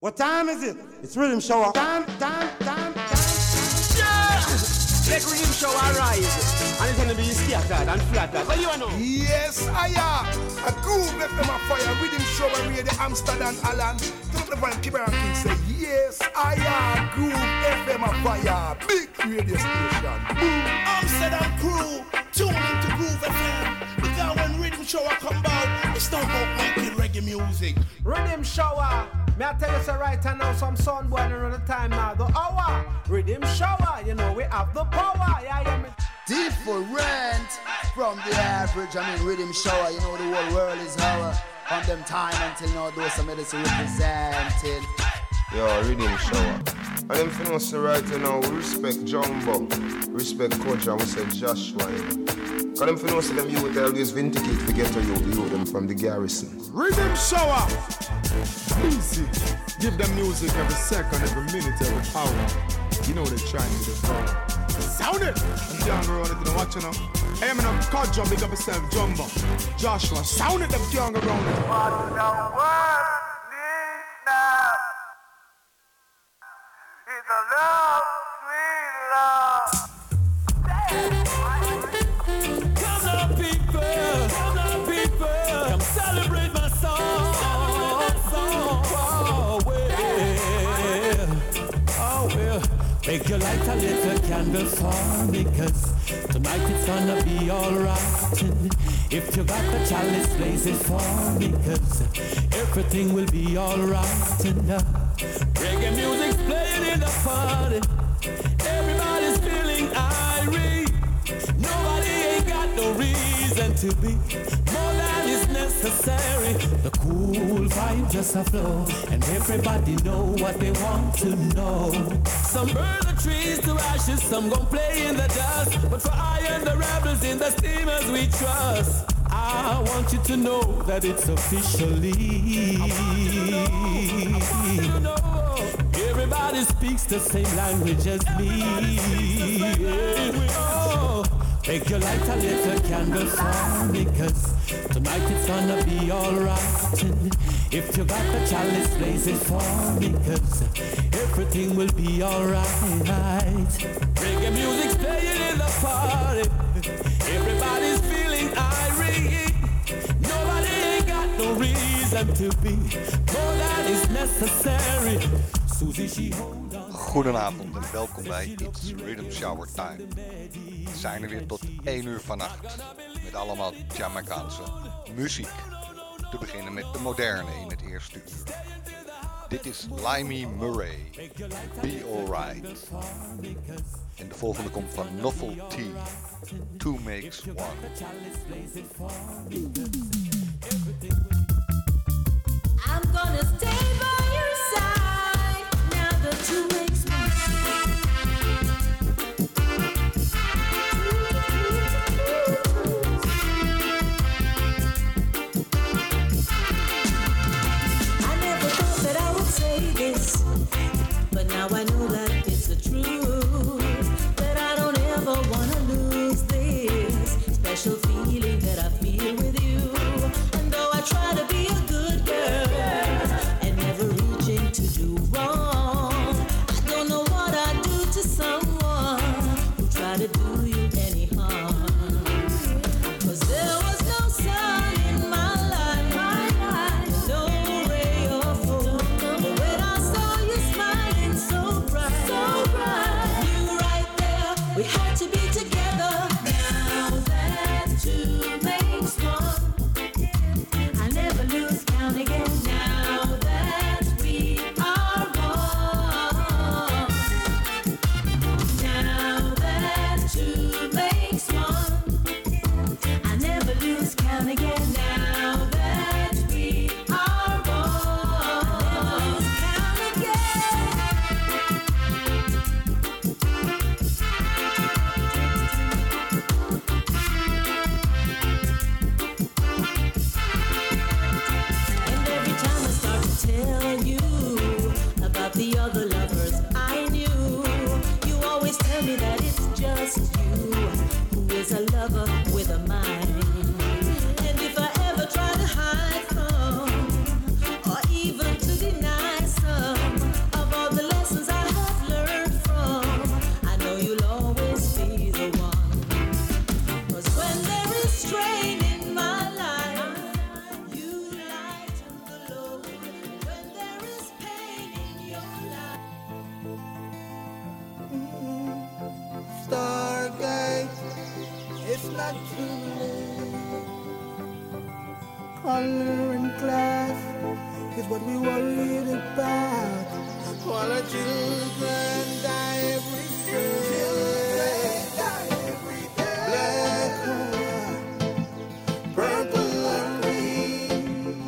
What time is it? It's Rhythm Shower. Time. Yeah! Let Rhythm Shower rise. And it's gonna be scattered and flattered. What do you know? Yes, I am. A groove left them a fire. Rhythm Shower radio Amsterdam Alan. Don't the van Kibber and King say, yes, I am. Groove FM a fire. Big radio station. Boom. Amsterdam crew, tune into Groove FM. Because when Rhythm Shower come out, it's not about making reggae music. Rhythm Shower. May I tell you so right now, some sun born around the time now. The hour. Rhythm Shower. You know we have the power. Yeah. Different from the average. I mean, Rhythm Shower. You know the whole world is our. From them time until now, those some medicine representing. Yo, Rhythm Shower. And them things right now, we respect Jumbo, respect Coach, and we say Joshua. Because them things them youth always vindicate to get to you them from the garrison. Rhythm Shower. Easy. Give them music every second, every minute, every hour. You know they're trying to do. Sound it! I'm young around it, you know what you know? Hey, I'm in a cut jump, big up yourself, Jumbo. Joshua, sound it, them young around it. What the world needs now is a love, sweet love. Come on, people, come celebrate my song. Oh well, make your light a little candle for me, 'cause tonight it's gonna be alright. If you got the chalice, blaze it for me, 'cause everything will be alright. And reggae music's playing in the party. Everybody's feeling irate. Nobody ain't got no reason to be more than is necessary. The cool vibe just a flow, and everybody know what they want to know. Some burn the trees to ashes, some gon' play in the dust. But for I and the rebels in the steamers we trust. I want you to know that it's officially. Everybody speaks the same language as me. Oh, make your light a little candle for me, 'cause tonight it's gonna be alright. And if you got the chalice, blaze it for me, 'cause everything will be alright. Reggae music's playing in the party. Everybody's feeling irate. Nobody ain't got no reason to be more than is necessary. Susie, she hold on. Goedenavond en welkom bij It's Rhythm Shower Time. We zijn er weer tot 1 uur vannacht met allemaal Jamaicaanse muziek. Te beginnen met de moderne in het eerste uur. Dit is Limey Murray, Be Alright. En de volgende komt van Novelty, Two Makes One. I'm gonna stay by your side now that you makes me I never thought that I would say this, but now I know that it's the truth, that I don't ever wanna lose this special feeling that I feel with you. And though I try to be a good girl and never reaching to do wrong, I don't know what I'd do to someone who tried to do you any harm. 'Cause there was no sun in my life, no ray of hope. But when I saw you smiling so bright, got to live. Color and class is what we worried about. While our children die every day. Black and white, purple and green.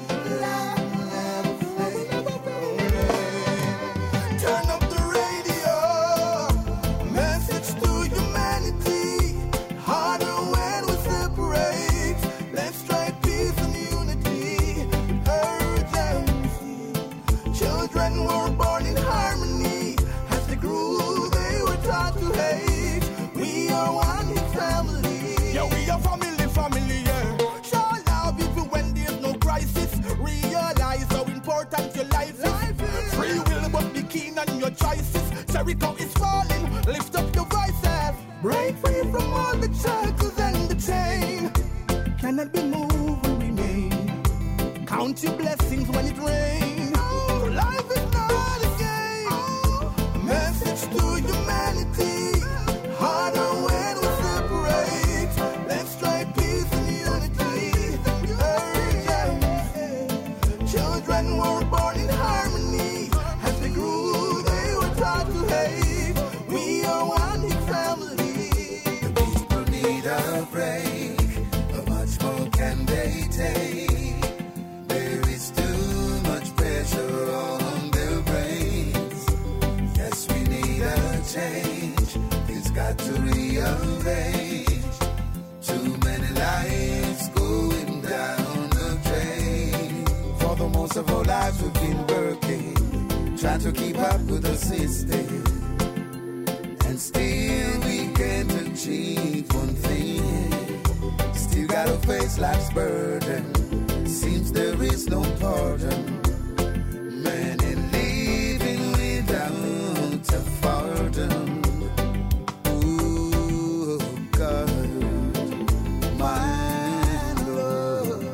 Turn up the radio. Message to humanity. Harder when we separate. Let's try peace and unity. Urgency. Children were born in harmony. As they grew, they were taught to hate. We are one big family. Yeah, we are family, yeah. Show love even when there's no crisis. Realize how important your life is. Free will, but be keen on your choices. Jericho is falling, lift up your voices. Break free from all the shackles and the chain. Cannot be moved and remain. Count your blessings when it rains. Oh, life is not a game. Message to humanity. Harder when we separate. Let's try peace and unity. Urgency. Children were born in harmony. As they grew, they were taught to hate. We are one big family. The people need a break. How much more can they take? There is too much pressure on their brains. Yes, we need a change. It's got to rearrange. Too many lives going down the drain. For the most of our lives we've been working, trying to keep up with the system. And still we can't achieve one thing. Still gotta face life's burden. Seems there is no pardon. Man ain't living without a pardon. Ooh, God, my Lord.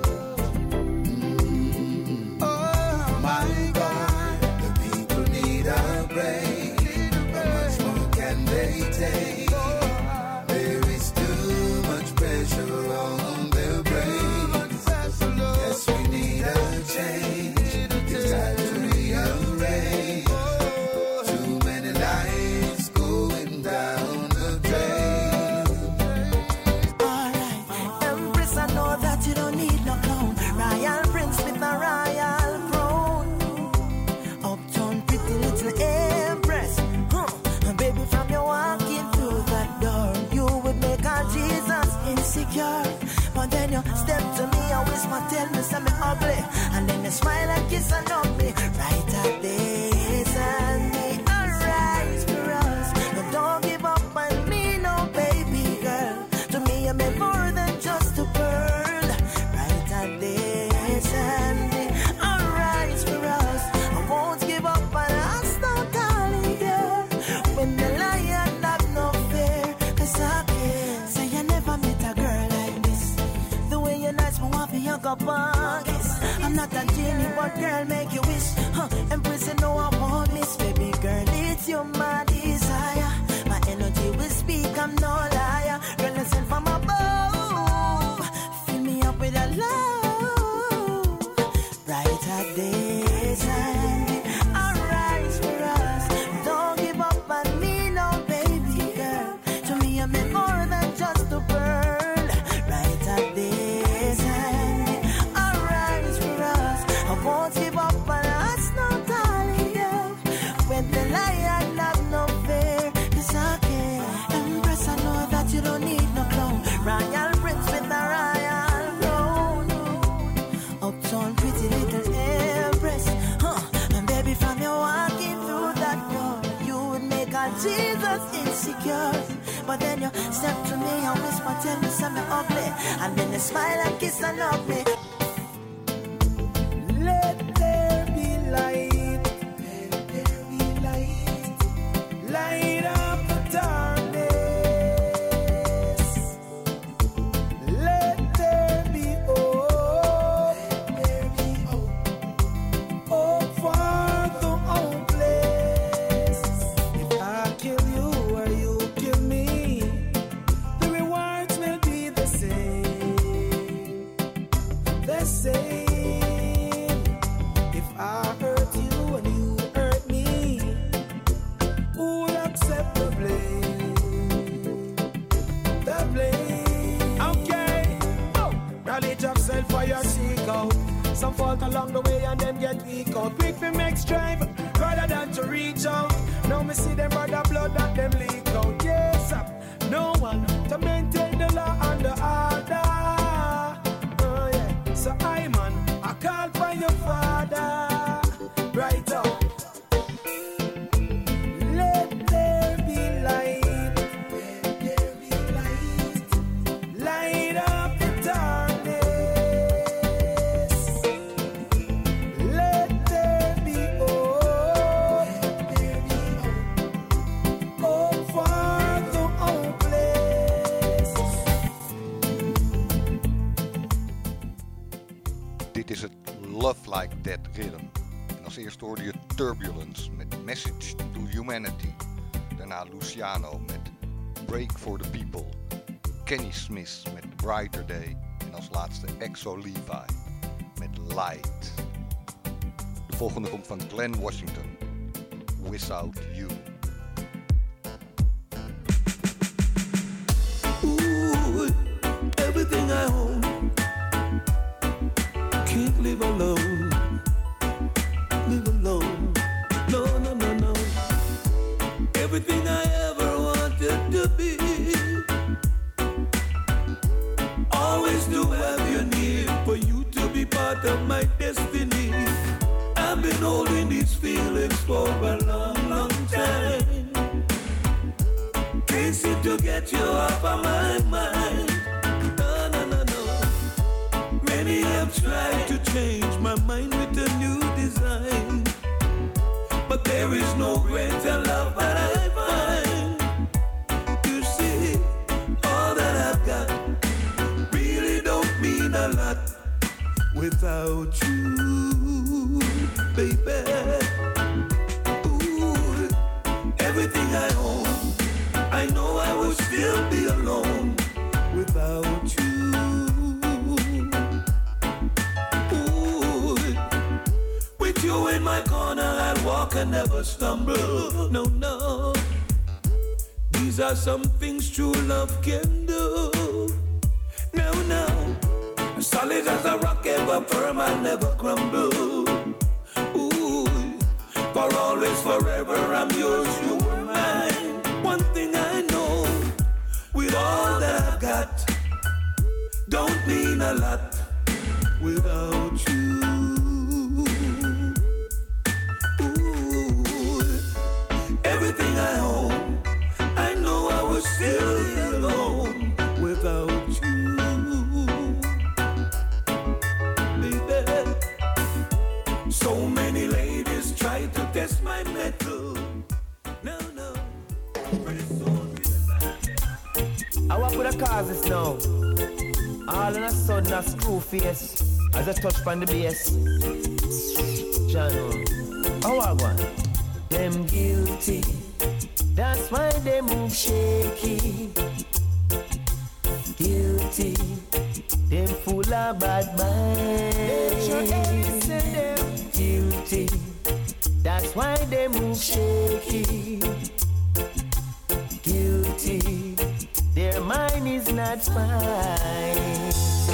Oh, my God. The people need a break. How much more can they take? There is too much pressure on their brains. Yes, we need a change. It's time to rearrange. Too many lives going down the drain. Alright, Empress, I know that you don't need no clown. Royal Prince with a royal crown. Uptown pretty little Empress. Baby, from your walking through that door, you would make our Jesus insecure. But then you step to me and whisper, tell me something ugly. And then you smile and kiss and hug me. Right at this and me. Arise for us. But don't give up on me, no baby girl. To me, you meant more than just a pearl. Right at this and me. Arise for us. I won't give up on us, no darling girl. When the lion have no fear, 'cause I care. Say you never met a girl like this. The way you're nice, but want for your cup of kiss. I'm not a genie, but girl, make you wish. Empress, you know I won't miss. Baby girl, it's you, my desire. My energy will speak, I'm no liar. Girl, listen from above. Fill me up with a love. Right at this and arise for us. Don't give up on me, no baby girl. To me, I'm more than just a pearl. Right at this and arise for us. I won't give up on us, no darling girl. When the lion have no fear, 'cause I care. Empress, I know that you don't need no clown. Royal Prince with a royal crown. Uptown pretty little Empress. And baby, from you walking through that door, you would make our Jesus insecure. But then you step to me and whisper, tell me something ugly. And then you smile and kiss and hug me. Let there be light. Let there be light. Light up the darkness. Let there be hope. Let there be hope. Hope for the hopeless. If I kill you or you kill me, the rewards will be the same. fault along the way and them get weak out. Quick for make strive rather than to reach out. Now me see them brother blood that them leak out. Yes, no one to maintain the law and the order. Oh yeah, so I man, I call for your father. Right up. Let there be light. Let there be light. Light up the darkness. Let there be hope. Let there be hope for the hopeless. Dit is het Love Like That Rhythm. En als eerste hoorde je Turbulence met Message to Humanity. Daarna Luciano met Break for the People. Kenny Smith met Brighter Day. En als laatste Exo Levi met Light. De volgende komt van Glenn Washington. Without You. Ooh, everything I own can't live alone. Live alone. No, no, no, no. Everything I ever wanted to be. Always do have you near for you to be part of my destiny. I've been holding these feelings for a long, long time. Can't seem to get you off of my mind. No, no, no, no. Many have tried to change my mind with a new design, but there is no greater love that I find. You see, all that I've got really don't mean a lot without you, baby. Ooh, everything I own, I know I would still be alone without you. Ooh, with you in my corner, I'll walk and never stumble. No, no. These are some things true love can do. No, no. Solid as a rock, ever firm and never crumble. Ooh, for always, forever, I'm yours, you are mine. One thing I know, with all that I've got, don't mean a lot without you. Ooh, everything I own, I know I was still alone without you. Baby, so many ladies try to test my mettle. No, no. I walk with the causes now. All in a sudden a screw face as I touch on the bass. Jano, how I want? Them guilty, that's why they move shaky. Guilty, them full of bad minds. Guilty, that's why they move shaky. Guilty, their mind is not fine.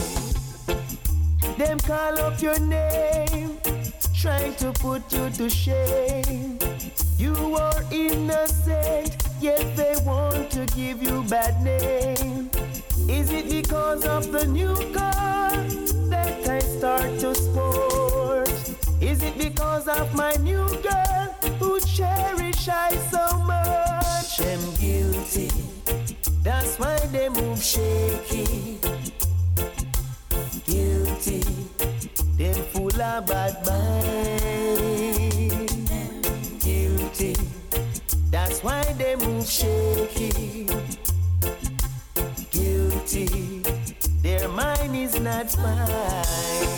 Them call up your name, trying to put you to shame. You are innocent, yet they want to give you bad name. Is it because of the new car that I start to sport? Is it because of my new girl who cherish I so much? Them guilty, that's why they move shaky. Guilty, them full of bad mind. Guilty, that's why they move shaky. Guilty, their mind is not fine.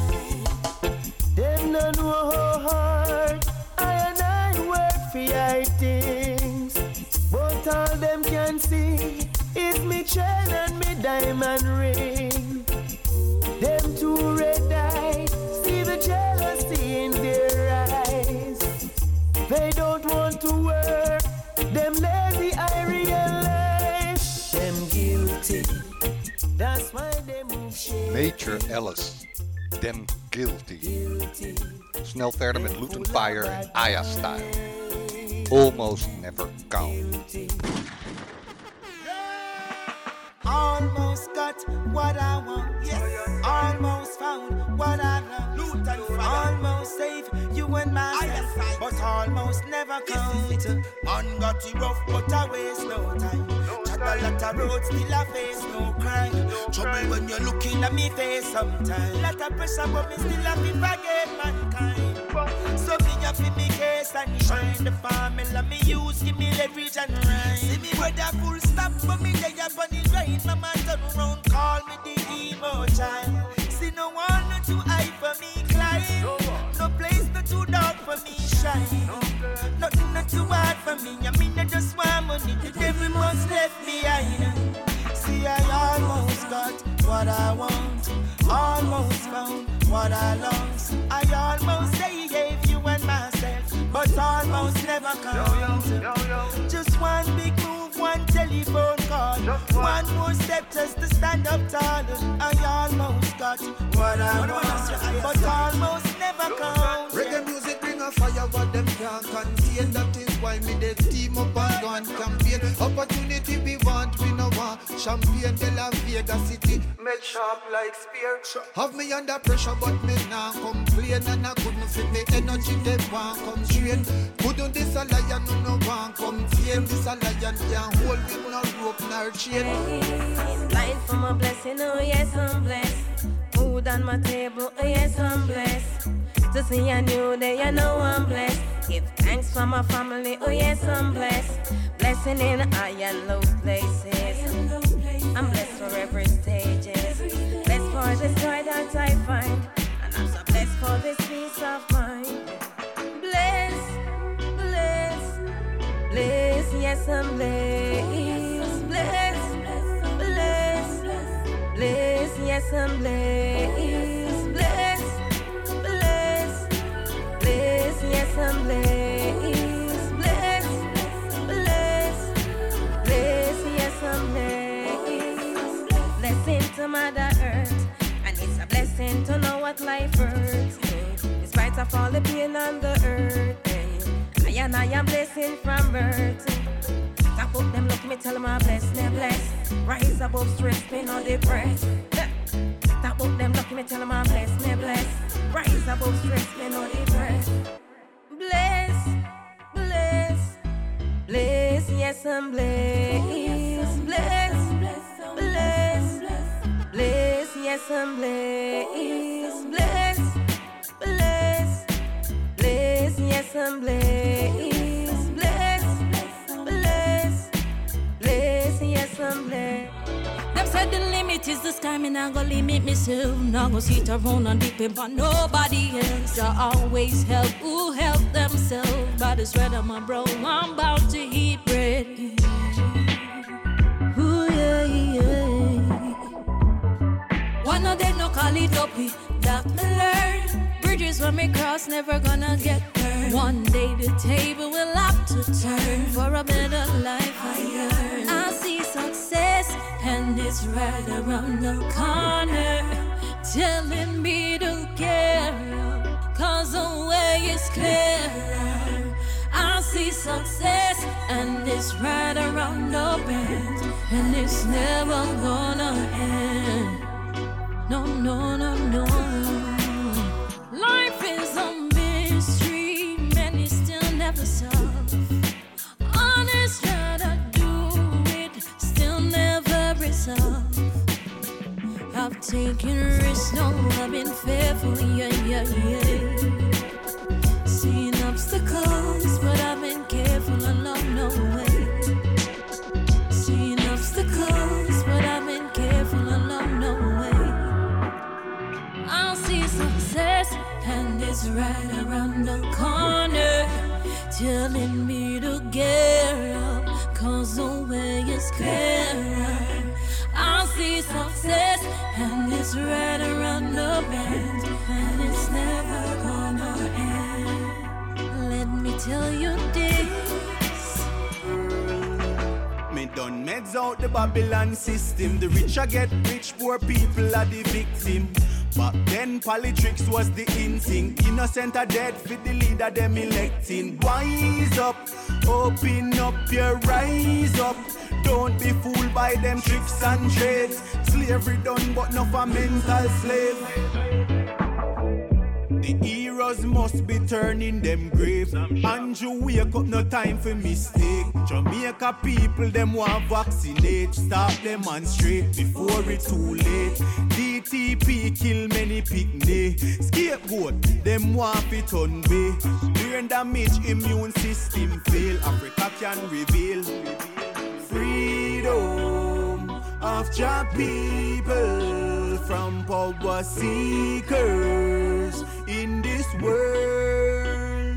Them no know how hard I and I work for your things, but all them can see is me chain and me diamond ring. Them two red eyes, see the jealousy in their eyes. They don't want to work, them lazy I realize. Them guilty, that's why they move shit. Major Alice Damn Guilty. Snel verder met Luton Fire en Aya Style. Almost Never Count. Almost got what I want. Yes. Almost found what I love. Almost saved you and myself, but almost never count. Man got it rough, but I waste no time. Chat a lot of roads, still I face no crime. Trouble when you're looking at me face sometimes. Lot of pressure, but me still have to forget mankind. So me up in me case and shine the formula me use, give me leverage and rhyme. See me brother full stop, but me day up on the grind. My man turn around, call me the emo child. See no one not too high for me climb. No place not too dark for me shine. Nothing not too hard for me. I mean I just want money. The devil must left behind. See I almost got what I want. Almost found what I lost. I almost say gave you and myself, but almost never count. Just one big move, one telephone call, one more step just to stand up taller. I almost got what I want, but almost never count. Reggae music bring a fire, but them can't contain. That is why me they team up and go and campaign. Opportunity we want, we no want. Champagne de la Vega City, made sharp like spear. Have me under pressure, but me nah complain. And I couldn't fit me energy, they want come straight. Couldn't this a lion, no want come tame. This a lion can't hold with no rope nor chain. Blind for my blessing, oh yes I'm blessed. Food on my table, oh yes I'm blessed. To see a new day, I know I'm blessed. Give thanks for my family, oh yes I'm blessed. Blessing in high and low places. I'm blessed for every stages. Blessed for this joy that I find. And I'm so blessed for this peace of mind. Blessed, blessed, blessed, yes I'm blessed. Blessed, blessed, blessed, yes I'm blessed. Blessed, blessed, blessed, yes I'm blessed. Blessed, blessed, blessed, yes I'm blessed. Blessing to Mother Earth, and it's a blessing to know what life hurts. In spite of all the pain on the earth, I am blessing from birth. Top up them, look me, tell them I'm blessed, they're blessed. Rise above stress, pain or depressed. Top up them, look me, tell them I'm blessed, they're blessed. Rise above stress, pain or depressed. Bless, bless, bless, yes I'm blessed. Bless, bless, bless, yes I'm blessed. Bless, bless, bless, yes I'm blessed. Bless, bless, bless, yes I'm blessed. Them said the limit is the sky, me not gonna limit myself. Not gonna sit around and depend on nobody else. I always help who help themselves. By the sweat of my brow, I'm about to eat bread. Ooh, yeah, yeah. One of them no call it up, that me learn. Bridges when me cross never gonna get burned. One day the table will have to turn. For a better life I yearn. I see success and it's right around the corner, telling me to get up, cause the way is clearer. I see success and it's right around the bend, and it's never gonna end. No, no, no, no. Life is a mystery, many still never solve. Honest try to do it, still never resolve. I've taken risks, no, I've been faithful, yeah, yeah, yeah. Seen obstacles, but I've been careful along the way. Seen obstacles, but I've been careful along the way. I'll see success, and it's right around the corner, telling me to get up, cause the way is clearer. I'll see success, and it's right around the bend, and it's never gonna end. Let me tell you this. Me done meds out the Babylon system. The rich I get rich, poor people are the victim. Back then politics was the in thing. Innocent are dead for the leader them electing. Wise up, open up your eyes up. Don't be fooled by them tricks and trades. Slavery done but not for mental slave. The heroes must be turning them grave. Andrew, wake up, no time for mistake. Jamaica people, them want vaccinate. Stop them on straight before it's too late. DTP kill many picnic. Scapegoat, them want it on way. Brain damage, immune system fail. Africa can reveal freedom of your people from power seekers in this world.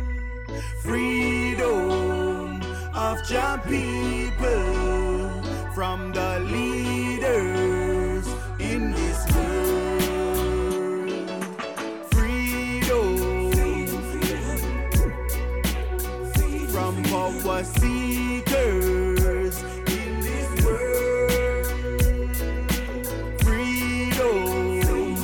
Freedom of your people from the leaders in this world. Freedom from power seekers in this world. Freedom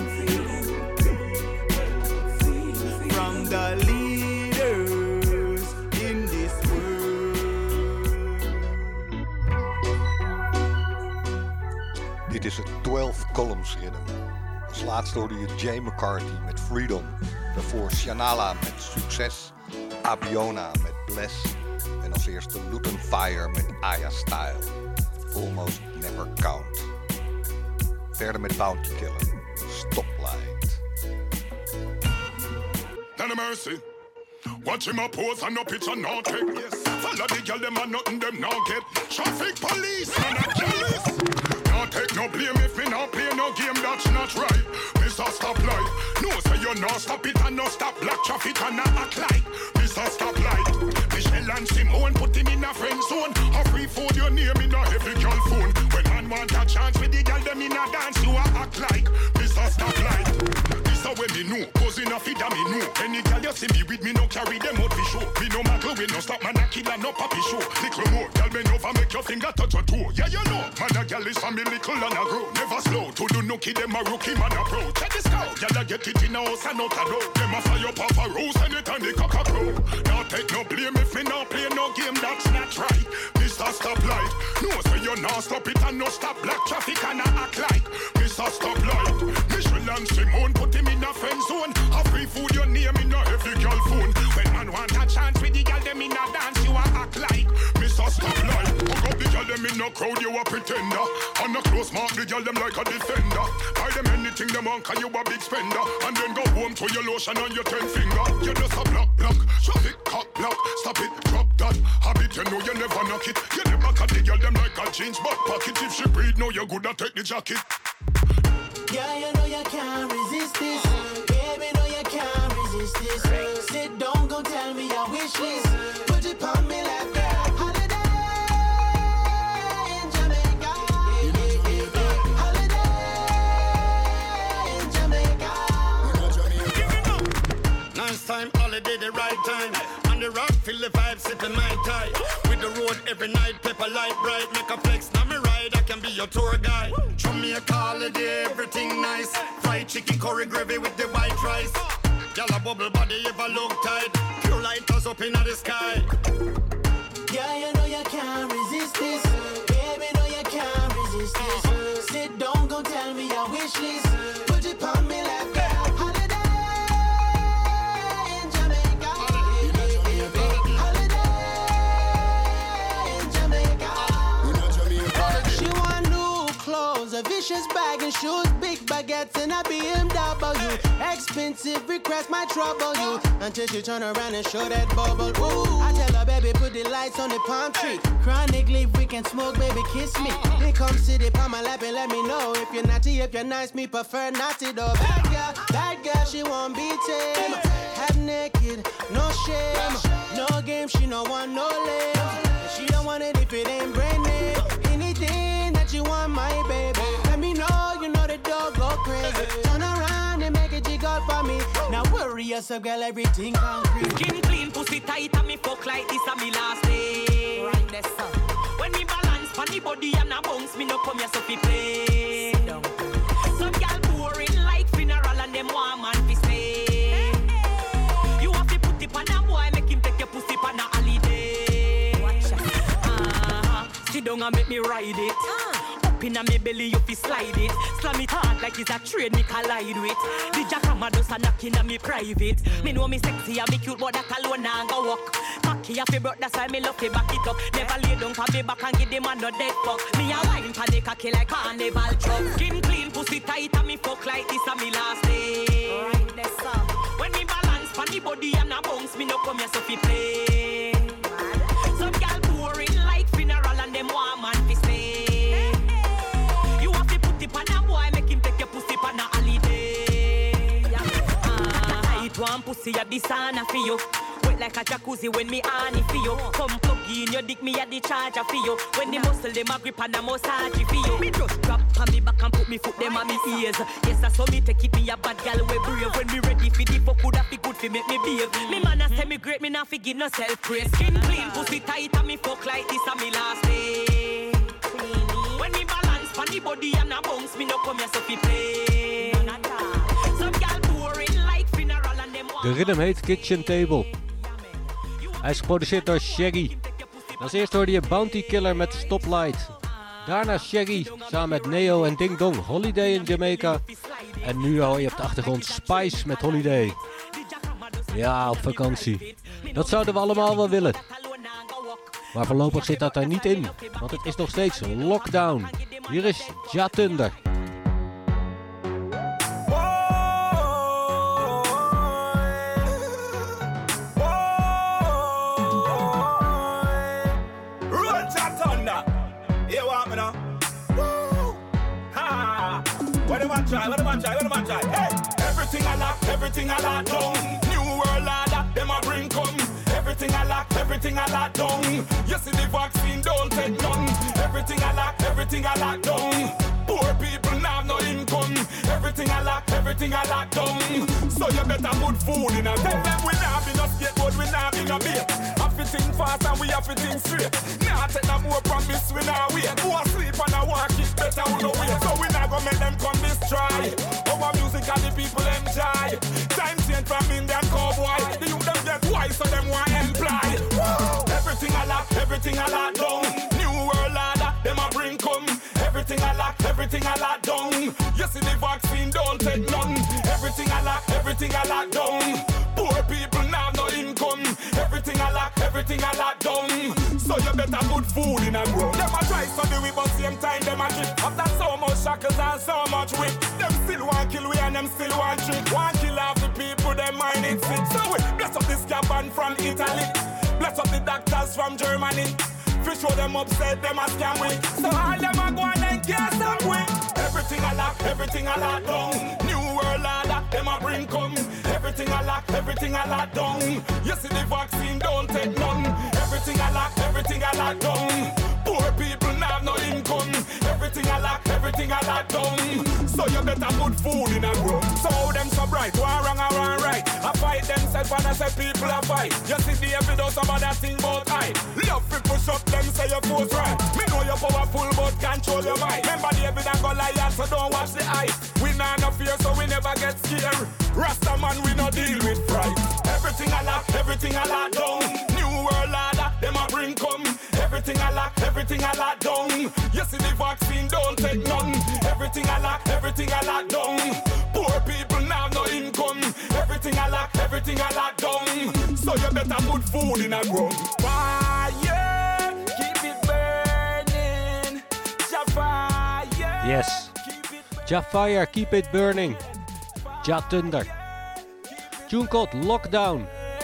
from the leaders in this world. Dit is het 12 Columns Rhythm. Als laatste hoorde je Jay McCarthy met Freedom. Daarvoor Shanala met Succes. Abiona met Bless. En als eerste Luton Fire met Aya Style. Almost Never Count. Verder met Bounty Killer. Stoplight. None of mercy. Watch him a pose and no picture no take. Yes. Follow the girl them and nothing them now get. Traffic police and a jealous. Not take no blame if me not play no game that's not right. Mr. Stoplight. No say you no stop it and no stop black traffic and not act like Mr. Stoplight. Michelle and Simone put him in a friend zone. A free food your name in a heavy girl phone. When man want a chance with the girl them in a dance you a act like Mr. Stoplight. So when me know, cause enough it that me know. Any girl you see me with me no carry them out for show. Me no muggle, we no stop man a killer, no papi show. Little more, girl me over make your finger touch your toe. Yeah you know, man a girl is family little and a grow. Never slow, to do nookie them a rookie man a pro. Check this out, girl a get it in a house and out a door. Them a fire up a rose and it and the cock a crow. Now take no blame if me no play no game that's not right. Mr. Stoplight, no say you no stop it and no stop black traffic and a act like Mr. Stoplight. Michelle and Simone put him in a friend zone. A free food your name in a heavy girl phone. When man want a chance with the girl them in a dance you a act like Mr. Stoplight. Hook up the girl them in a crowd you a pretender. On a close mark the girl them like a defender. Buy them anything them want cause you a big spender. And then go home to your lotion on your 10 finger. You just a block traffic cock block. Stop it, drop that habit you know you never knock it. You never cut the girl them like a jeans back pocket. If she breathe know you good at take the jacket. Yeah, you know you can't resist this. Baby, know you can't resist this. Sit down, go tell me your wish list. Put it on me like that. Holiday in Jamaica. Holiday in Jamaica. Nice time, holiday, the right time. On the rock, feel the vibe, sipping my tie. With the road every night, pepper light bright. Make a flex, now me ride, I can be your tour guide. Show me a holiday, everything nice. Fried chicken, curry gravy with the white rice. Y'all a bubble body, ever look tight. Pure lighters up in the sky. Yeah, you know you can't resist this. Baby, know you can't resist this. Sit down, go tell me your wish list. Put it on me like that. A vicious bag and shoes, big baguettes and a BMW. Expensive request might trouble you until she turn around and show that bubble. Ooh, I tell her, baby, put the lights on the palm tree. Chronic leaf, we can smoke, baby, kiss me. Then come sit it on my lap and let me know if you're naughty, if you're nice, me prefer naughty though. Bad girl, she won't be tame. Half naked, no shame, no game, she no want no lame. She don't want it if it ain't brand name. Anything that you want, my baby. Let me know, you know the dog go crazy. Turn around and make it jiggle for me. Now worry yourself, girl, everything concrete. Skin clean, pussy tight, and me fuck like this on me last day. Right there, son. When me balance on the body and a bounce, me no come here so fi play. Some girl boring like fin down and make me ride it. Up inna me belly, you fi slide it. Slam it hard like it's a train me collide with. The jackhammer does a knock inna me private. Me know me sexy and me cute, but that alone nah go walk. Cocky off your broke, that's why me love to back it up. Never lay down for me back and give the man no dead fuck. Me a wine for the cocky like carnival truck. Skin clean, pussy tight and me fuck like this a me last day. Right there, sir. When me balance for the body and a bounce, me no come here so fi play. Some gal boring like funeral and them want man fi stay. You have to put it on a boy, make him take your pussy on a holiday. Tight one pussy at the sauna for you. Like a jacuzzi when me honey for you. Come plug in your dick, me at the charger for you. When the muscle them a grip and a massage for you. Me just drop on me back and put me foot them on me ears. Yes, I saw me take it me a bad gal we brave. When me ready for the fuck, coulda fi good fi make me behave. Me man a say me great, me not fi give no self praise. Skin clean, pussy tight and me fuck like this a me last day. When me balance on the body and a bounce, me no come here so fi play. Some gal boring like funeral and them. De rhythm heet Kitchen Table. Hij is geproduceerd door Shaggy. Als eerste hoorde je Bounty Killer met Stoplight. Daarna Shaggy samen met Neo en Ding Dong, Holiday in Jamaica. En nu hoor je op de achtergrond Spice met Holiday. Ja, op vakantie. Dat zouden we allemaal wel willen. Maar voorlopig zit dat er niet in, want het is nog steeds lockdown. Hier is Ja Thunder. What am I try? Hey, everything I lock down. New world order, them a bring come. Everything I lock down. You see the vaccine, don't take none. Everything I lock down. Poor people now no income. Everything I lock down. So you better put food in a tell them we not be no skateboard, we not be no bait. Have to think fast and we have to think straight. Now take no more promise, we not wait. Go asleep and I walk it better we no wait. So we not gonna make them come destroy. Our music and the people enjoy. Time change from Indian cowboy. The youth them get wise so them want employ. Everything I lock down. New world order, them a bring come. Everything I lock down. You see the vaccine, don't take none. Everything I lock down. Poor people now no income. Everything I lock down. So you better put food in a grow. Them a try so do we but same time them a drip. After so much shackles and so much whip, them still want kill we and them still want trick. Want kill off the people, them mind it sick. So we bless up this cabin from Italy. Bless up the doctors from Germany. Fish show them upset, them a scam we. So all them a go and get some way. Everything I lock down. New world order, them a bring come. Everything I lock down. You see the vaccine, don't take none. Everything I lock down. Poor people now no income. Everything I lock down. So you better put food in a grow. So how them so bright, one wrong or one right. I fight themselves and I say people a fight. You see the evidence of that thing about I. Love to push up them say your force right. Me know you're powerful but control your mind. Remember the evidence go lie so don't watch the eye. We nah no fear so we never get scared. Rasta man we no deal with fright. Everything I lock down. New world order, them a bring come. Everything I lock down. You see the vaccine, don't take none. Everything I lock down. Poor people now no income. Everything I lock down. So you better put food in a ground. Fire, keep it burning. Jafire. Yes. Jafire, keep it burning. Ja Thunder. Tune called Lockdown.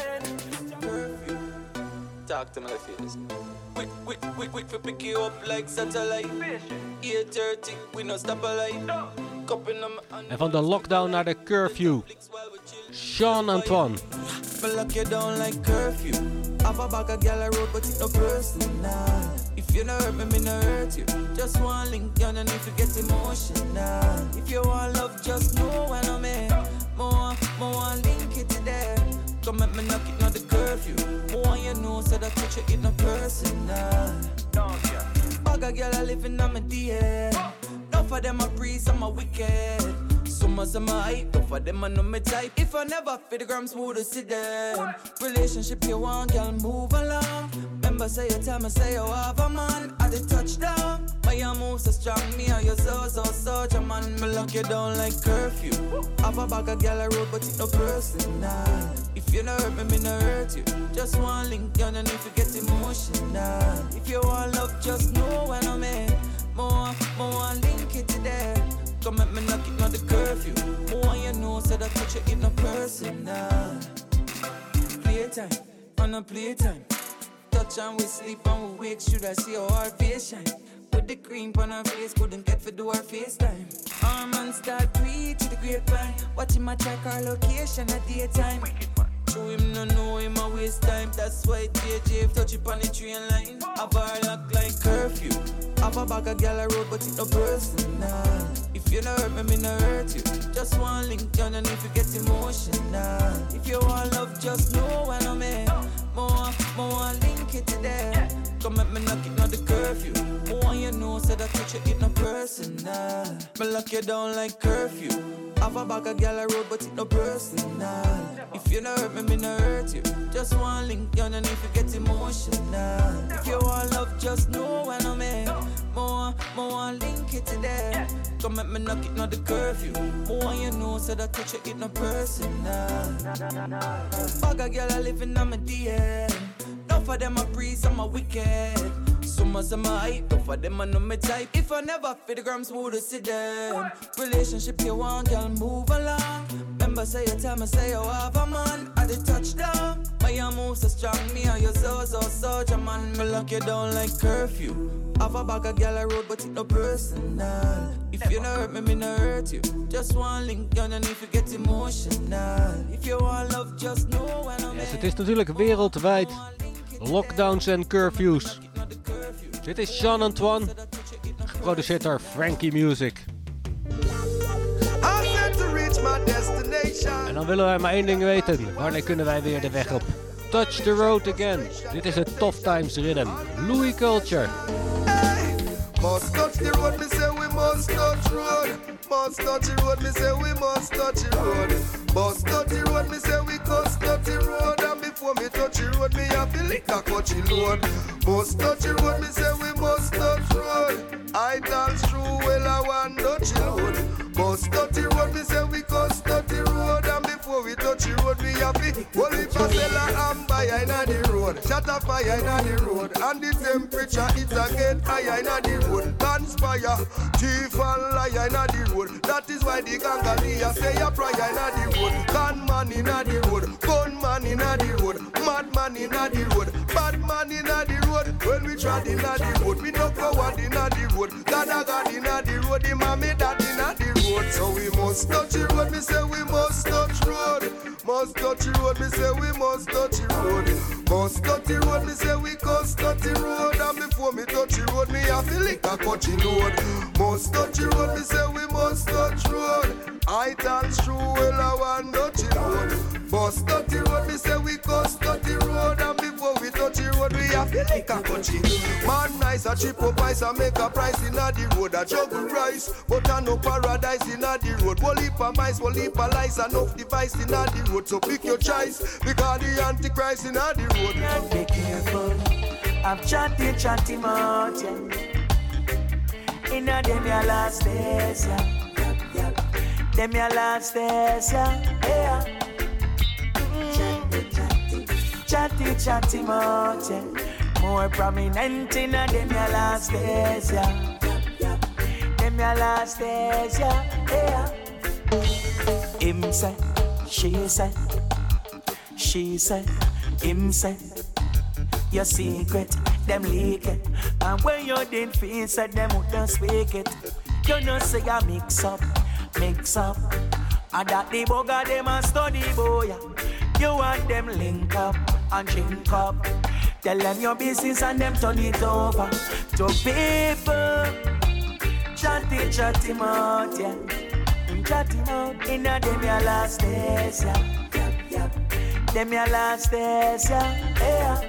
Talk to me like this. Quick for pick you up like satellite. 8:30, we no stop a light. En van de lockdown naar de curfew. Sean Antoine. Me lock you down like curfew. Have a bag of gal a road, but it's no personal. If you no hurt me, me no hurt you. Just one link, you no need to get emotional. If you want love, just know when I'm here. More link it to there. Come at me knock it, not the curfew. More you know, so that touch it no personal. Bag of gal a living on my DM. Enough of them a free, some a wicked. Some of them a hype, enough of them a know me type. If I never fit the gram smooth to see them. Relationship you want, girl, move along. Remember Remember say you tell me say you have a man at the touchdown. But you move so strong, me and you so such a man. Me lock you down like curfew. Have a bag of gal a road, but it no personal. If you no hurt me, me no hurt you. Just one link, you no need to get emotional. If you want love, just know when I'm in. More link it to there. Come at me knock it, not the curfew. More you know, so that touch you in no personal. Playtime, on a playtime. Touch and we sleep and we wake. Should I see how our face shine? Put the cream on her face, couldn't get for do our FaceTime. Our man start preach to the grapevine. Watch him a check our location at daytime. Show him no know him a waste time. That's why JJ touch it on the train line. Have our luck like curfew. Have a bag of gal a road, but it no personal. If you no hurt me, me no hurt you. Just one link, you no need to get emotional. If you want love, just know when I'm in. More link it to there. Come at me knock it, not the curfew. More you know, so that touch you in no personal. Me lock you down like curfew. Have a bag of gal a road, but it no personal. If you no hurt me, me no hurt you. Just one link, you no need to get emotional. If you want love, just know when I'm in. More link it to there. Come at me knock it, not the curfew. More you know, so that touch you in no personal. Bag of gal a living on my DM. Enough of them a priest, some a wicked. Some of them a hype, enough of them a know me type. If I never fit the grams, would see them. Relationship you want, girl, move along. Remember say you tell me say you have a man at the touchdown. But you move so strong, me and you so such a man. Me lock you down like curfew. Have a bag of gal a road, but it no personal. If you no hurt me, me no hurt you. Just one link, you no need to get emotional. If you want love, just know when I'm in. Yes, het is natuurlijk wereldwijd. Lockdowns en curfews. Dit is Jean Antoine, geproduceerd door Frankie Music. En dan willen wij maar één ding weten. Wanneer kunnen wij weer de weg op? Touch the road again. Dit is het Tough Times Rhythm. Louis Culture. Must touch the road, me say we must touch road. Must touch the road, me say we must touch the road. Must touch the road, me say we must touch the road. And before me touch the road, me have to lick a coachy load. Must touch the road, me say we must touch road. I dance through well, I want touch the road. Must touch the road, me say we must touch the road. And before we touch the road, we have to holy pasella and buy inna the road. Shut up fire inna the road. And the temperature it a get higher inna the road. Conspire, thief and liar inna the road. That is why the gangalia say a prayer inna the road. Gunman inna the road, gunman inna the road, madman inna the road, bad man inna the road. When we trod inna the road, we no coward inna the road. God inna the road, the mommy dad inna the road. So we must touch the road, me say we must touch road. Must touch the road, me say we must touch the road. Must touch the road, me say we must touch the road. And before me touch the road, me have to lick a coachy load. Must touch the road, me say we must touch road. I dance through well, I want touch the road. Must touch the road, me say we must touch the road. And before we touch the road, we have to lick a coachy. Man nice, a cheap up ice and make a price inna the road. A juggle rice, but I no paradise inna the road. Whole heap of mice, whole heap of lice, enough device inna the road. So pick your choice, because the Antichrist inna the road. Be careful, I'm chatty mouth, yeah. Inna them your last days, yeah. Them your last days, yeah. Chatty mouth, yeah. More prominent inna them your last days, yeah. Them your last days, yeah. Him say, she say, she say, him say. Your secret, them leak it. And when you didn't feel said, them wouldn't speak it. You know say you mix up. And that the bugger them a study boy. You want them link up and drink up. Tell them your business and them turn it over to people. Chatty mouth, yeah. Chatty mouth, inna them your last days, yeah. Them your last days, yeah.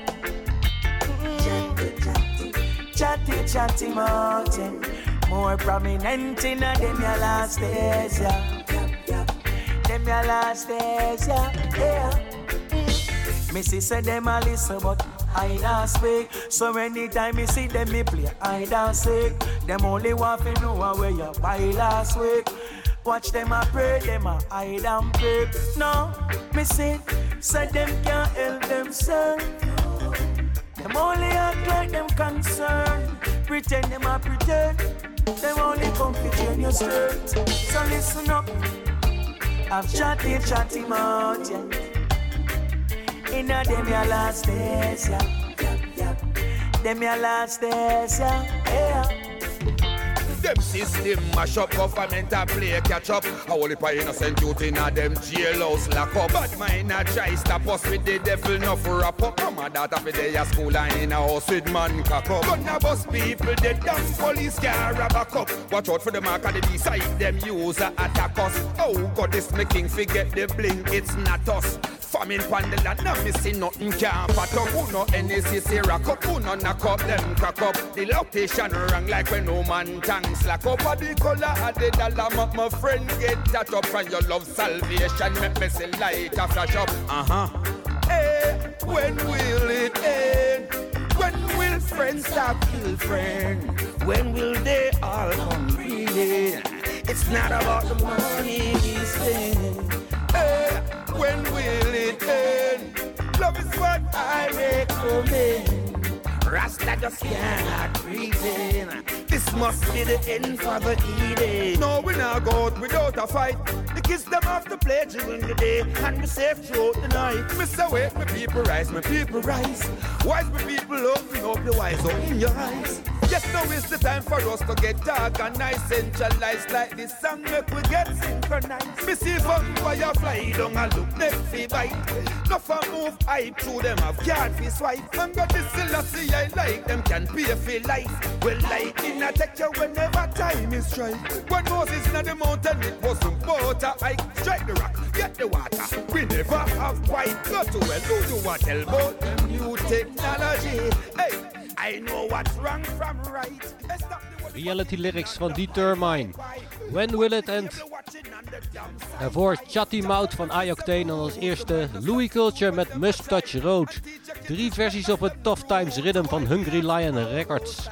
Chatty mouth, yeah. More prominent inna them your last days, yeah. Them your last days, yeah. Missy said them a listen, but hide and speak. So anytime you see them, me play hide and seek. Them only want to know where you buy last week. Watch them a pray, them a hide and peep. No, me say, so them can't help themselves. Them only act like them concerned. Pretend them a pretend. Them only come to train your skirt. So listen up. I've chatty mouth, yeah. Inna them your last days, yeah. Them your last days, yeah. Them system mash up, government a play catch up. A whole heap of innocent youth inna them jailhouse lock up. Bad mind a try stop us with the devil no for wrap up. Come on, daughter for day a school and in a house with man cock up. Gonna bust people, they dance police car a back up. Watch out for the mark of the beside them use a attack us. Oh God, this making forget the bling, it's not us. Famine pan the land, not missing nothing can't pat up. Who no NACC rock up, who no knock up, them crack up. The location rang like when no man tongue slack up. A the color of the dollar, make my friend get that up. And your love salvation, make me see light a flash up. Hey, when will it end? When will friends stop kill friends? When will they all come reading? It's not about the money we spend. Hey, when will it end? Love is what I recommend. Rasta just cannot pretend. This must be the end for the Eden. No, we not go out without a fight. The kids them have to play during the day and be safe throughout the night. Mr. Wait, my people rise, my people rise. Wise my people open up the wise, open your eyes. Yes, now is the time for us to get organized, centralized like this song make we get synchronized. Me see vampire fly down and look them fi bite. No for move hype through them have card fi swipe. And got this Selassie I like them can pay for life. Well, lightning attack you whenever time is right. When Moses in the mountain it wasn't water hike. Strike the rock, get the water. We never have white. Go to well, do you want tell about them new technology? Hey, I know what's wrong from right. Reality lyrics van D-Termine. When will it end? Daarvoor Chatty Mouth van Ayoctane en als eerste Louis Culture met Mustache Road. 3 versies op het Tough Times Rhythm van Hungry Lion Records.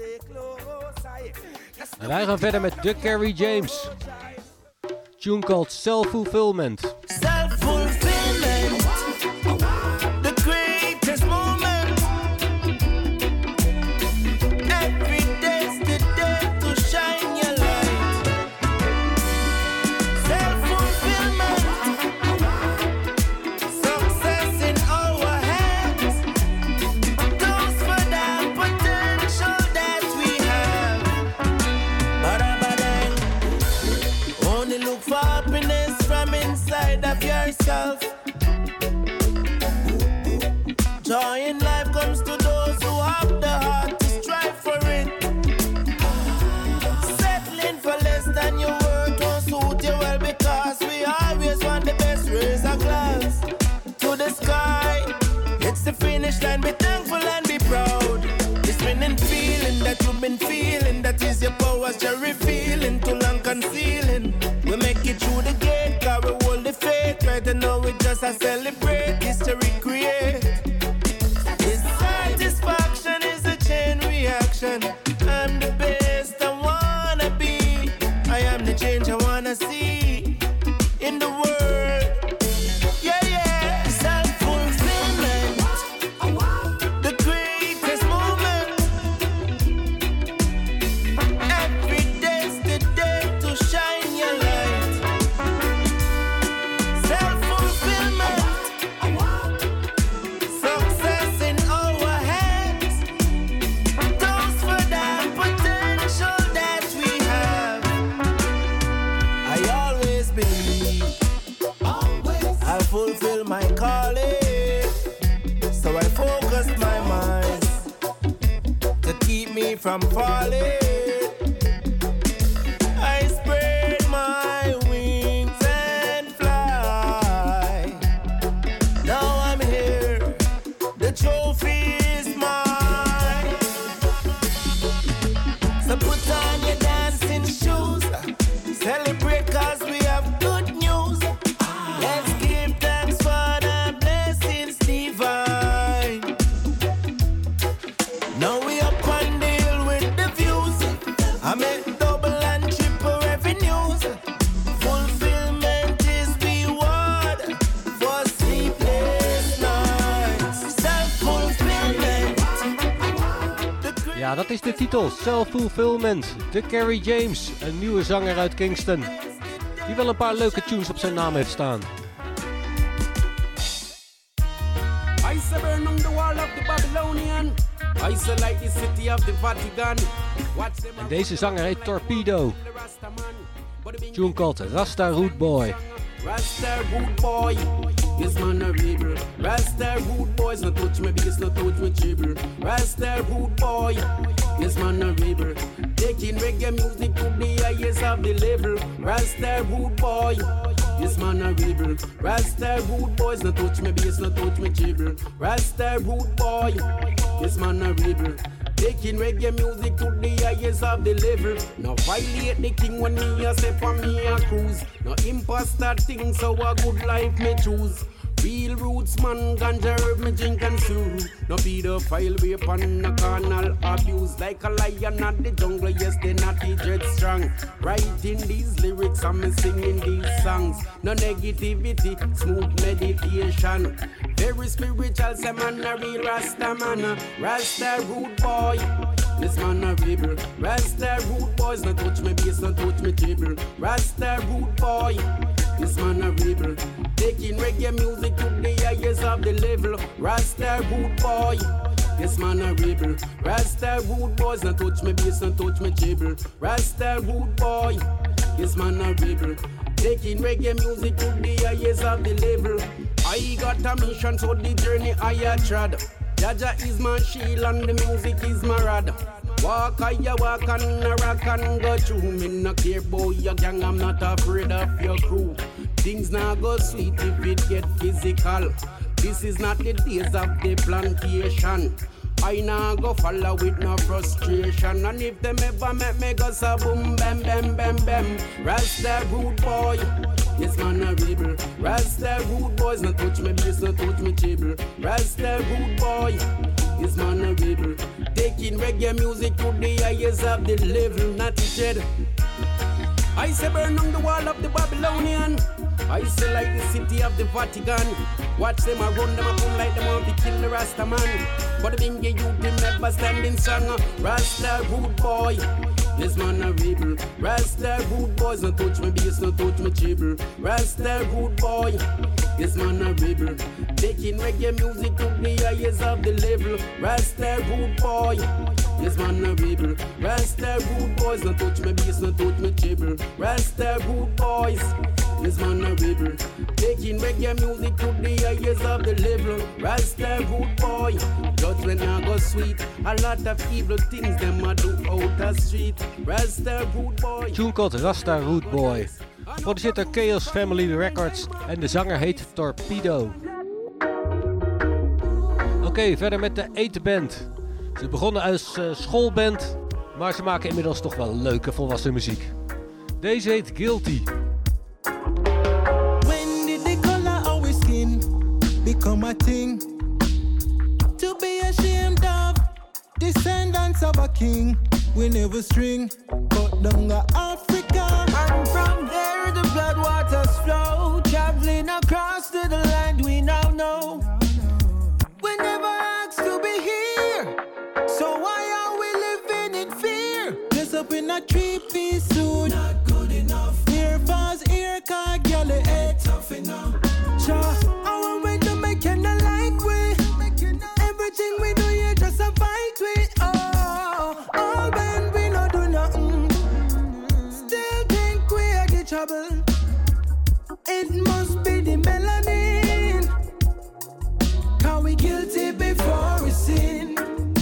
En wij gaan verder met The Kerry James. Tune called Self-Fulfillment. Self-fulfillment, the greatest moment. Every day's the day to shine your light. Self-fulfillment, success in our hands. Those for that potential that we have. Ba-da-ba-dang. Only look for happiness from inside of yourself. Joy in life comes to those who have the heart to strive for it. Settling for less than your worth won't suit you well, because we always want the best. Raise a glass to the sky. It's the finish line. Be thankful and be proud. This winning feeling that you've been feeling, that is your powers you're revealing, too long concealing. We make it through the gate, cause we hold the faith. Right now we just a celebrate, history create. This satisfaction is a chain reaction. I'm the best I wanna be. I am the change I wanna see in the world. Yeah, yeah. Self-fulfillment, the greatest moment. Every day's the day to shine your light. Self-fulfillment, success in our hands. Those for that potential that we have. I always believe I'll fulfill my calling. So I focus my mind to keep me from falling. I spread my wings and fly. Now I'm here, the trophy is mine. So put on your dancing shoes, celebrate cause we have good news. Let's give thanks for the blessings divine. Ja, dat is de titel. Self-Fulfillment. De Kerry James, een nieuwe zanger uit Kingston. Die wel een paar leuke tunes op zijn naam heeft staan. I burn on the wall of the Babylonian. Isolate the city of the Vatican. En deze zanger heet Torpedo. Tune called Rasta Root Boy. Rasta Root Boy, this man a rebel. Rasta Root Boys, no touch me bass, no touch me treble. Rasta Root Boy, this man a rebel. Taking reggae music to the highest of the level. Rasta Root Boy, this man a rebel. Rasta Root Boys, no touch me bass, no touch me treble. Rasta Root Boy, this man a rebel. Taking reggae music to the highest of the level. No violate the king when me a step on me a cruise. No imposter thing, so a good life me choose. Real roots man, ganja herb me drink and soothe. No pedophile way upon no carnal abuse. Like a lion at the jungle, yes they naughty dread strong. Writing these lyrics and me singing these songs. No negativity, smooth meditation. Very spiritual, say man a real Rasta man. Rasta root boy, this man a rebel. Rasta root boys, no touch me bass, no touch me treble. Rasta root boy, this man a rebel. Taking reggae music to the highest of the level. Rasta root boy, this man a rebel. Rasta root boys, no touch me bass, no touch me treble. Rasta root boy, this man a rebel. Taking reggae music to the highest of the level. I got a mission, so the journey I had trod. Jaja is my shield and the music is my rod. Walk I walk and a rock and go through. Me no care about your gang, I'm not afraid of your crew. Things now go sweet if it get physical. This is not the days of the plantation. I now go follow with no frustration. And if them ever make me go so boom, bam, bam, bam, bam. Rasta root boy, this man a rebel. Rasta root boys, no touch me bass, no touch me treble. Rasta root boy, this man a rebel. Taking reggae music to the highest of the level, not shed. I say burn on the wall of the Babylonian. I say like the city of the Vatican. Watch them a run, them a come like them want to kill the Rasta man. But the bingy youth them never standing strong. Rasta root boy, this man a rebel. Rasta root boys, no touch me bass, no touch me treble. Rasta root boy, this man a rebel. Taking reggae music to the highest of the level. Rasta root boy, this man a rebel. Rasta root boys, no touch me bass, no touch me treble. Rasta root boys, this man a rebel. Taking reggae music to the highest of the level. Rasta root boy, judgment now go sweet. A lot of evil things them a do out the street. Rasta root boy. Tune called Rasta Root Boy. Geproduceerd door Chaos Family Records en de zanger heet Torpedo. Oké, verder met de Ete Band. Ze begonnen als schoolband, maar ze maken inmiddels toch wel leuke volwassen muziek. Deze heet Guilty. When did the color of our skin become a thing? To be ashamed of, descendants of a king. We never string, but down Africa. And from there the blood waters flow, traveling across to the land we now know. We never asked to be here, so why are we living in fear? Dress up in a three-piece suit, not good enough. Here falls ear, car, girl, it ain't tough enough. Sure, our way to make you not like we. Everything we do, you just a fight with. All when we not do nothing, still think we are the trouble. It must be the melanin, 'cause we guilty before we sin.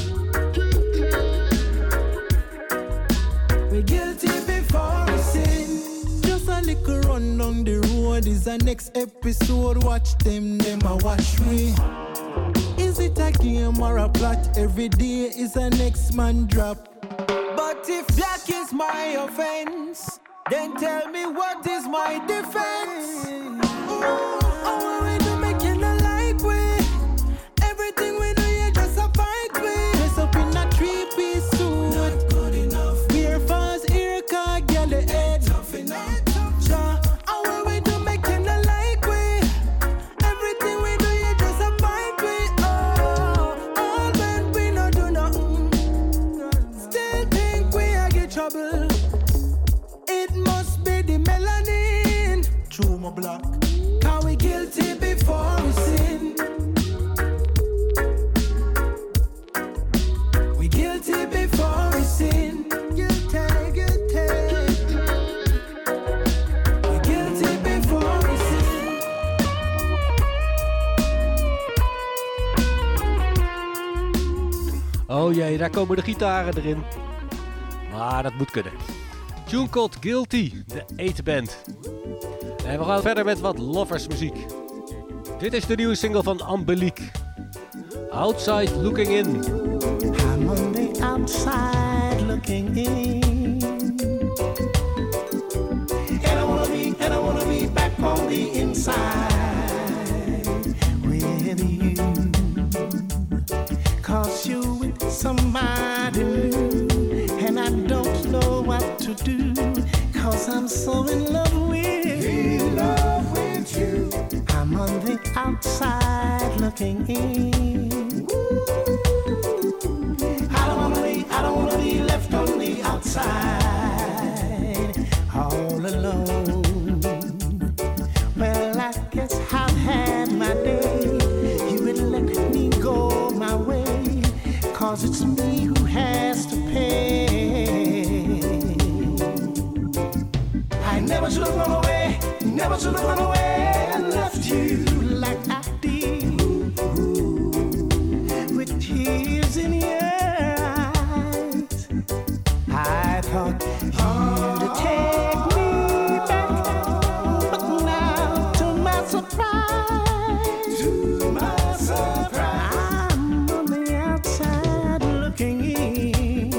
We guilty before we sin. Just a little run down the road is a next episode. Watch them a watch me. Is it a game or a plot? Every day is a next man drop. But if black is my offense, then tell me what is my defense? Oh, we do make you not like we. Everything we do, you just a fight with. Dress up in a three-piece suit, not good enough. Here falls ear, car, girl, the head tough enough. Sure, how we do make you not like we. Everything we do, you just a fight with. All when we not do nothing, trouble. It must be the melanin. True, my black. Cause we guilty before we sin. We guilty before we sin. Guilty, guilty. We guilty before we sin. Oh jee, daar komen de gitaren erin. Maar dat moet kunnen. Tune called Guilty, de 8 Band. En we gaan verder met wat lovers muziek. Dit is de nieuwe single van Angelique. Outside Looking In. I'm on the outside looking in. And I wanna be back on the inside with you. 'Cause you with somebody new, and I don't know what to do. 'Cause I'm so in love with you. I'm on the outside looking in. I don't wanna be left on the outside all alone. Well, I guess I've had my day. You would let me go my way. 'Cause it's me who has to pay. I never should have run away. Never should have run away and left you like I did. With tears in your eyes, I thought you'd take me back, but now to my surprise, I'm on the outside looking in.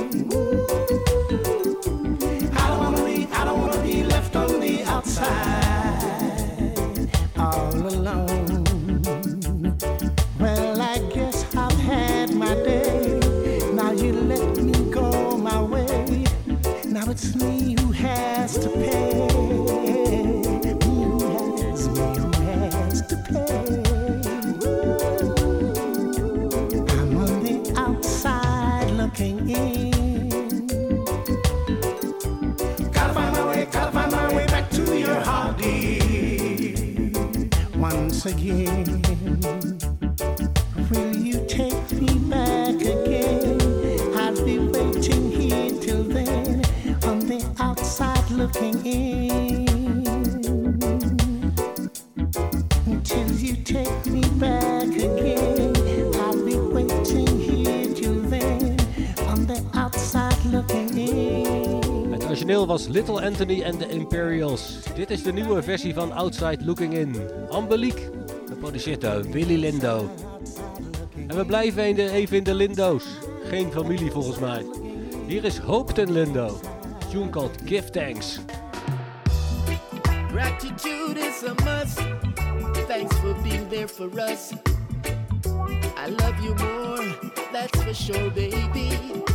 I don't wanna be left on the outside all alone. Well, I guess I've had my day. Now you let me go my way. Now it's me who has to pay. Who has to pay. I'm on the outside looking in. Gotta find my way back to your heart, dear. Once again, will you take me back again? I'll be waiting here till then, on the outside looking in. Till you take me back again, I'll be waiting here till then, on the outside looking in. Het origineel was Little Anthony and the Imperials. Dit is de nieuwe versie van Outside Looking In. Angelique, geproduceerd door Willy Lindo. En we blijven even in de Lindo's. Geen familie volgens mij. Hier is Hope ten Lindo. Tune called Give Thanks. Gratitude is a must. Thanks for being there for us. I love you more, that's for sure, baby.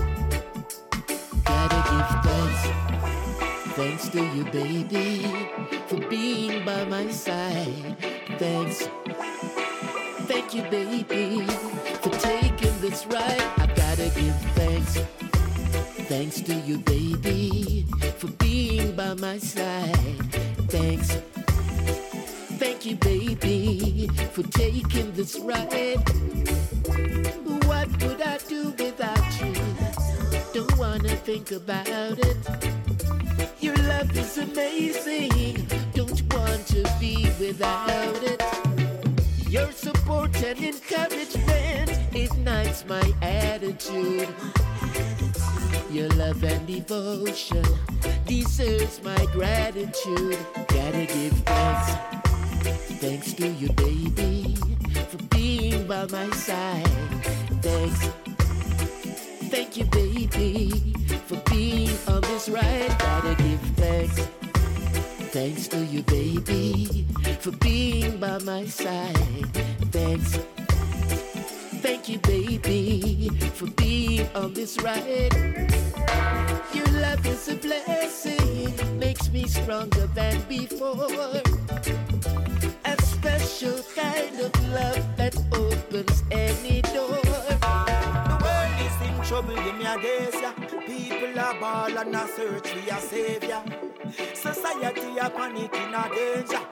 Gotta give thanks. Thanks to you, baby, for being by my side. Thanks. Thank you, baby, for taking this ride. I gotta give thanks. Thanks to you, baby, for being by my side. Thanks. Thank you, baby, for taking this ride. What would I do without you? Don't wanna think about it. Your love is amazing. Don't want to be without it. Your support and encouragement ignites my attitude. Your love and devotion deserves my gratitude. Gotta give thanks. Thanks to you, baby, for being by my side. Thanks. Thank you, baby, for being on this ride. Gotta give thanks. Thanks to you, baby, for being by my side. Thanks. Thank you, baby, for being on this ride. Your love is a blessing, makes me stronger than before. A special kind of love that opens any door. The world is in trouble, give me a days, yeah. people are ball and a search for a savior. Society a panic in a danger.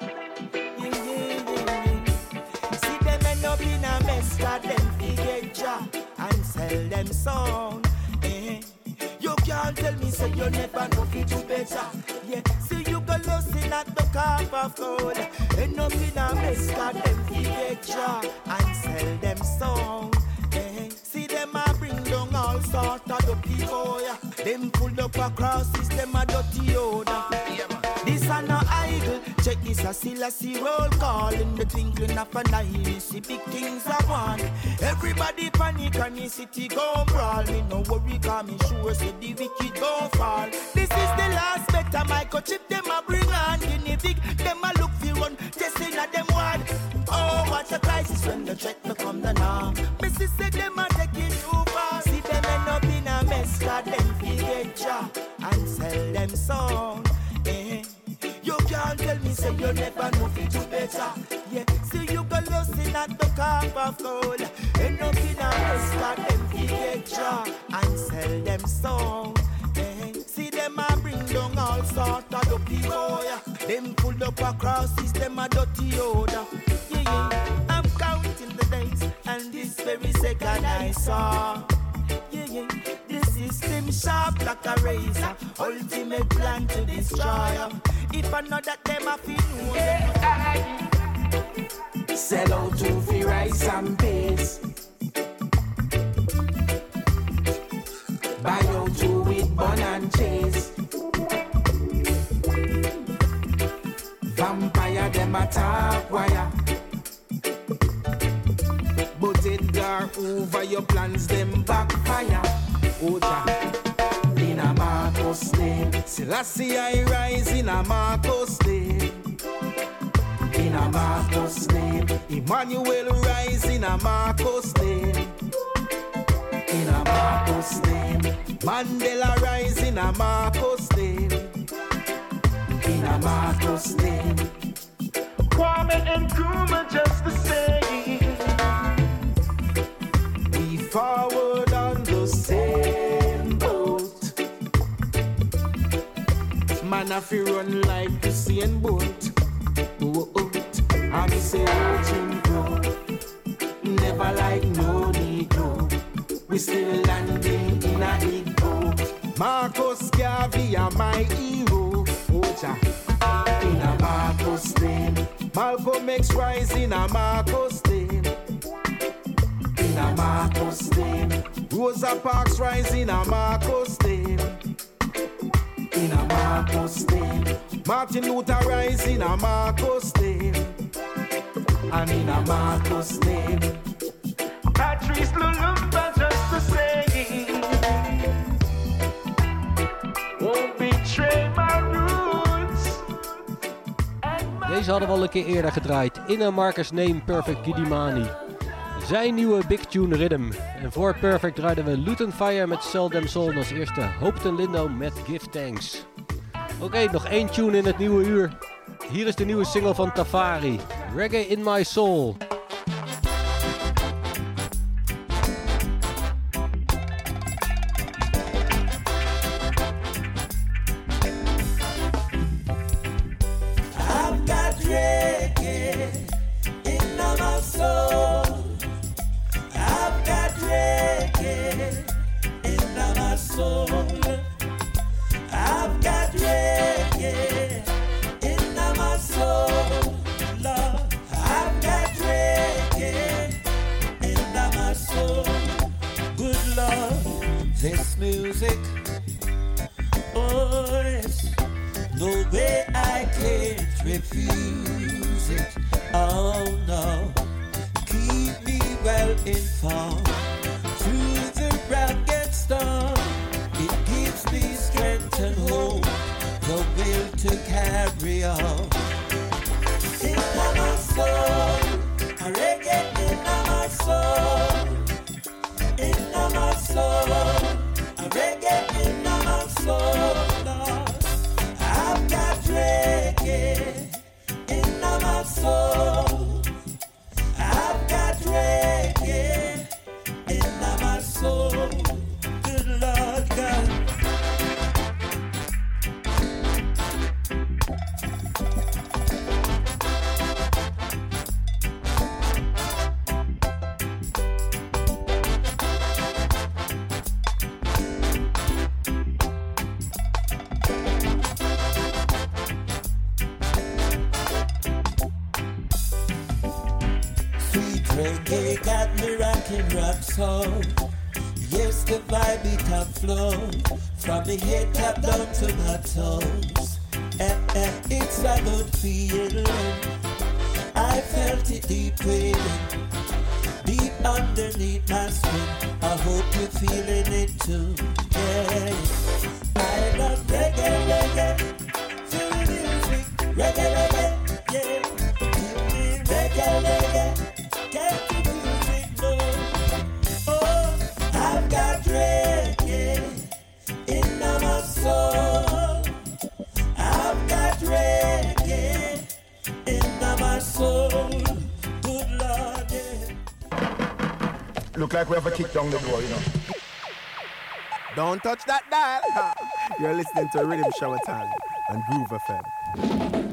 See them end up in a mess, got them forget ya and sell them sound. You can't tell me say you never know fi do better. Yeah, see you go lost in at the cup of gold. End up in a mess, got them forget ya and sell them sound. See them a bring down all sort of the people. Yeah. Them pull up across system a dirty odor. This a no idle. Check this a still a see roll call in the twinkling of an eye. See big things I want. Everybody panic and the city go brawl. Me no worry 'cause me sure say the wicked go fall. This is the last better microchip them a bring on. Guinea pig them a look for run. Testing at them ward. Oh, what a crisis when the check no come the now. Missy say them a taking too far. See them end up in a mess 'cause them forget ya and sell them sound. You can't tell me say you never know fi do better. Yeah, see you go lost in at the cup of gold. End up in a mess 'cause them forget ya and sell them sound. See them a bring down all sort of the people. Yeah. Them pulled up across system a dirty odor. Yeah. I'm counting the days and this very second I saw. Yeah. The system sharp like a razor. Ultimate plan to destroy them. If I know that them a feel sell out to free rice and peas. Buy out to with bun and cheese. Vampire them attack wire. But it dark over your plans them backfire. Oja in a Marcos name. Selassie I rise in a Marcos name. In a Marcos name. Emmanuel rise in a Marcos name. In a Marcos name. Mandela rise in a Marcos name. In a Marcos name. Kwame and Nkrumah just the same. We forward on the same boat. Man if you run like Usain Bolt. I me say watching go. Never like no Negro. We still landing in a ego. Marcus Garvey are my hero. Oja in a Marcos name. Malcolm X rise in a Marcos name. In a Marcos name. Rosa Parks rise in a Marcos name. In a Marcos name. Martin Luther rise in a Marcos name. And in a Marcos name. Patrice Lumumba just the same. Won't betray my roots. Deze hadden we al een keer eerder gedraaid. In a Marcus Name, Perfect Gidimani. Zijn nieuwe Big Tune Rhythm. En voor Perfect draaiden we Luton Fire met Sell Them Soul als eerste. Hopeton Lindo met Give Thanks. Oké, nog één tune in het nieuwe uur. Hier is de nieuwe single van Tafari. Reggae in My Soul. I've got reggae in my soul. I've got reggae in my soul. I've got reggae in my soul, Lord. I've got reggae in my soul. Good Lord, this music, oh yes, no way I can't refuse it. Oh no, keep me well informed through the rugged storm. It gives me strength and hope, the will to carry on. In my soul, a reggae in my soul. In my soul, a reggae in my soul, Lord. I've got reggae in my soul. I've got reggae in my soul. Good Lord God. Reggae got me rocking rock song. Yes, the vibe it have flow from the head top down to my toes. It's a good feeling. I felt it deep within, deep underneath my skin. I hope you're feeling it too. Yeah, I love reggae, reggae. Feel the music, reggae, reggae. Yeah, give me reggae, reggae. Get the music more. Oh, I've got reggae in my soul. I've got reggae in my soul. Good Lord, yeah. Look like we have a kick down the door, you know. Don't touch that dial. You're listening to Rhythm Shower Time on Groove FM.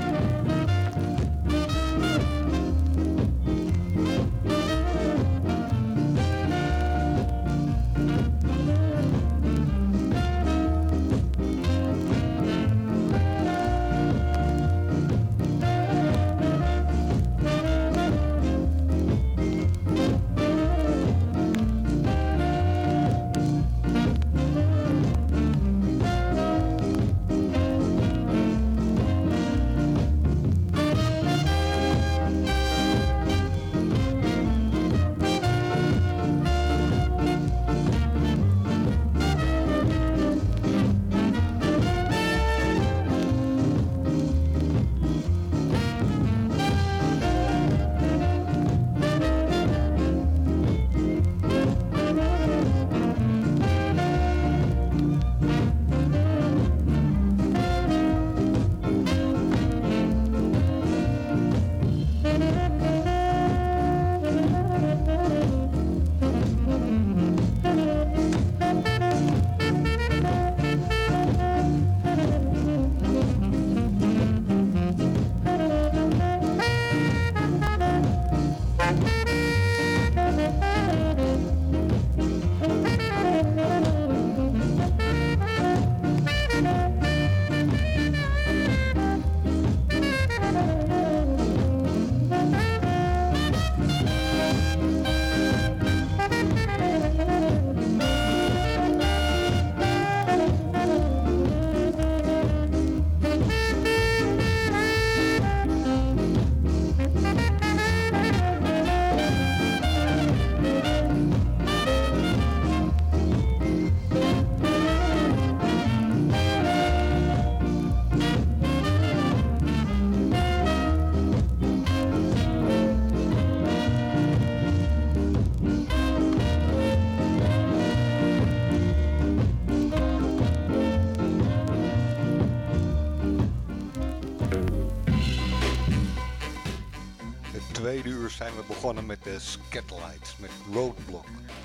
Tweede uur zijn we begonnen met de Scatlights, met Roadblock.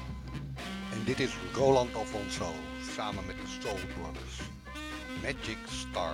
En dit is Roland Alfonso, samen met de Soul Brothers. Magic Star.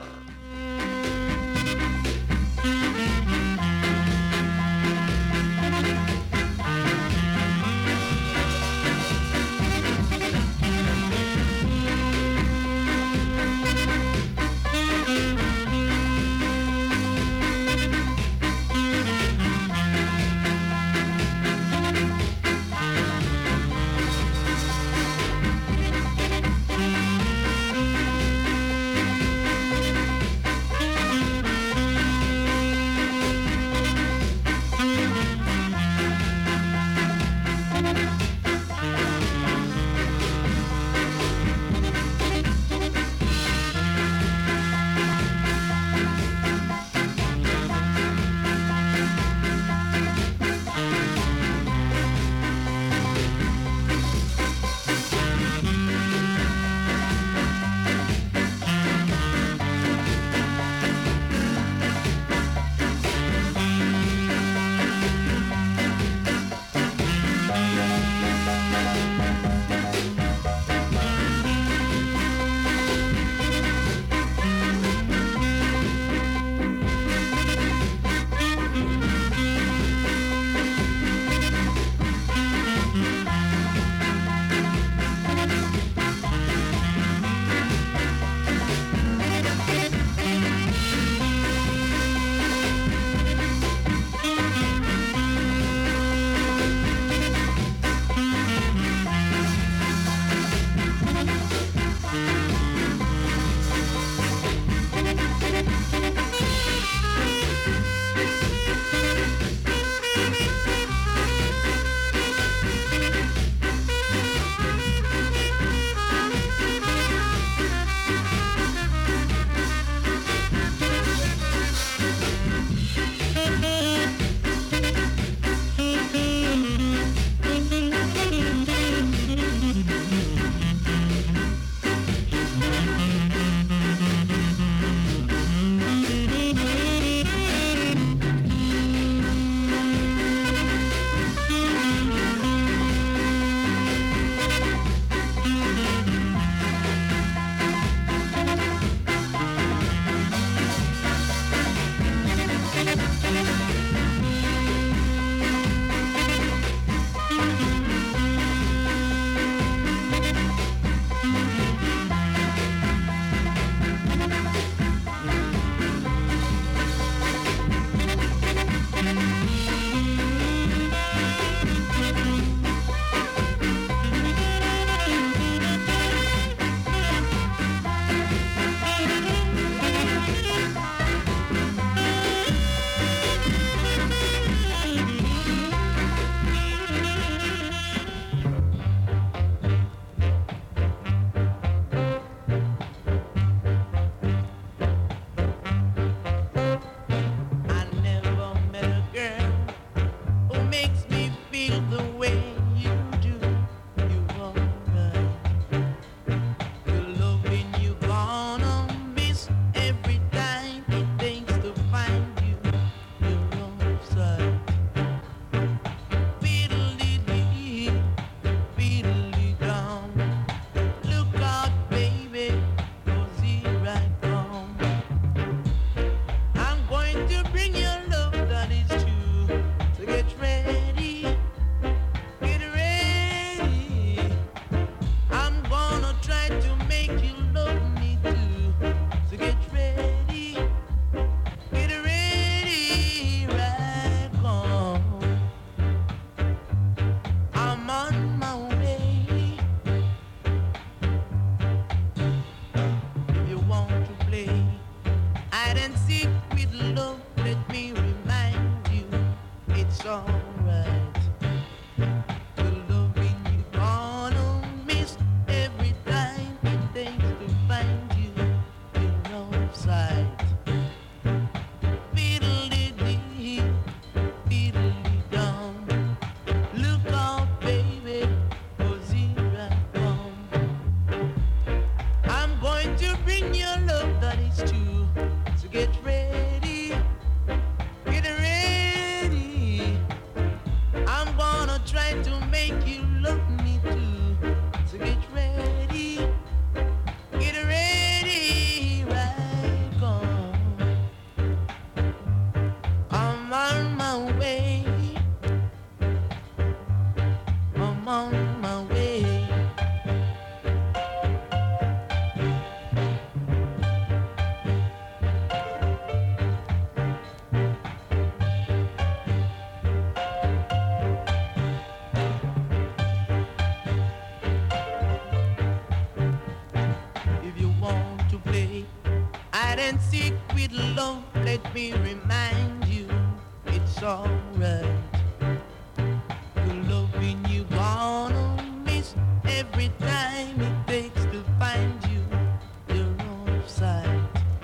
and secret love, let me remind you, it's alright. The loving you gonna miss every time it takes to find you, you're offside.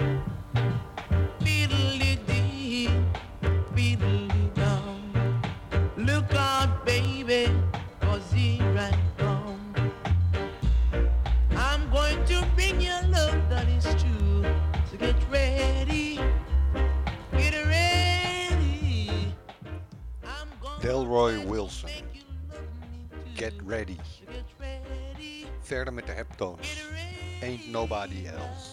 Fiddly-dee, fiddly-dum. Look out, baby, 'cause here I come. I'm going to bring you love that is true. So get ready, get ready. Delroy Wilson. Get ready. Verder met de Heptones. Ain't nobody else.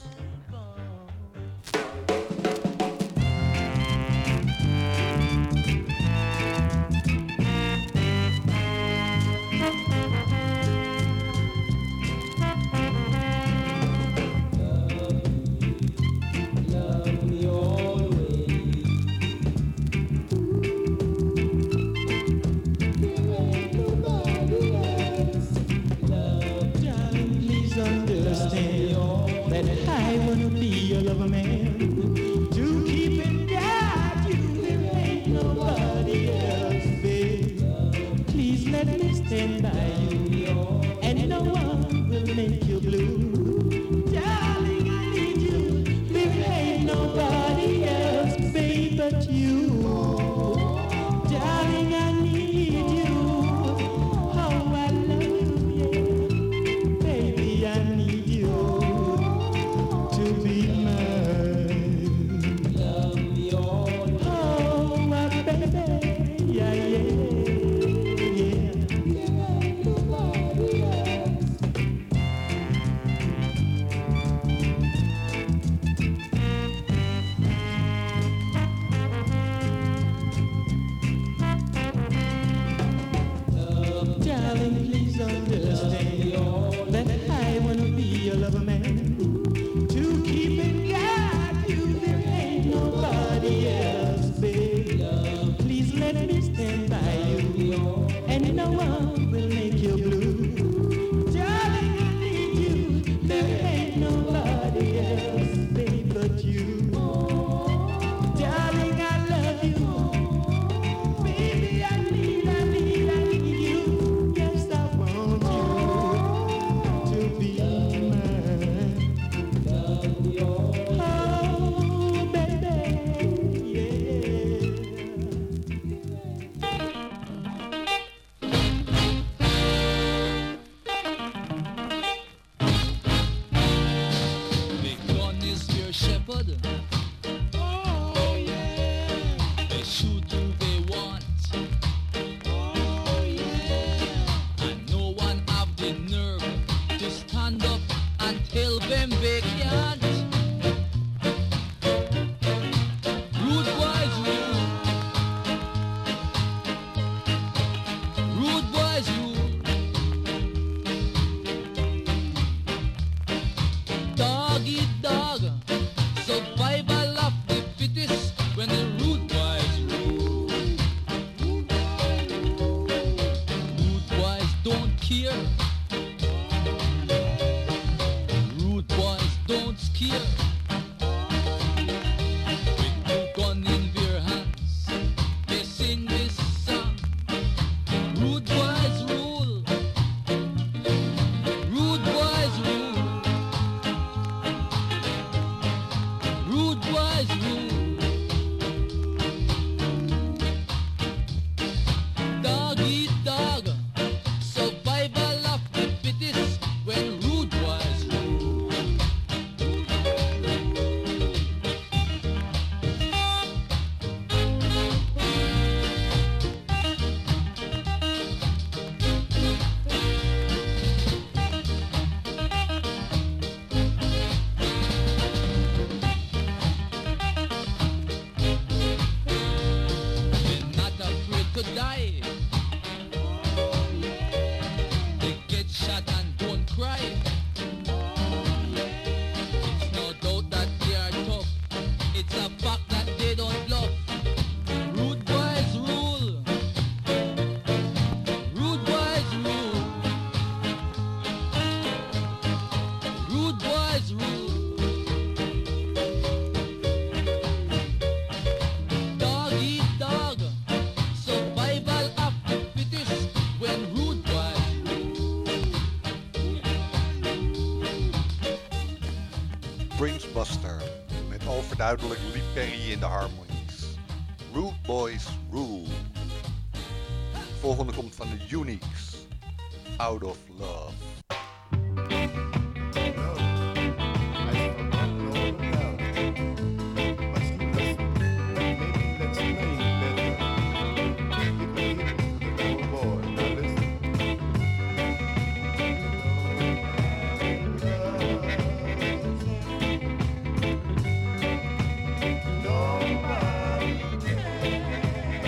Prince Buster met overduidelijk Lee Perry in de harmonies. Rude Boys Rule. De volgende komt van de Uniques. Out of Love.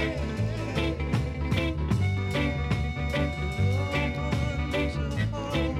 Oh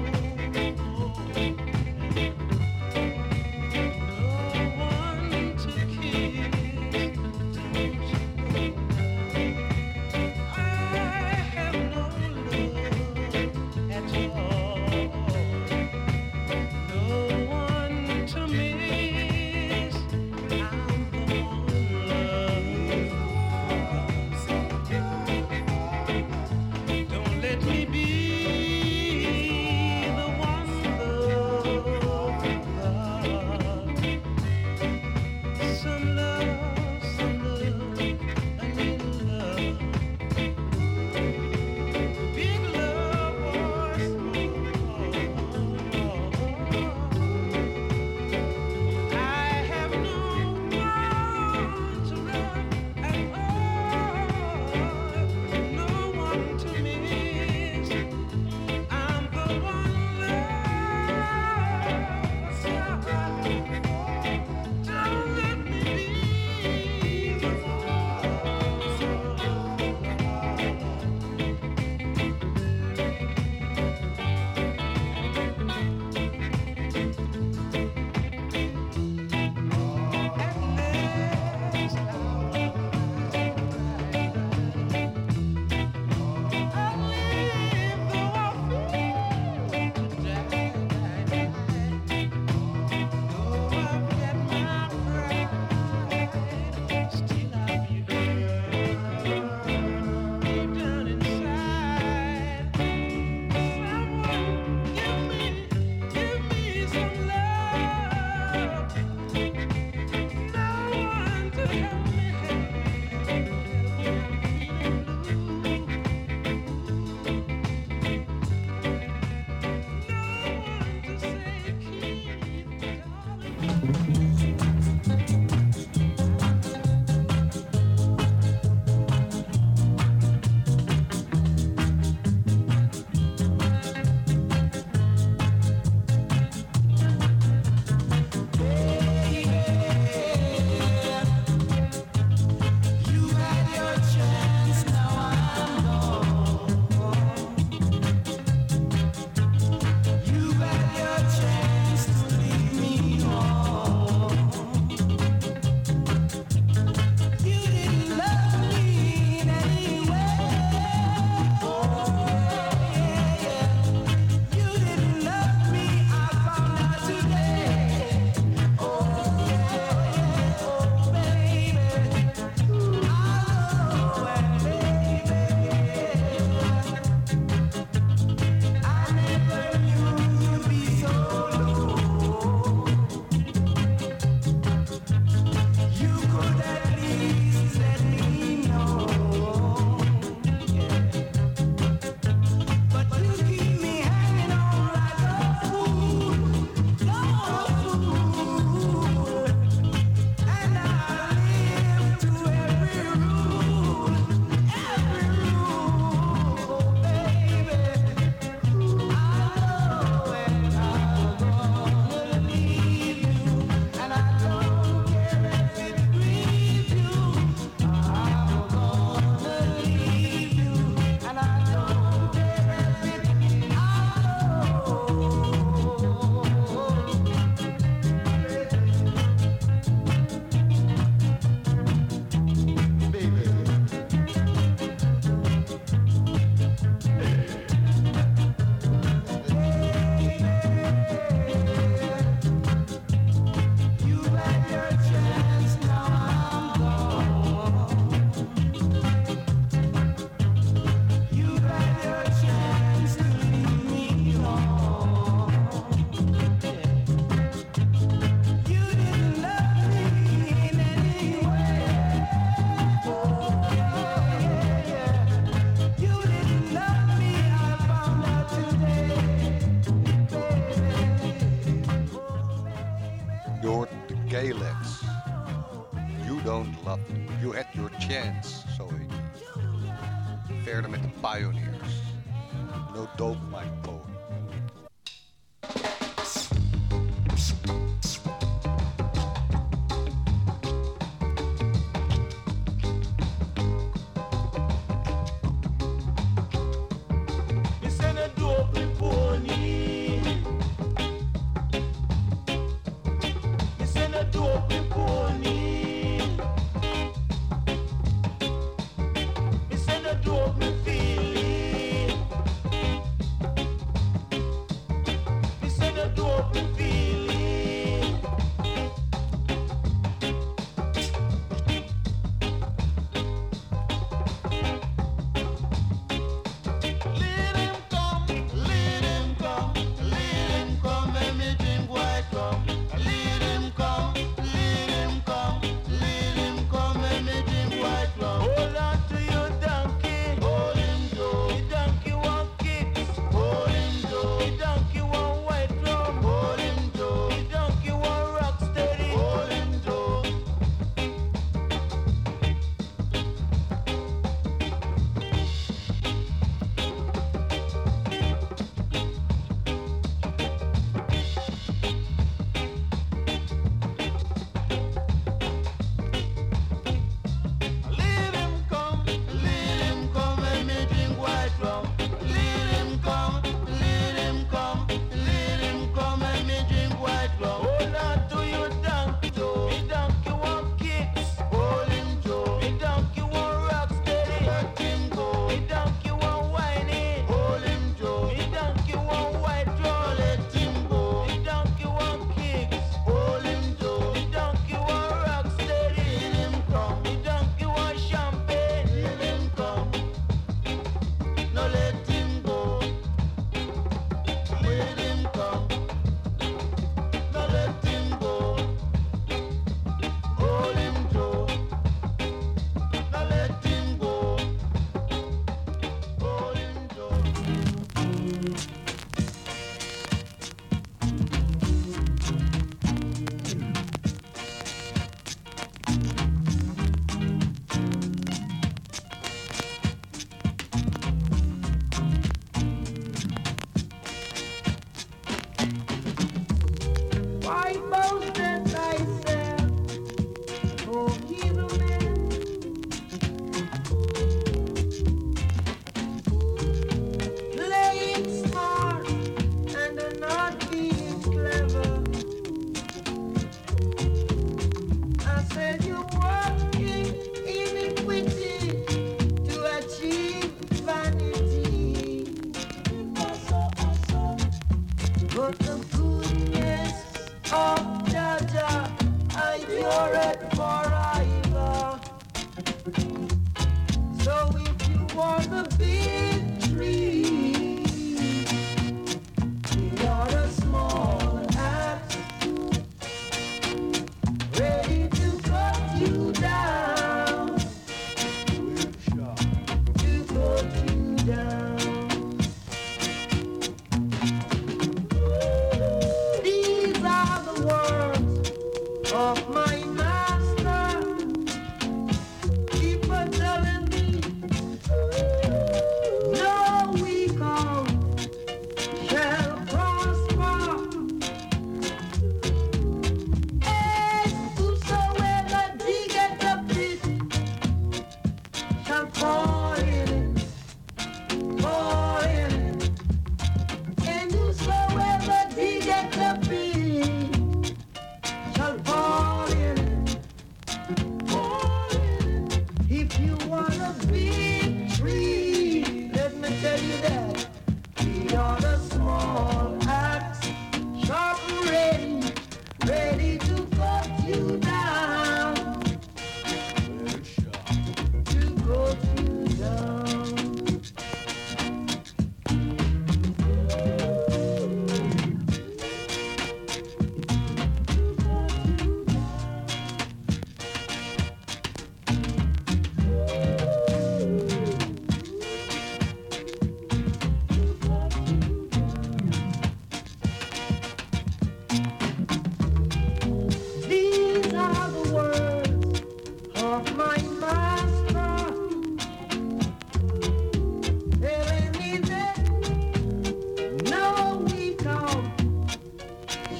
Don't Love Me. You Had Your Chance, zo heet die. Verder met de Pioneers. No Dope My Pony.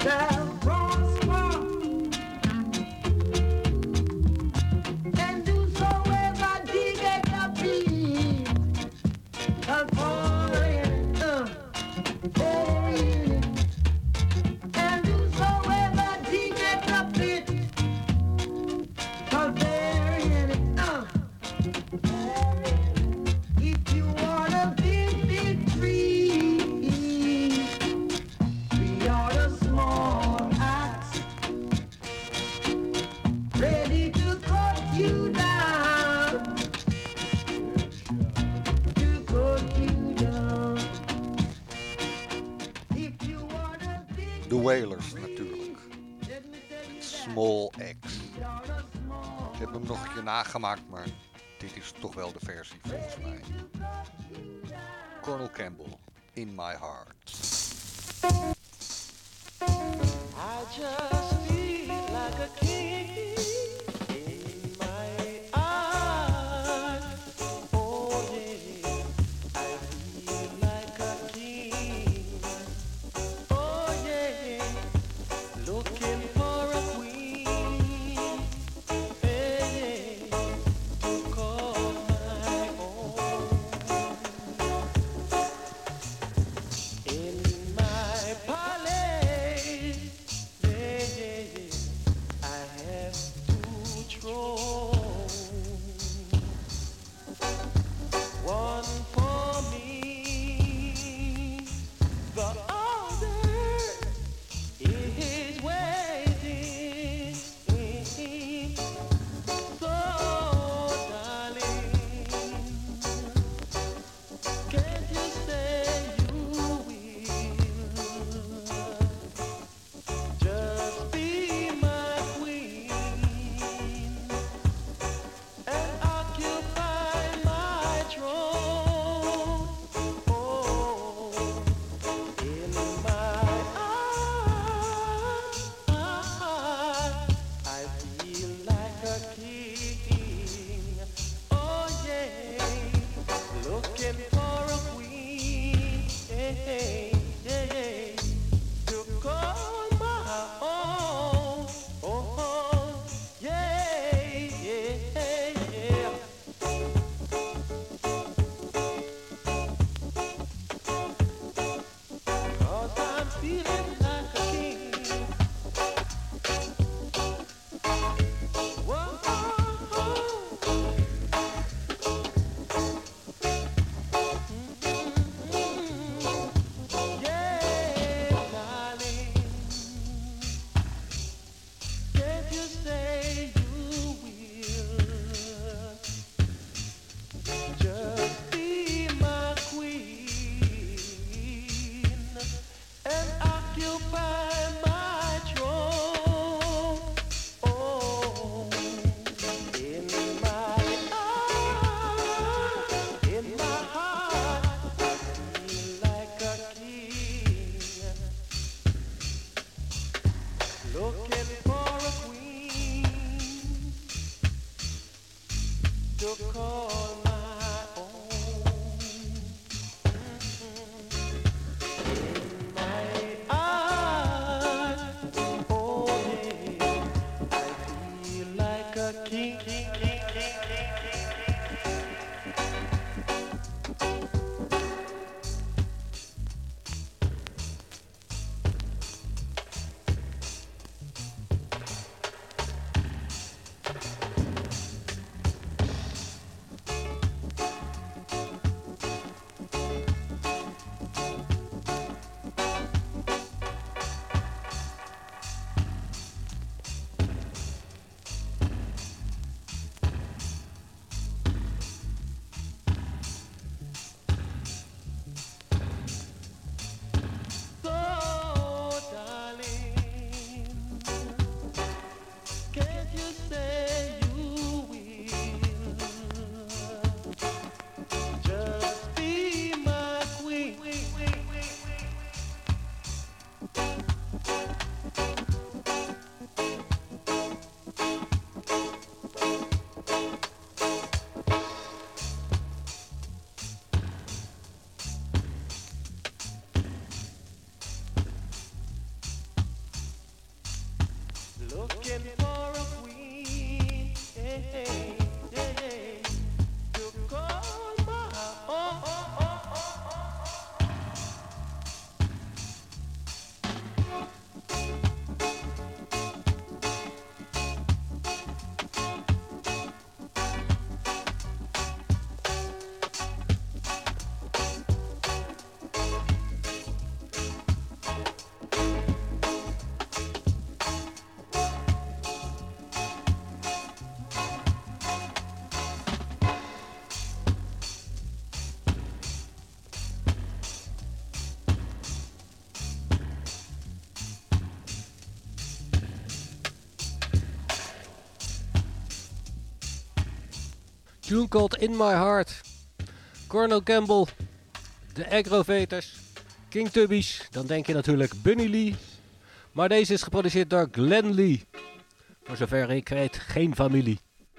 shall prosper, and whosoever diggeth a pit shall fall in it. And whosoever diggeth a pit shall bury in it. If you want a big, big tree, we are the small axe, ready to cut you down, to cut you down. If you want a big De Wailers natuurlijk. Small X. Ik heb hem nog een keer nagemaakt, maar dit is toch wel de versie volgens mij. Colonel Campbell, In My Heart. I just feel like a king in my heart. Oh yeah, I feel like a king. Oh yeah, looking for a queen. Hey, to call my own. In my palace, I have two thrones, one for me, the other is waiting. So, darling, can't you say you will just be my queen and occupy my throne? Oh, in my heart, I feel like a king. Oh yeah, looking for a queen. To call my own. Oh, yeah. 'Cause I'm feeling like a king. Whoa. Yeah, darling, can't you say you will just be my queen and occupy my throne? Oh, in my heart, I feel like a king, looking for a queen to call my own. In my heart, oh yeah, I feel like a king. looking for a queen, to call my own. Tune called In My Heart. Cornel Campbell, de Aggrovators, King Tubbies, dan denk je natuurlijk Bunny Lee. Maar deze is geproduceerd door Glenn Lee. Voor zover ik weet, geen familie.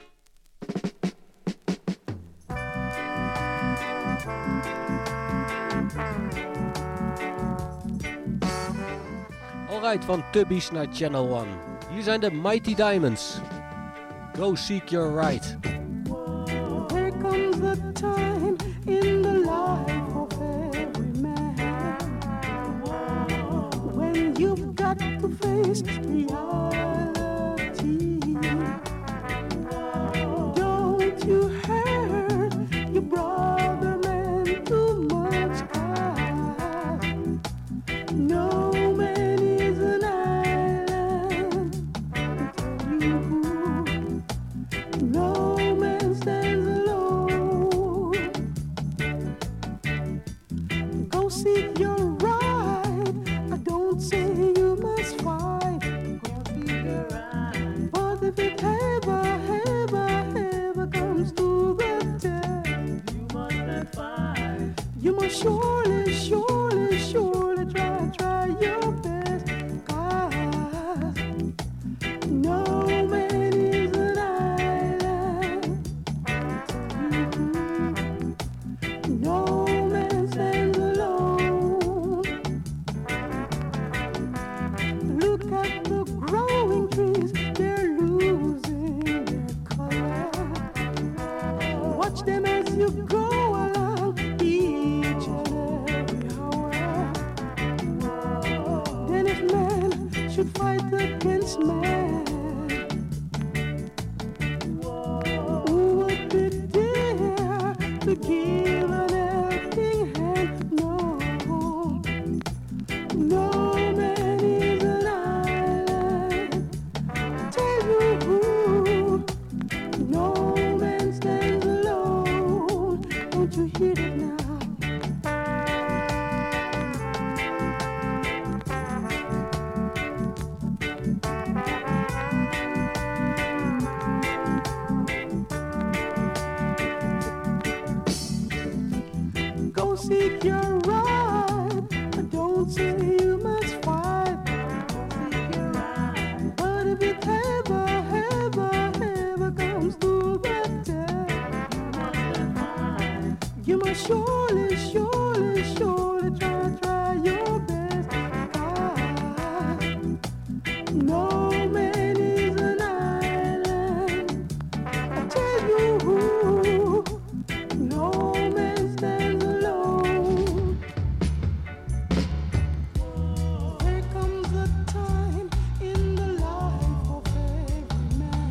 Alright, van Tubbies naar Channel 1. Hier zijn de Mighty Diamonds. Go seek your right. There comes a time in the life of every man when you've got to face reality. Don't you hurt your brother, man, too much. No man is an island. No man stands alone. Go seek your right. I don't say you must fight. Go seek your right. But if it ever comes to the test, you must not fight. You must surely try your best. 'Cause no man is an island. No man stands alone. Look at the growing trees, they're losing their color. Watch them as you go along each and every hour. Then if man should fight against man, who would be there to give an helping hand? No man is an island. Tell you who, no man stands alone. Don't you hear it now? Go seek your right. I don't say you must fight. Seek your right. But if it ever comes to the test, you must surely try your best. 'Cause no man is an island. I tell you who, no man stands alone. There comes a time in the life of every man.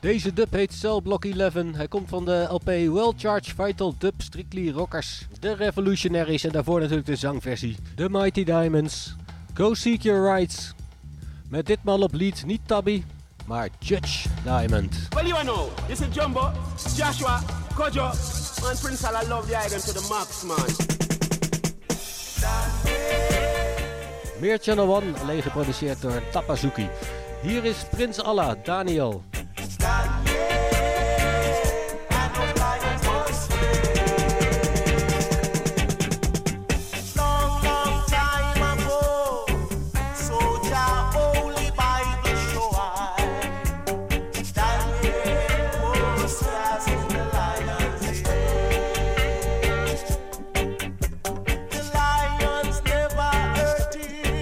Deze dub heet Cell Block 11. Hij komt van de LP Well Charged Vital Dub Strictly Rockers. De Revolutionaries en daarvoor natuurlijk de zangversie. The Mighty Diamonds. Go Seek Your Rights. Met ditmaal op lead niet Tabby, maar Judge Diamond. Well, you know, this is Jumbo, Joshua, Kojo, and Prince Alla love the item to the max, man. Meer Channel 1, alleen geproduceerd door Tapazuki. Hier is Prins Allah, Daniel.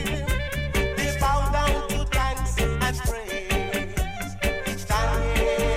Yeah.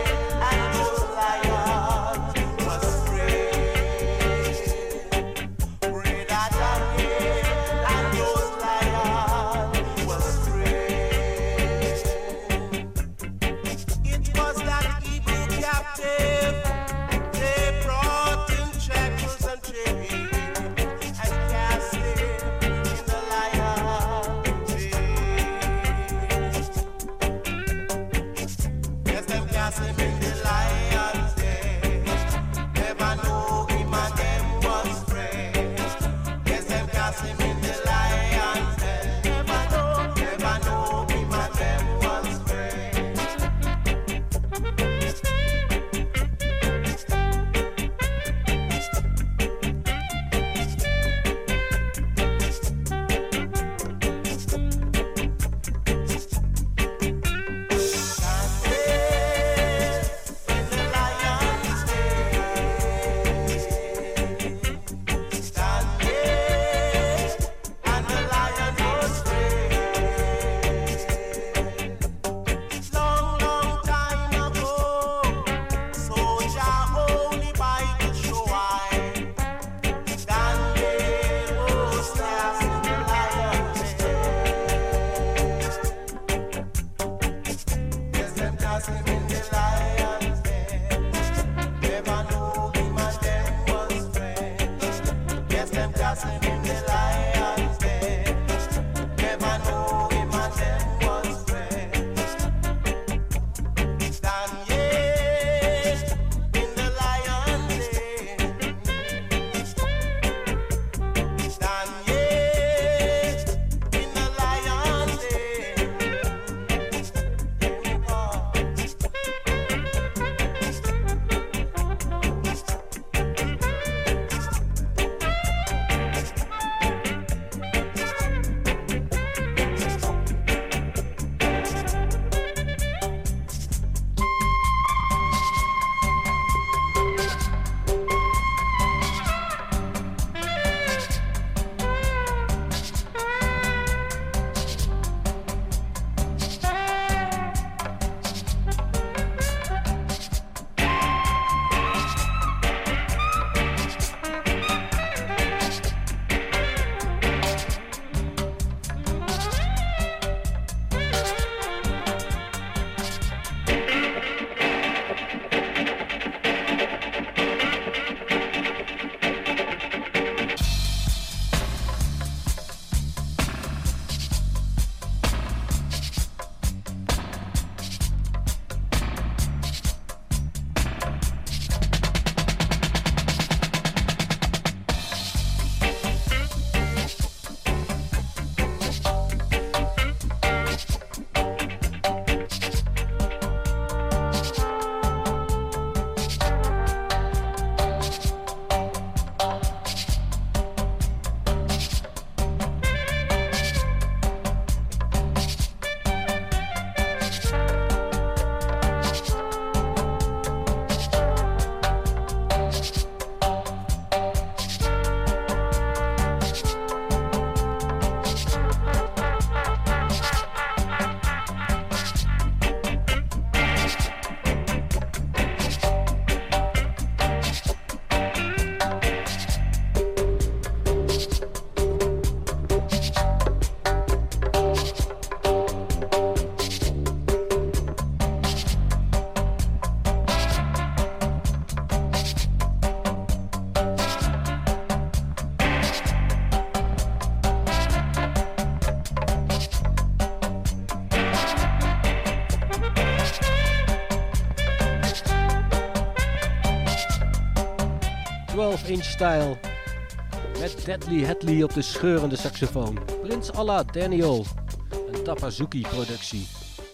12-inch style. Met Deadly Hadley op de scheurende saxofoon. Prins Allah Daniel. Een Tapazuki productie.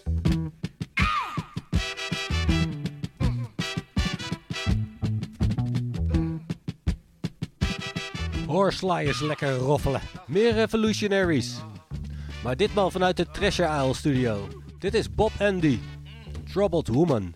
Horsley is lekker roffelen. Meer Revolutionaries. Maar ditmaal vanuit de Treasure Isle studio. Dit is Bob Andy. Troubled Woman.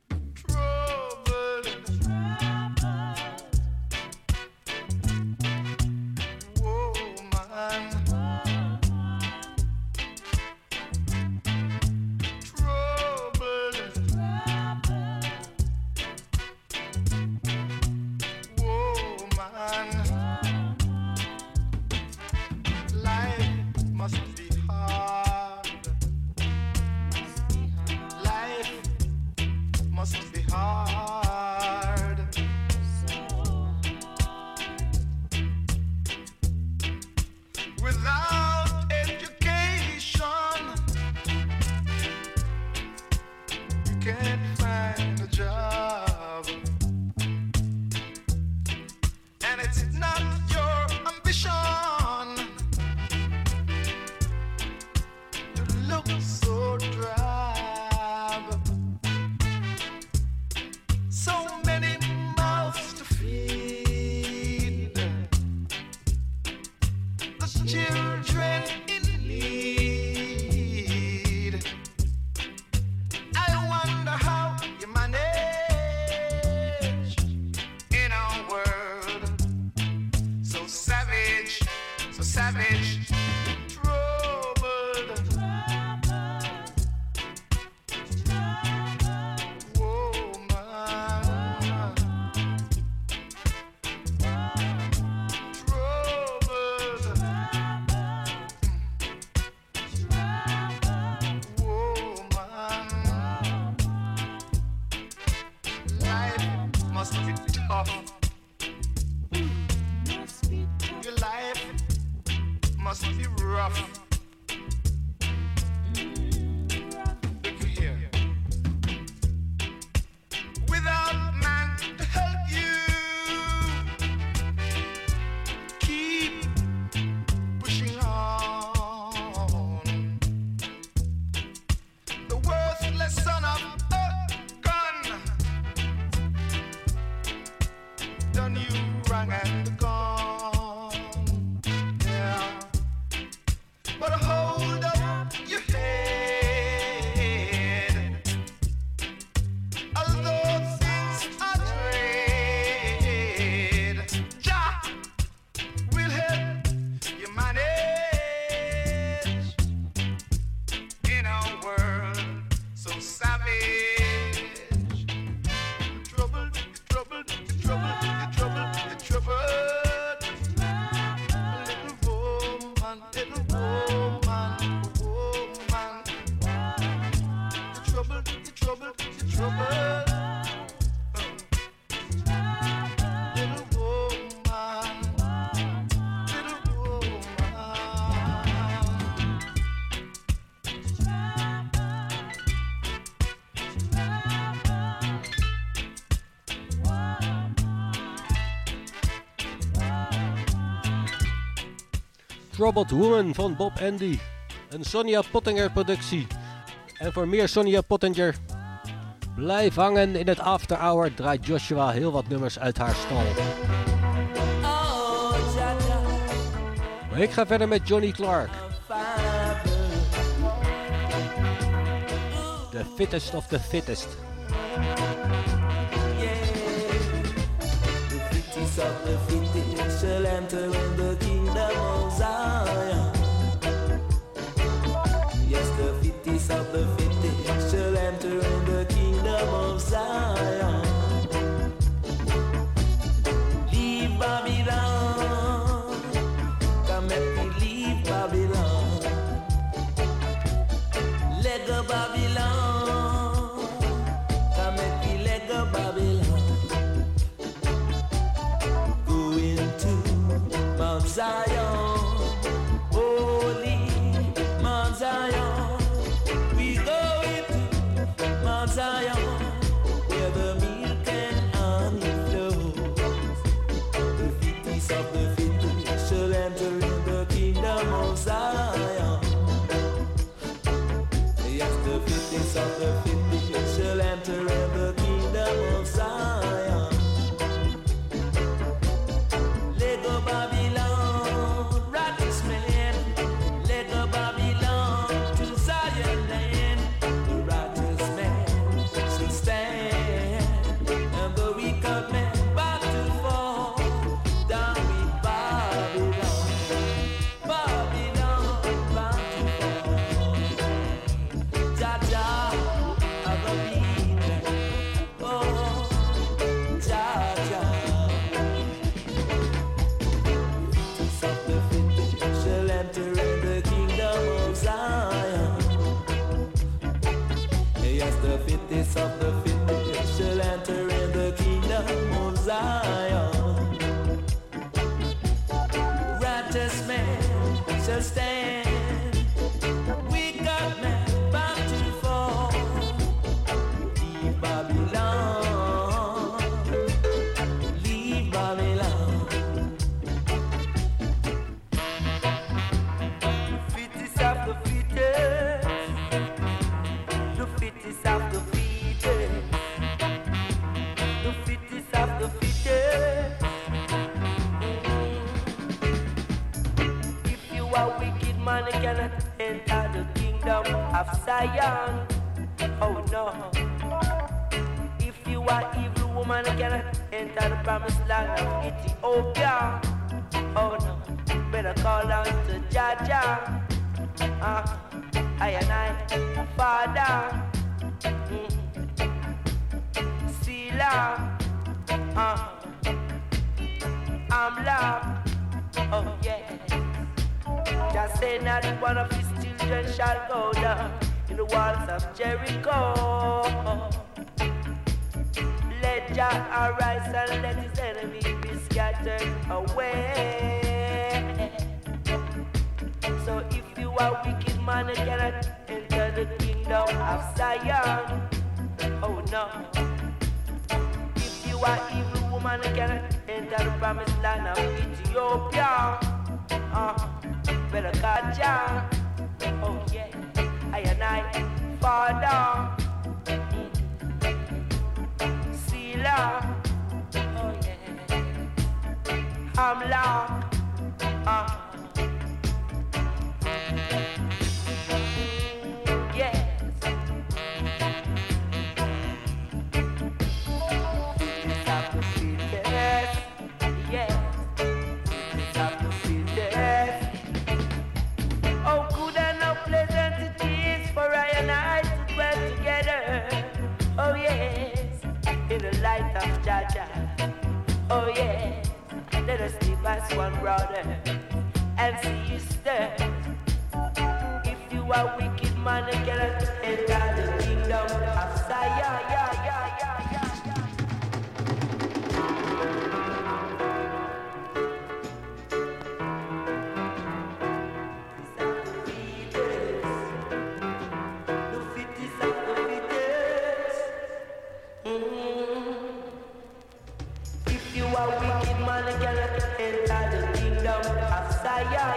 Troubled Woman van Bob Andy. Een Sonia Pottinger productie. En voor meer Sonia Pottinger, blijf hangen in het After Hour. Draait Joshua heel wat nummers uit haar stal. Maar ik ga verder met Johnny Clark. The fittest of the fittest. Of the fittest shall enter in the kingdom of Zion. Yes, the fittest of the fittest shall enter in the kingdom of Zion. Leave Babylon, come and we leave Babylon. Let go Babylon, come and we let go Babylon. Zion, holy Mount Zion, we go into Mount Zion, where the milk and honey flows. understand. We got men bound to fall. Leave Babylon, leave Babylon. The fittest of the fittest, the fittest of the fittest, the fittest of the fittest. If you are wicked man, you cannot enter the kingdom of Zion. Oh no. If you are evil woman, you cannot enter the promised land of Ethiopia. Oh no. Better call out to Jaja. I and I, Father. Sila. I'm love. Oh yeah. Just say not one of his children shall go down in the walls of Jericho. Let Jah arise and let his enemies be scattered away. So if you are wicked man, you cannot enter the kingdom of Zion. Oh no. If you are evil woman, you cannot enter the promised land of Ethiopia. Better catch ya. Oh yeah. I and I, Father. Sila. Oh yeah. I'm Lord. Yes. Yes. Oh, good and how pleasant it is for I and I to dwell together. Oh yes, in the light of Jaja. Oh yes, let us live as one brother and sister. If you are wicked man, you cannot enter the kingdom of Zion. If you are wicked man, you cannot enter the kingdom of Zion.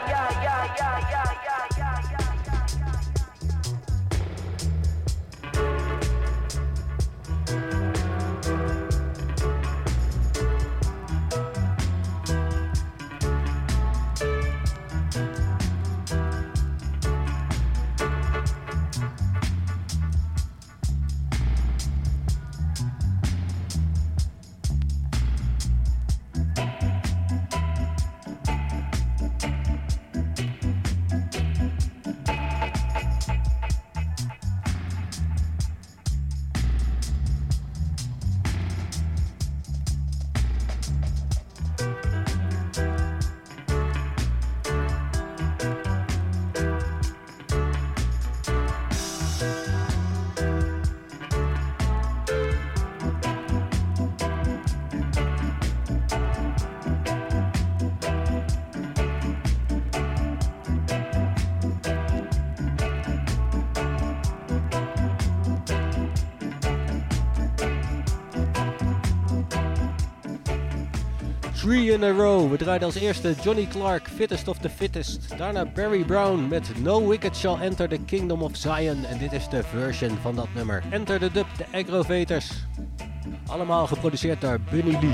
Three in a row. We draaiden als eerste Johnny Clark, Fittest of the Fittest. Daarna Barry Brown met No Wicked Shall Enter the Kingdom of Zion. En dit is de version van dat nummer. Enter the Dub, de Aggrovators. Allemaal geproduceerd door Bunny Lee.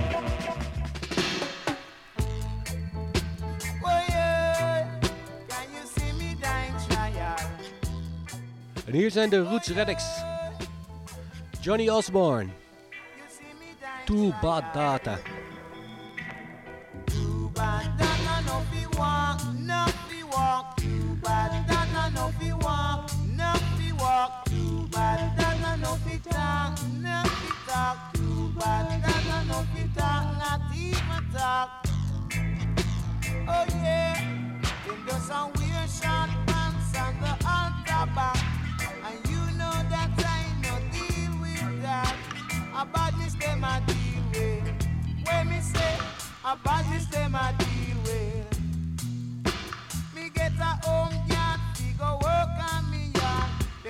En hier zijn de Roots Radics. Johnny Osborne. Too Bad Data. Oh yeah, them just a wear short pants and the altar back, and you know that I no deal with that. A badness them a deal with. When me say a badness them a deal with. Me get a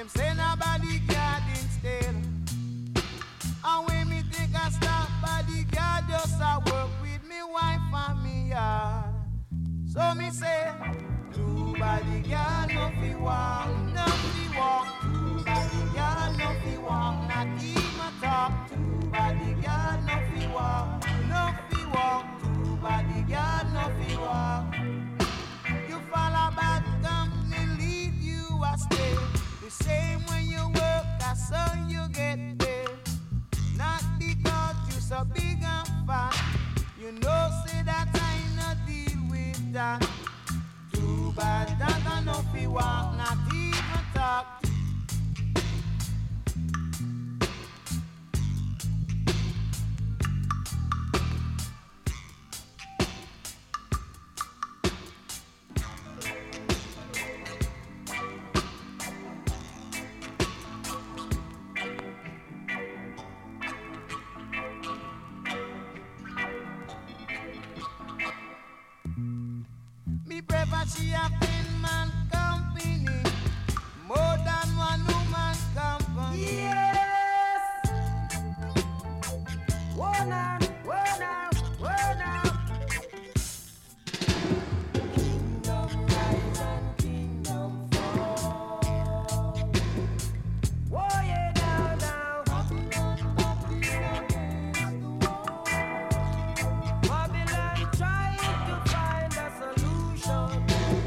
them say nobody guard instead. And when me take a stop, bodyguard just a work with me wife and me yard. So me say, two bodyguard no fi walk, no fi walk. Two bodyguard no fi walk, not even talk. Two bodyguard no fi walk, no fi walk. Two bodyguard no fi walk. You follow bad company, lead you astray. The same when you work, that's how you get paid. Not because you so big and fat. You know, say that I no deal with that. Too bad that I no fi walk, not even talk. She a 10-man company, more than one woman company. Yes. Whoa now, whoa now, whoa now. Kingdom rise and kingdom fall. Whoa yeah now, now. Babylon trying to find a solution.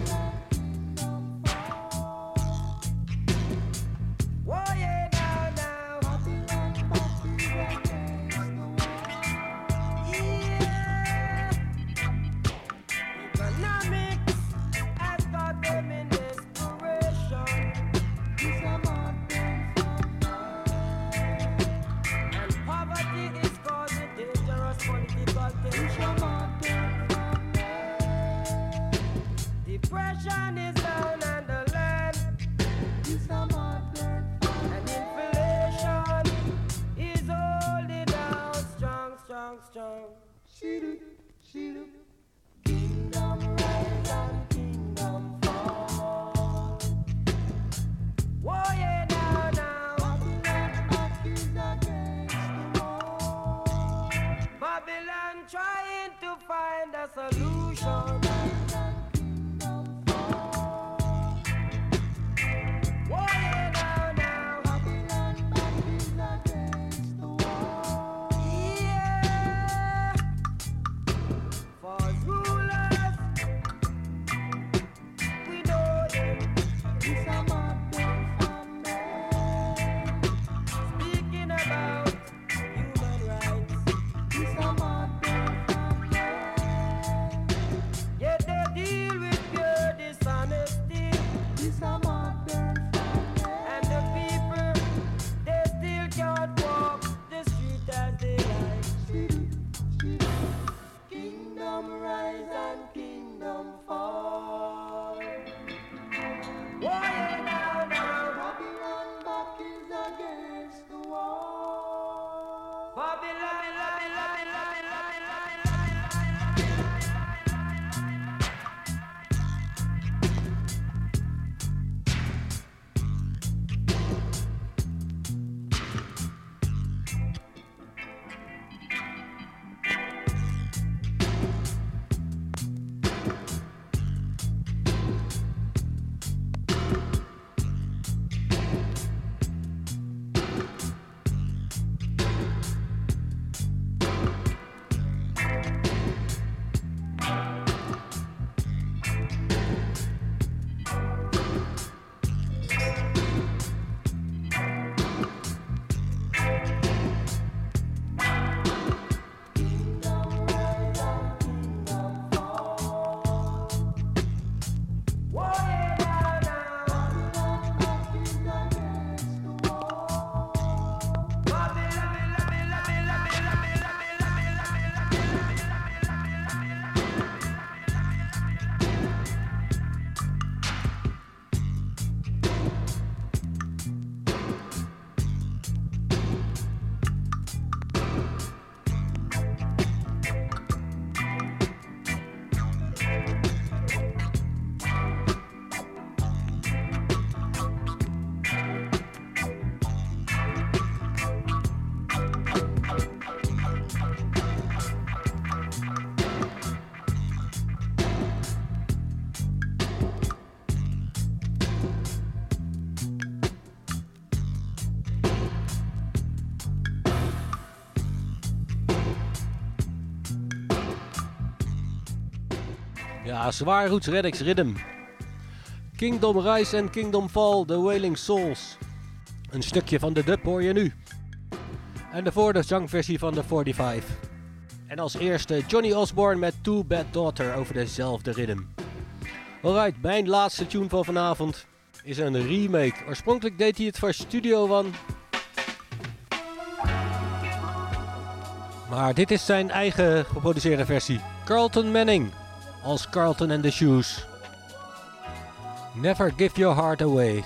Depression is down on the land. And inflation is holding out strong, strong, strong. Kingdom rise and kingdom fall. Whoa, yeah, now, now. Babylon trying to find a solution. Ja, zwaar roots Reddix Rhythm. Kingdom Rise en Kingdom Fall, The Wailing Souls. Een stukje van de dub hoor je nu. En daarvoor de zangversie van de 45. En als eerste Johnny Osborne met Too Bad Daughter over dezelfde rhythm. Alright, mijn laatste tune van vanavond is een remake. Oorspronkelijk deed hij het voor Studio One. Maar dit is zijn eigen geproduceerde versie. Carlton Manning als Carlton and the Shoes. Never Give Your Heart Away.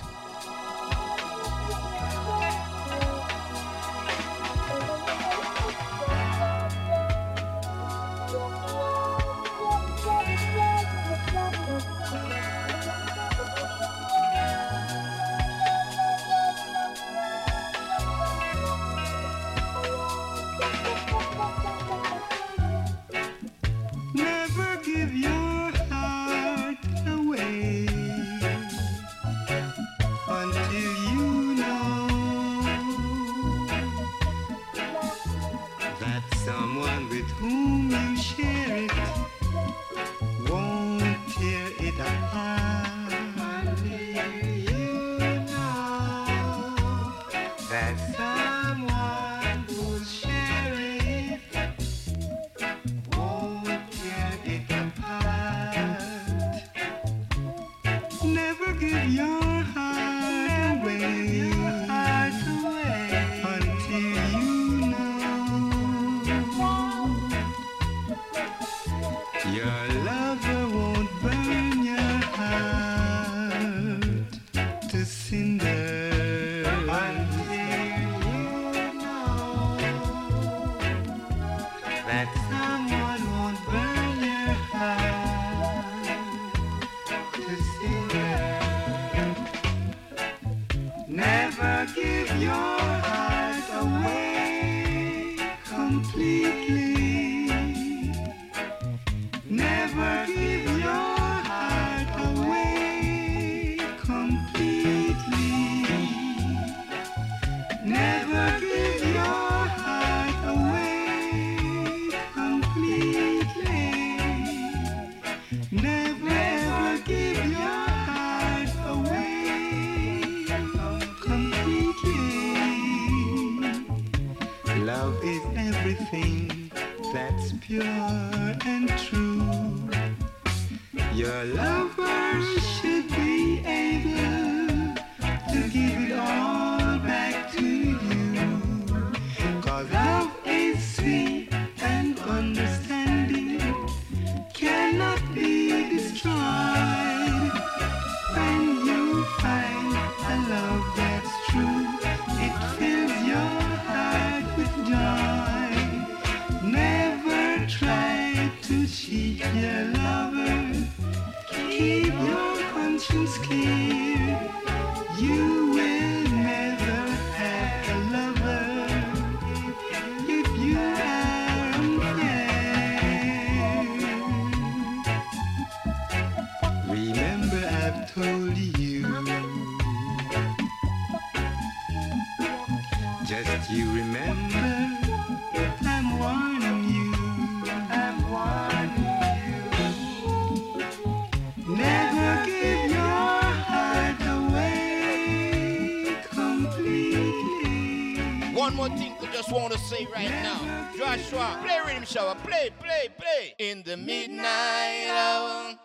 One more thing I just want to say right now. Joshua, play Rhythm Shower. Play, play, play. In the midnight hour.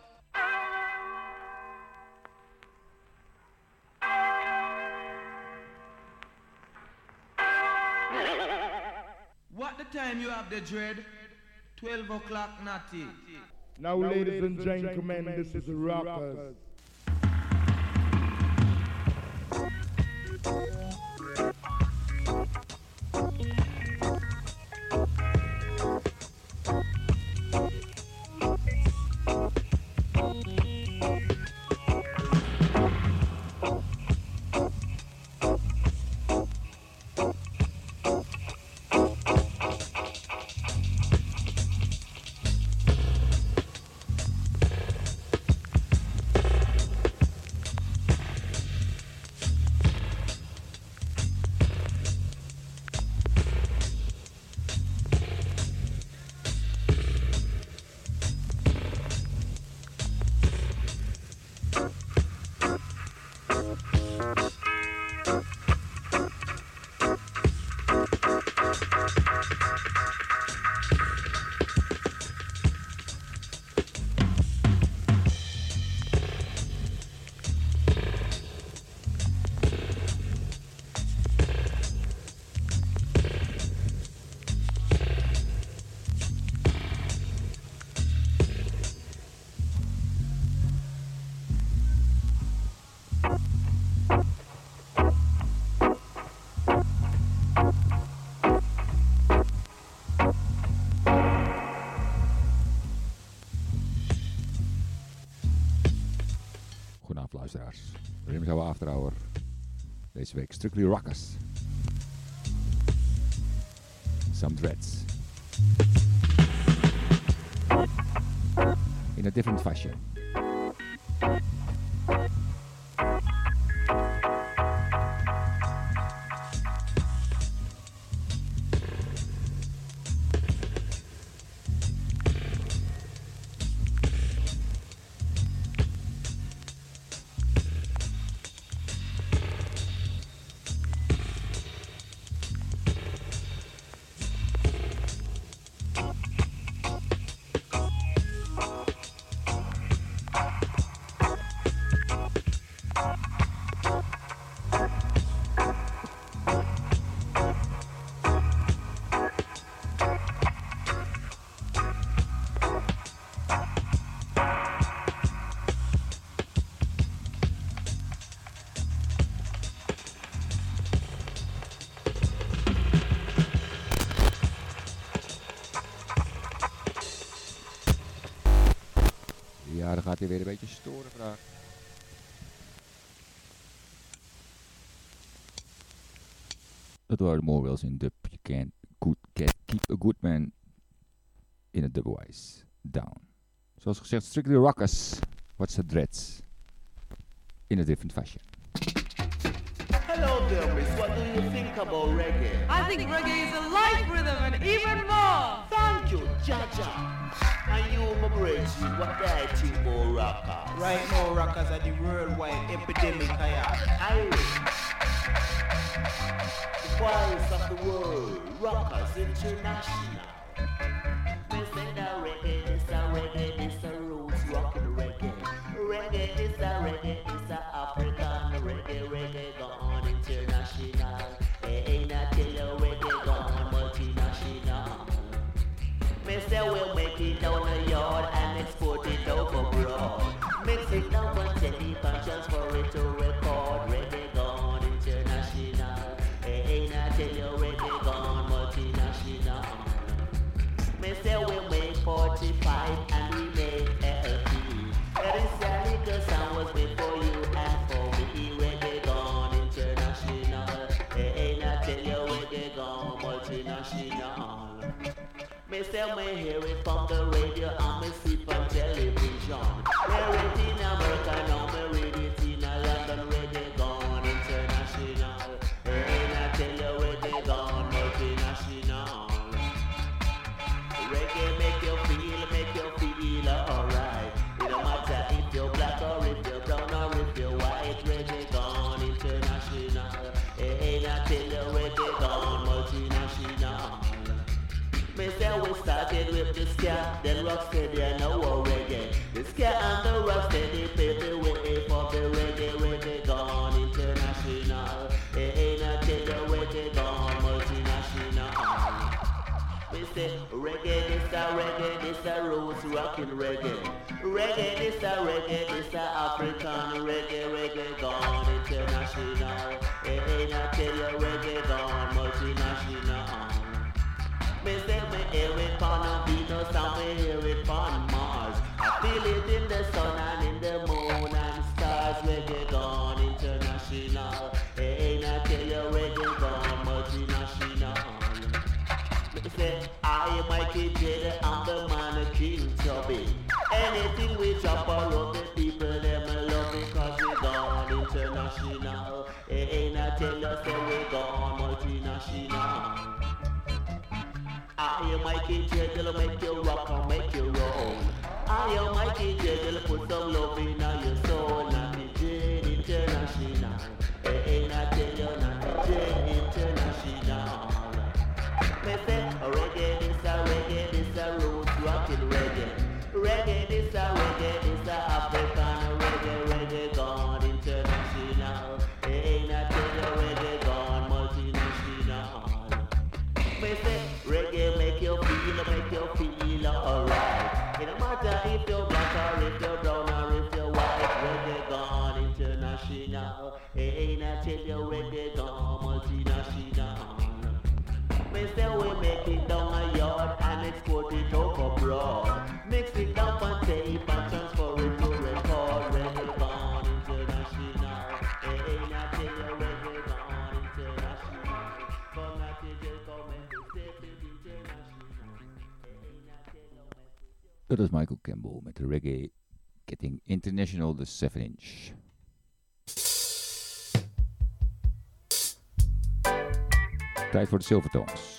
What the time you have the dread? 12 o'clock, natty. Now, ladies and gentlemen, this is Rockers. luisteraars. Rhythm Shower After Hour. Deze week Strictly Rockers. Some Dreads. In a different fashion. Ja, dan gaat hij weer een beetje storen vandaag. Dat waren de Morwells in dub. You can't keep a good man in a dubwise down. Zoals gezegd, Strictly Rockers. What's the dreads? In a different fashion. Hello there, miss. What do you think about reggae? I think reggae is a life rhythm and even more. Thank you, Jaja. And you, my bridge, what do I think about rockers? Right now, rockers are the worldwide epidemic. Irish. The voice of the world. Rockers International. They say that reggae is a reggae, it's a roots rockin' reggae. Reggae is a reggae, it's a African reggae, reggae gone international. Ain't I tell you reggae gone multinational. Me say we'll make it down the yard and export it out abroad. Mix it down and take it and transfer it to record. Reggae gone international. Ain't I tell you reggae gone multinational. Me say we'll make 45 and we make LP. That is a little sound was before you and for me. Reggae gone international. Ain't I tell you reggae gone multinational. Me say me hear it from the radio and me see it on television. Hear it in America now, me read it in London. Reggae gone international. Ain't I tell you reggae gone multinational. Reggae make you feel alright. It don't matter if you're black or if you're brown or if you're white. Reggae gone international. Ain't I tell you reggae gone multinational. Me say we started with the ska, then rocksteady and now reggae. The ska and the rocksteady paved the way for the reggae. Reggae gone international. Ain't I tell you reggae gone multinational. We say reggae, this a roots rockin' reggae. Reggae, this a African reggae. Reggae gone international. Ain't I tell you reggae gone multinational. Me say me hear it on Venus and me hear it on Mars. I feel it in the sun and in the moon and stars. Reggae gone international. Ain't I tell you reggae gone multinational. Me say I am Mikey J, I'm the man of King Chubby. Anything we drop around the people them love because we gone international. Ain't I tell you say we gone multinational. I am Mikey J, they'll make you rock and make you roll. I am Mikey J, they'll put some love in your soul. Natty J International. Ain't I tell you Natty J International. Me say reggae, this a roots rockin' reggae. Reggae, this a African reggae. Reggae gone international. Ain't I tell you reggae gone multinational. Me say reggae make you feel alright. It don't matter if you're black or if you're brown or if you're white. Reggae gone international. Ain't I tell you reggae gone multinational. Me say we make it down a yard and export it out abroad. Mix it up on tape and transfer it to record. Reggae gone international. Dat is Michael Campbell met de reggae Getting International, de 7-inch. Tijd voor de Silvertones.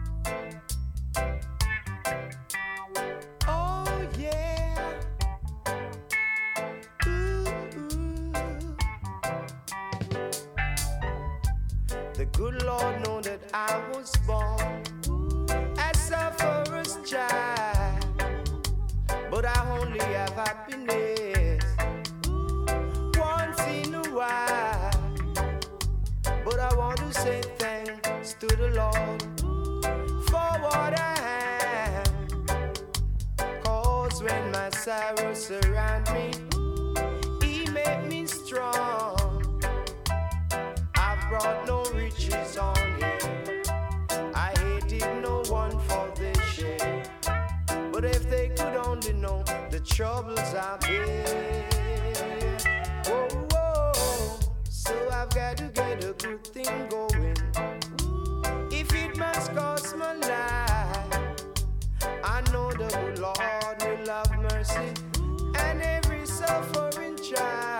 Good Lord know that I was born as a forest child, but I only have happiness once in a while. But I want to say thanks to the Lord for what I have, 'cause when my sorrows surround me, He made me strong. I've brought no riches on Him, I hated no one for their share. But if they could only know the troubles I've been, whoa, whoa. So I've got to get a good thing going. If it must cost my life, I know the good Lord will have mercy and every suffering child.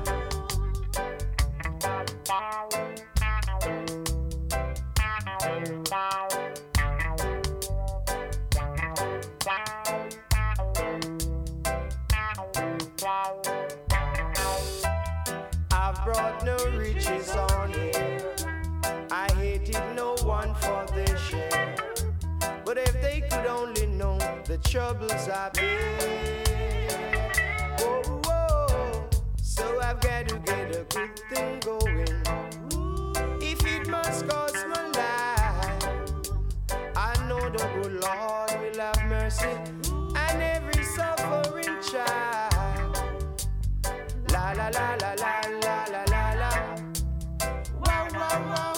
I've brought no riches on here, I hated no one for their share. But if they could only know the troubles I've been, whoa, whoa. So I've got to get a good thing going. If it must cost my life, I know the good Lord will have mercy and every suffering child. La la la la la la la la la. Wow wow wow.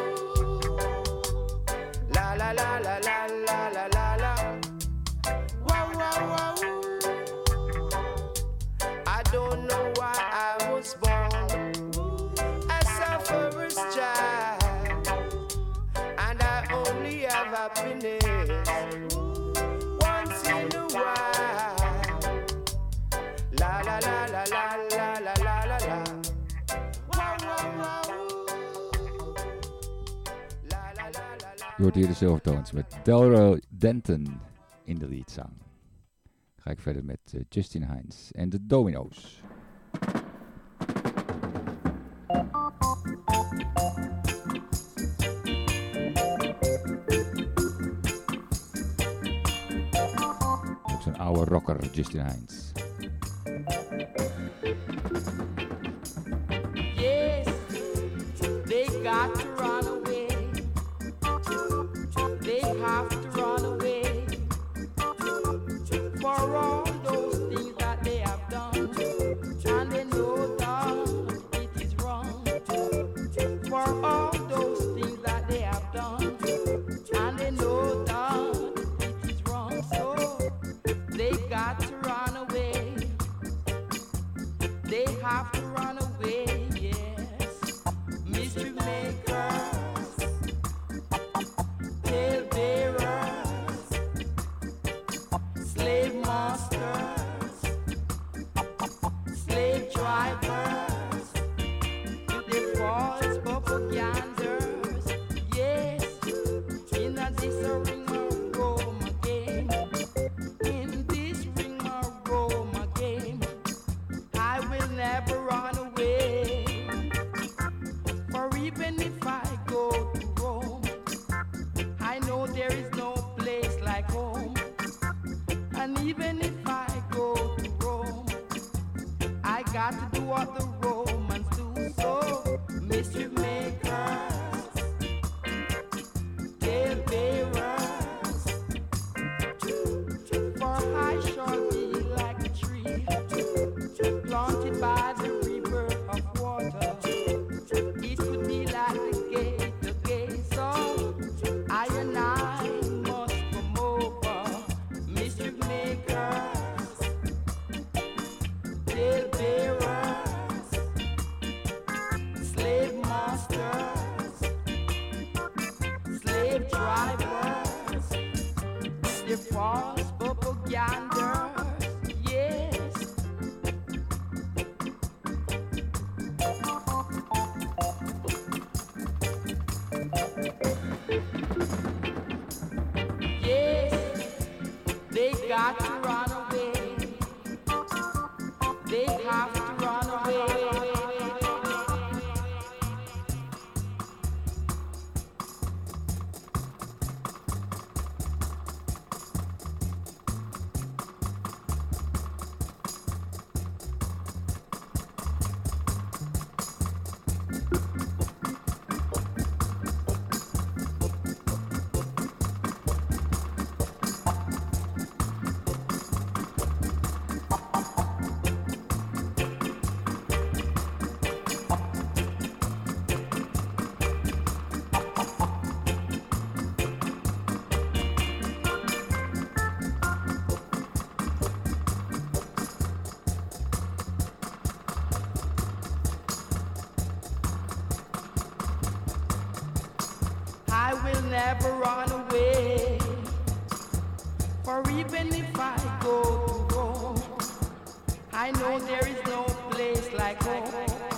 La la la la la la la la la. Wow wow wow. I don't know why I was born as a first child, and I only have happiness once in a while. La la la la la la la la la la. Wow wow wow. La la la la la. Je hoort hier de Silvertones met Delroy Denton in de leadzang. Ga ik verder met Justin Hines en de Domino's. Ook zo'n oude rocker, Justin Hines. Yes, they got to run away. They have to run away for all those things that they have done, and they know that it is wrong. For all those things that they have done, and they know that it is wrong. So they got to run away. They have to run away, yes. Mystery makers, tale bearers, slave masters, slave drivers, the false propaganders, yes. In this ring of Roma game, in this ring of Roma game, I will never run away. For even if I go to Rome, I know there is no place like home. And even if I go to Rome, I got to do what the Romans do. So, mischief makers, tale bearers, for I shall be like a tree planted by the river of water. It could be like the gate, so I and I must come over. Mischief makers, tale bearers, slave masters, slave drivers. got to run away. They have to run away. I will never run away, for even if I go to Rome, I know there is no place like home.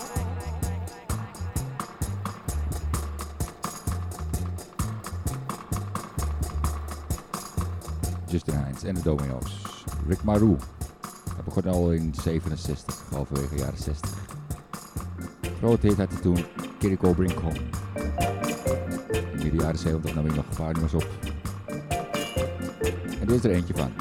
Justin Hines en de Domino's. Rick Marou. Hij begon al in 67, halverwege jaren 60. Grote hit had hij toen, Kiriko Bring Home. In de jaren 70 nam hij nog een paar nummers op. En dit is er eentje van.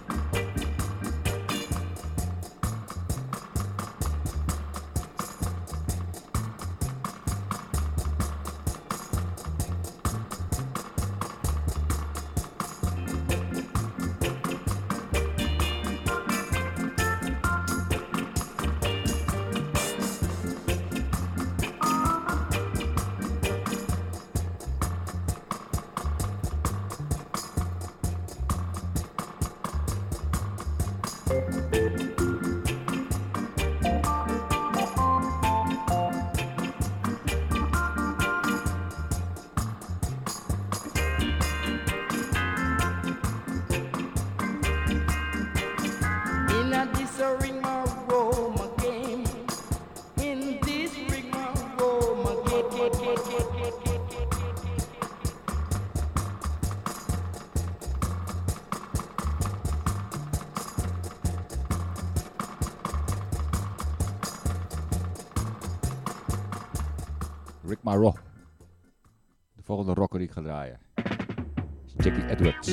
Rick Marou. De volgende rocker die ik ga draaien is Jackie Edwards.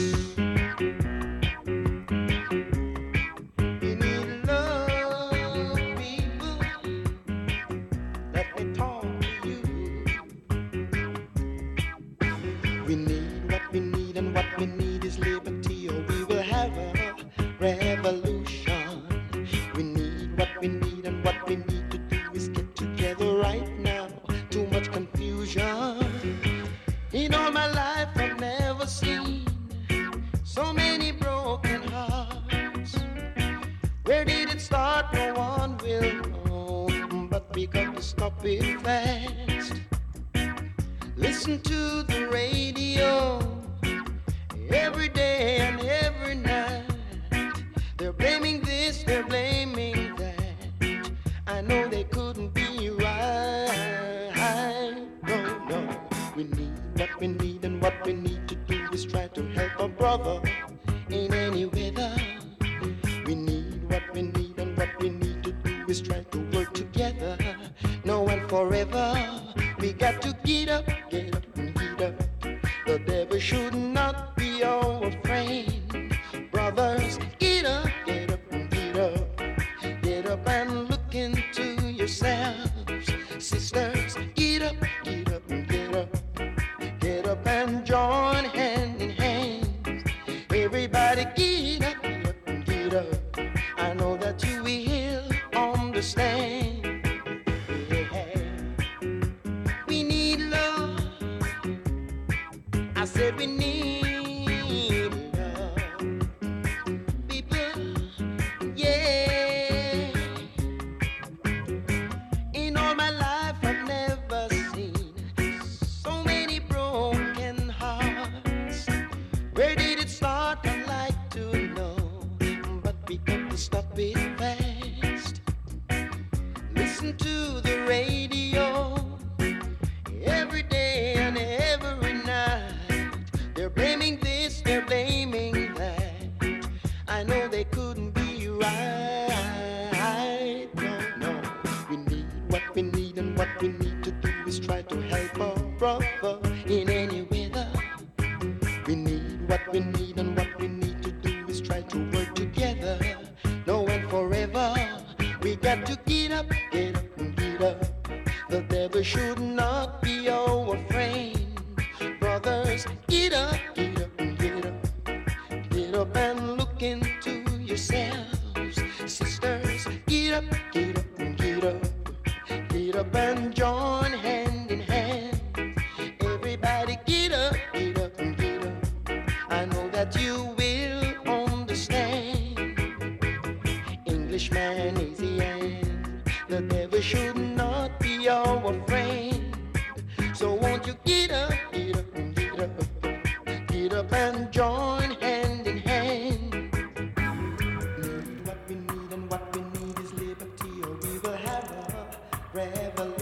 they couldn't be right. No, no. We need what we need, and what we need to do is try to help our brother in any weather. We need what we need, and what we need to do is try to work together. No and forever. We got to get up, get up, and get up. The devil should not be our friend. Brothers, get up, get up, and get up. Get up and look into yourselves. Sisters, get up, get up, and get up. Get up and join hand in hand. Everybody get up, get up, and get up. I know that you will understand. Englishman is the end. The devil should not be our friend. So won't you get up, get up, and get up. Get up and join hand in hand. Need what we need, and what we need is liberty, or we will have a revolution.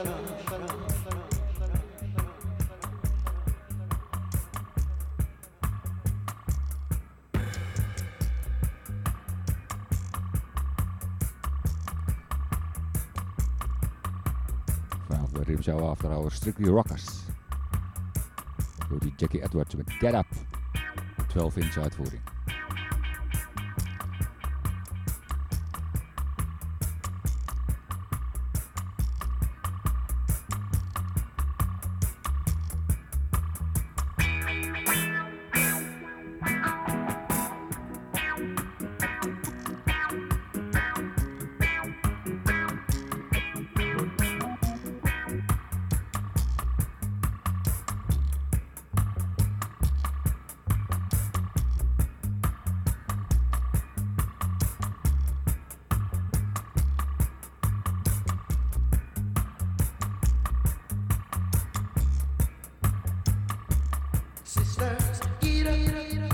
Vanaf de Rimshow After Hours Strictly Rockers. Door die Jackie Edwards met Get Up. 12-inch uitvoering. Sisters, get up, get up, get up.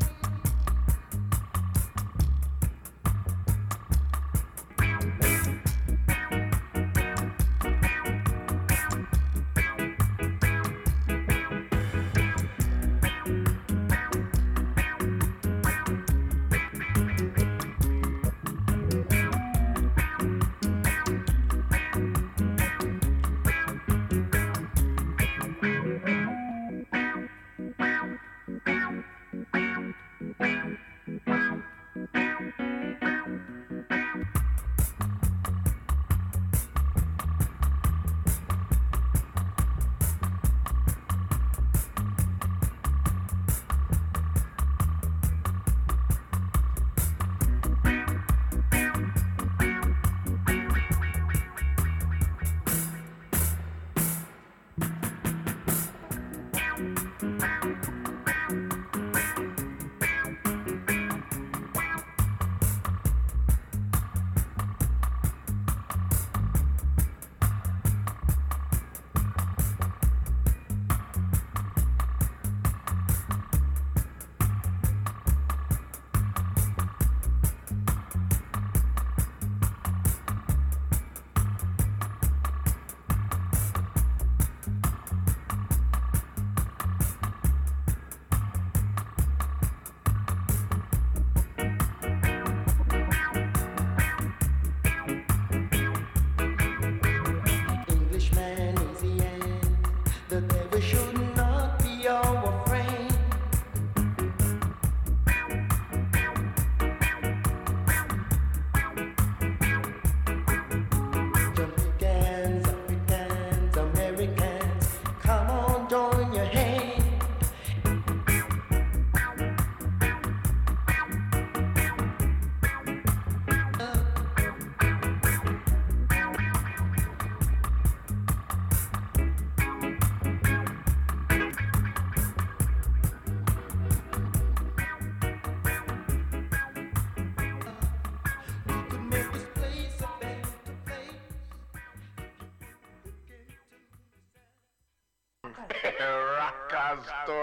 Rockers to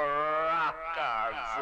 rockers.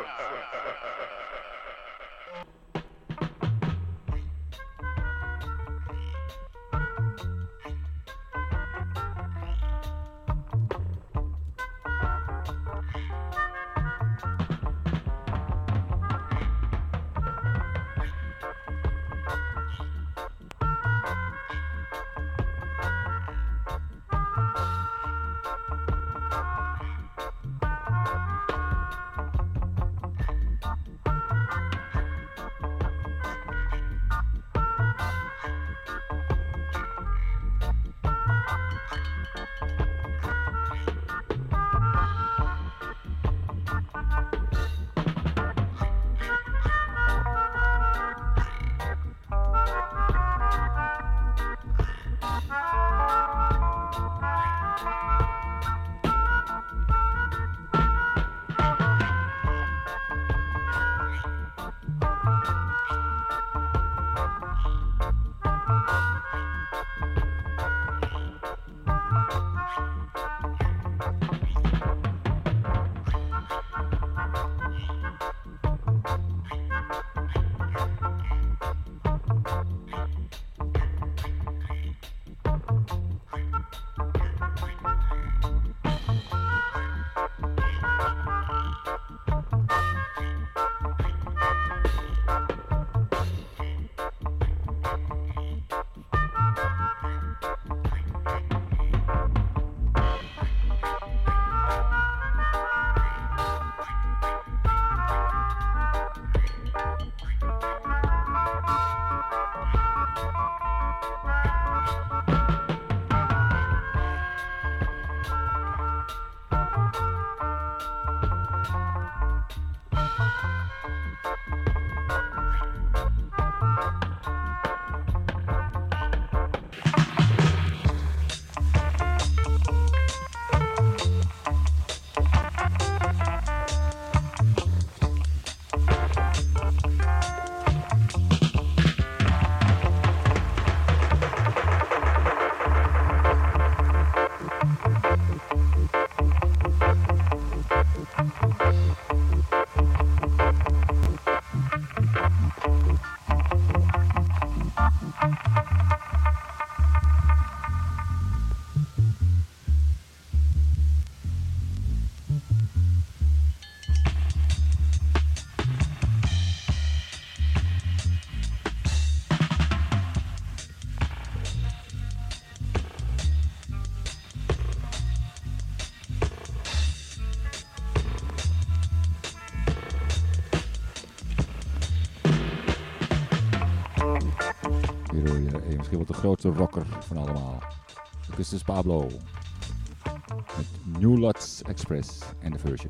Misschien wel de grootste rocker van allemaal. Augustus Pablo. Met New Lots Express en de version.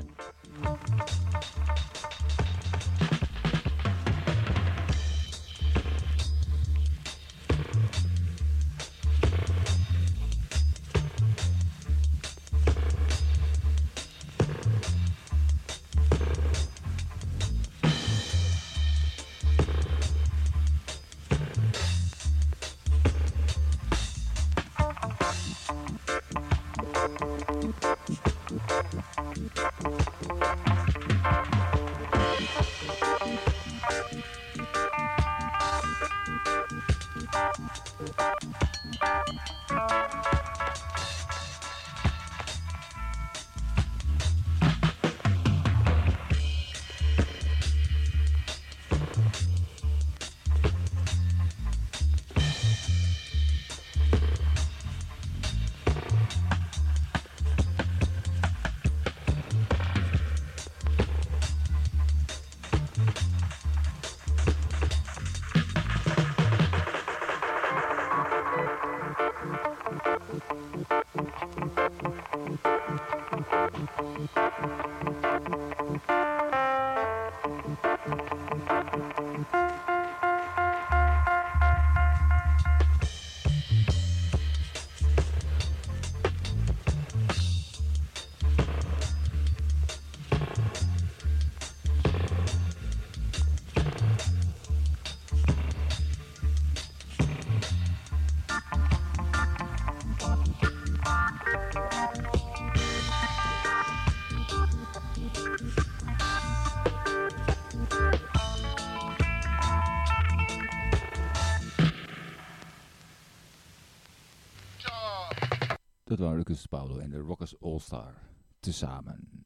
Dat waren Lucas Paulo en de Rockers All Star tezamen.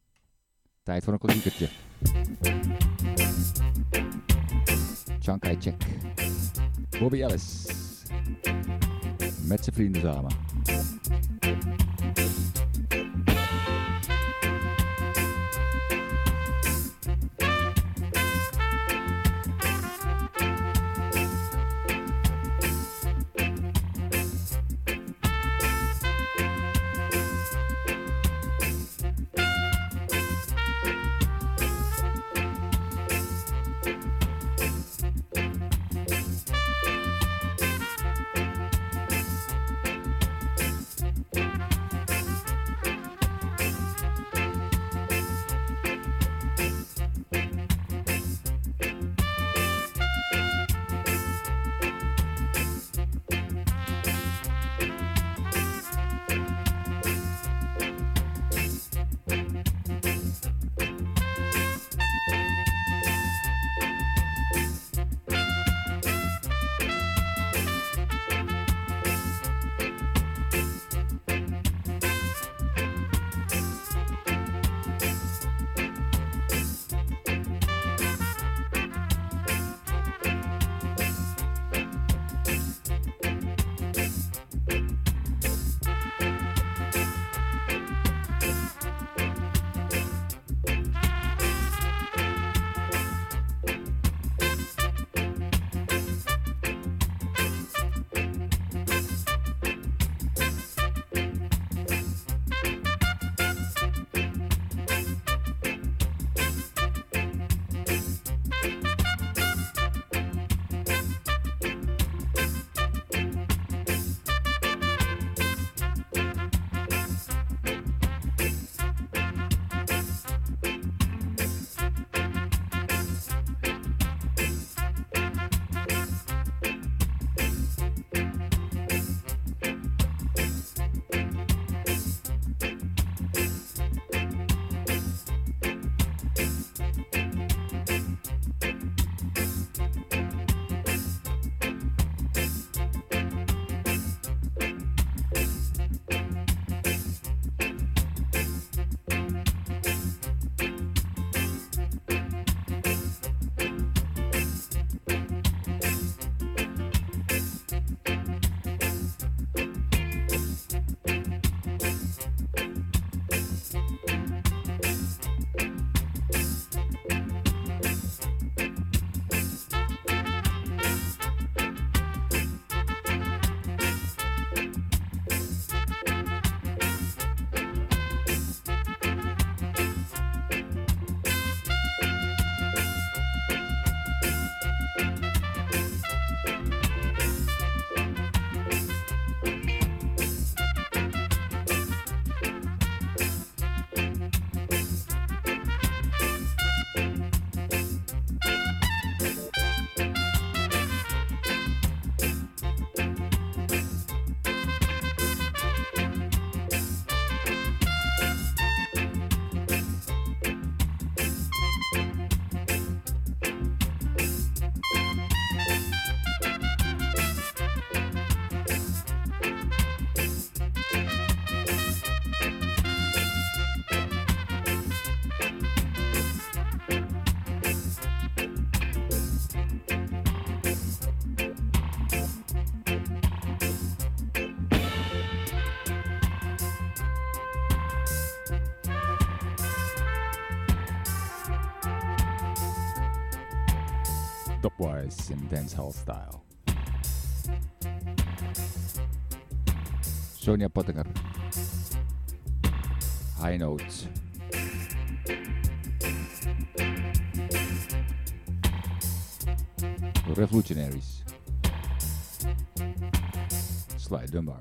Tijd voor een klassiekertje. Chiang Kai-shek. Bobby Ellis. Met zijn vrienden samen. Stopwise in dancehall style. Sonia Pottinger. High Notes. Revolutionaries. Sly Dunbar.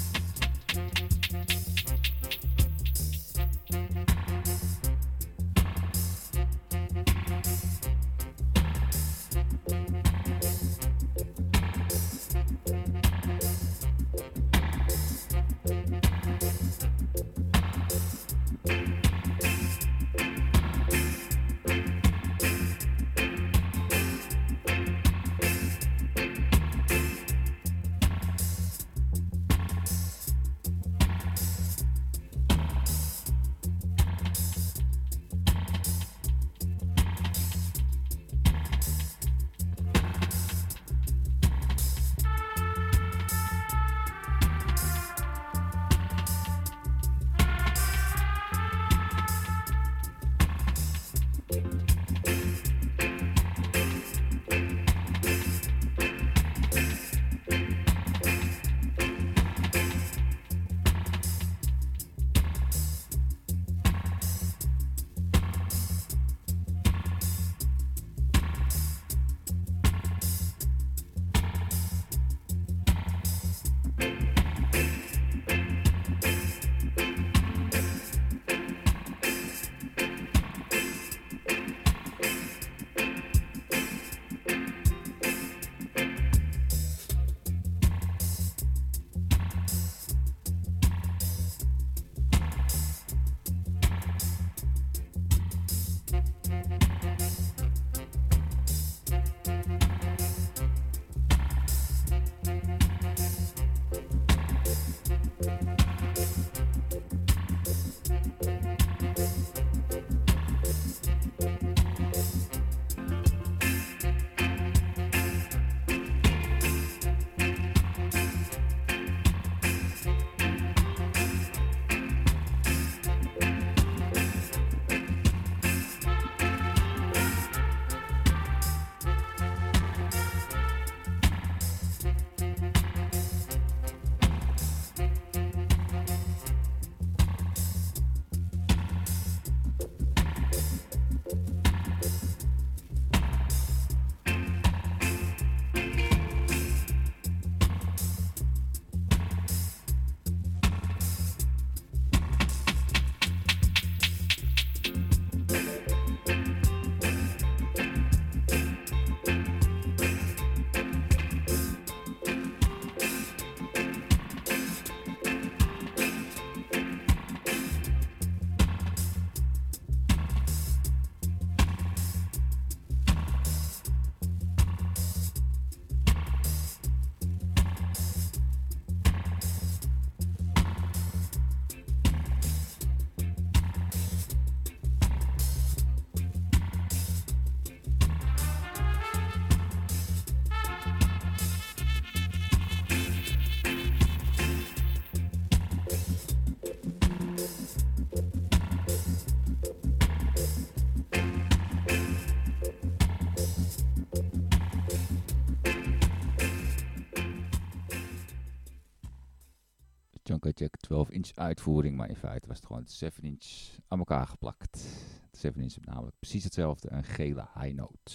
Junker Jack 12-inch uitvoering, maar in feite was het gewoon 7-inch aan elkaar geplakt. De 7-inch is namelijk precies hetzelfde, een gele high note.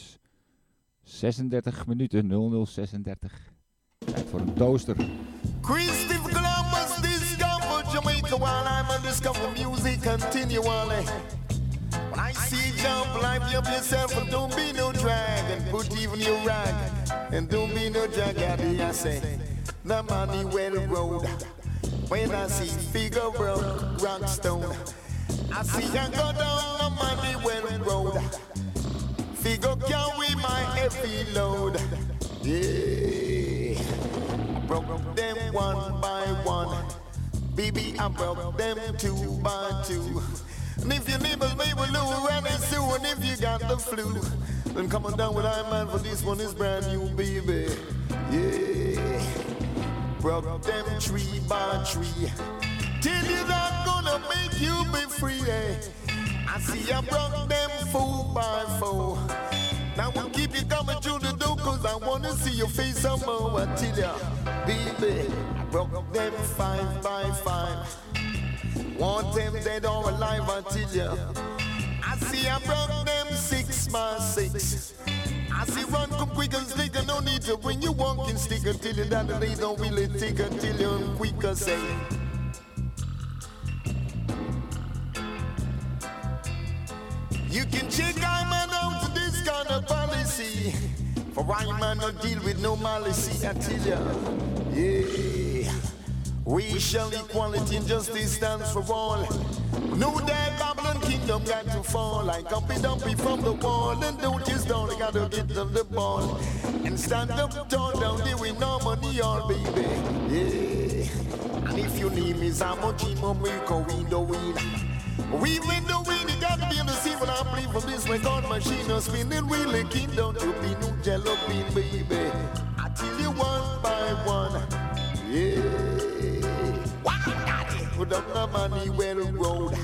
36 minuten, 0036. Tijd voor een toaster. Christopher Columbus discovered Jamaica while I'm on discover music continually. When I see you jump, life up yourself and don't be no drag and put even your rag and don't be no drag. I say the money well road. When I see figure rockstone, I see you go down the money well road. Figure carry my heavy load. Yeah, broke them one by one. Baby, I broke them two by two. And if your neighbors may will lose and it's soon, and if you got the flu, then come on down with I man, for this one is brand new, baby. Yeah, broke them tree by tree. Till you're not gonna make you be free. Eh? I see I broke them 4 by 4. Now we'll keep you coming through the door, cause I wanna see your face some more. I tell ya, baby, I broke them 5 by 5. Want them dead or alive, I tell ya. I see I broke them 6 by 6. I see run come quick and slick, and no need to bring you walking stick until you that they don't really take until you're quicker say. You can check I'm out this kind of policy. For I man not deal with no malice, I tell ya. Yeah. Racial equality and justice stands for all. No that Babylon kingdom got to fall. Like Humpy Dumpy from the wall. And don't you stall, you gotta get on the ball. And stand up tall down there with no money all baby. Yeah. And if you need me, Zamoji Momiko window wheel. We win the win, you gotta be able to see what I believe from this record machine. No spinning wheel, a kingdom to be new jello bean, baby. I tell you one by one. Yeah. Put up the money well road.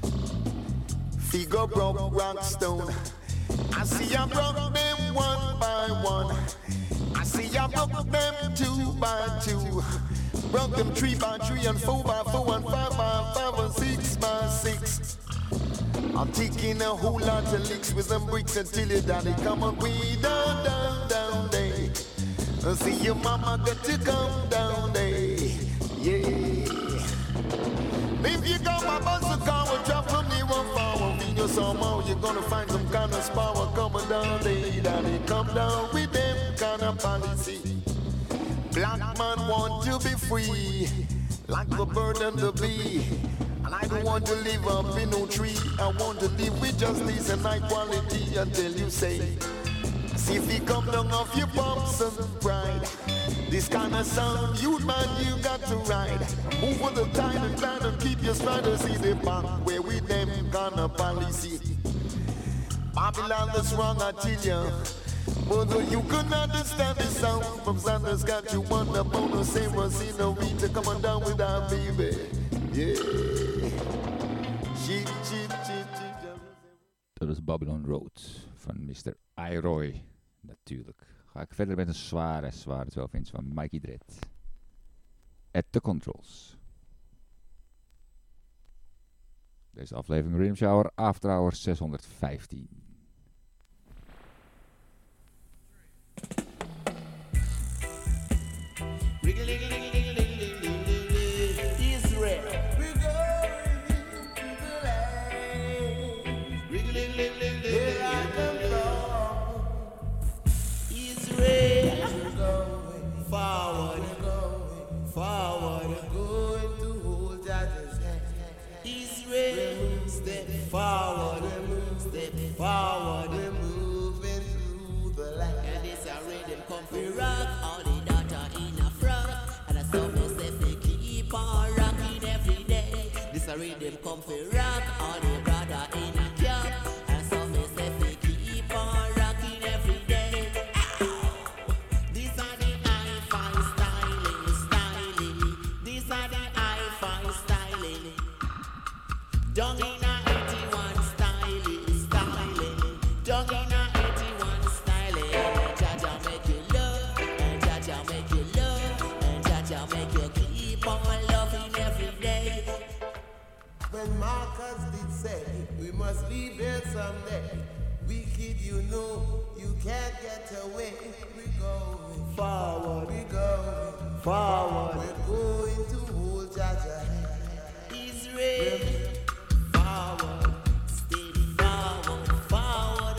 Figure broke rockstone. I see I broke them 1 by 1. I see I broke them 2 by 2. Broke them 3 by 3 and 4 by 4 and 5 by 5 and 6 by 6. I'm taking a whole lot of licks with them bricks until your daddy come on way down, down, down there. I see your mama got to come down there. Yeah. If you come my bus a car will drop from near one forward. In your somehow you're gonna find some kind of power coming down there. Daddy come down with them kind of policy. Black man want to be free, like the bird and the bee. And I don't want to live up in no tree. I want to live with justice and equality until you say, see if you come down off your bumps and pride. This kind of sound, you man, you got to ride. Move with the tide and glide and keep your stride to see the back where we them kind of policy. Babylon is wrong, I tell you. But you couldn't understand the sound from Sanders got you on the bonus. Same was in the week to come on down with our baby. Yeah. Cheep, cheep, cheep, cheep. Dat is Babylon Road van Mr. Iroy. Natuurlijk. Ga ik verder met een zware 12 inch van Mikey Dread. At the Controls. Deze aflevering Rhythm Shower After Hours 615. Forward, we're moving through the land. And it's a rhythm come for rock, all the data in a front. And I saw myself they keep on rocking every day. This a rhythm come for rock, all the brother in a cap. And I saw myself they keep on rocking every day. Ow! These are the hi-fi styling. These are the hi-fi styling. Down in a 81 styling. Dog in a 81 style, and Jaja make you love, and Jaja make you love, and Jaja make you keep on loving every day. When Marcus did say, we must leave here someday. Wicked, you know, you can't get away. We're going forward, we're going forward. We're going to hold Jaja hand. Israel, forward, steady forward, forward.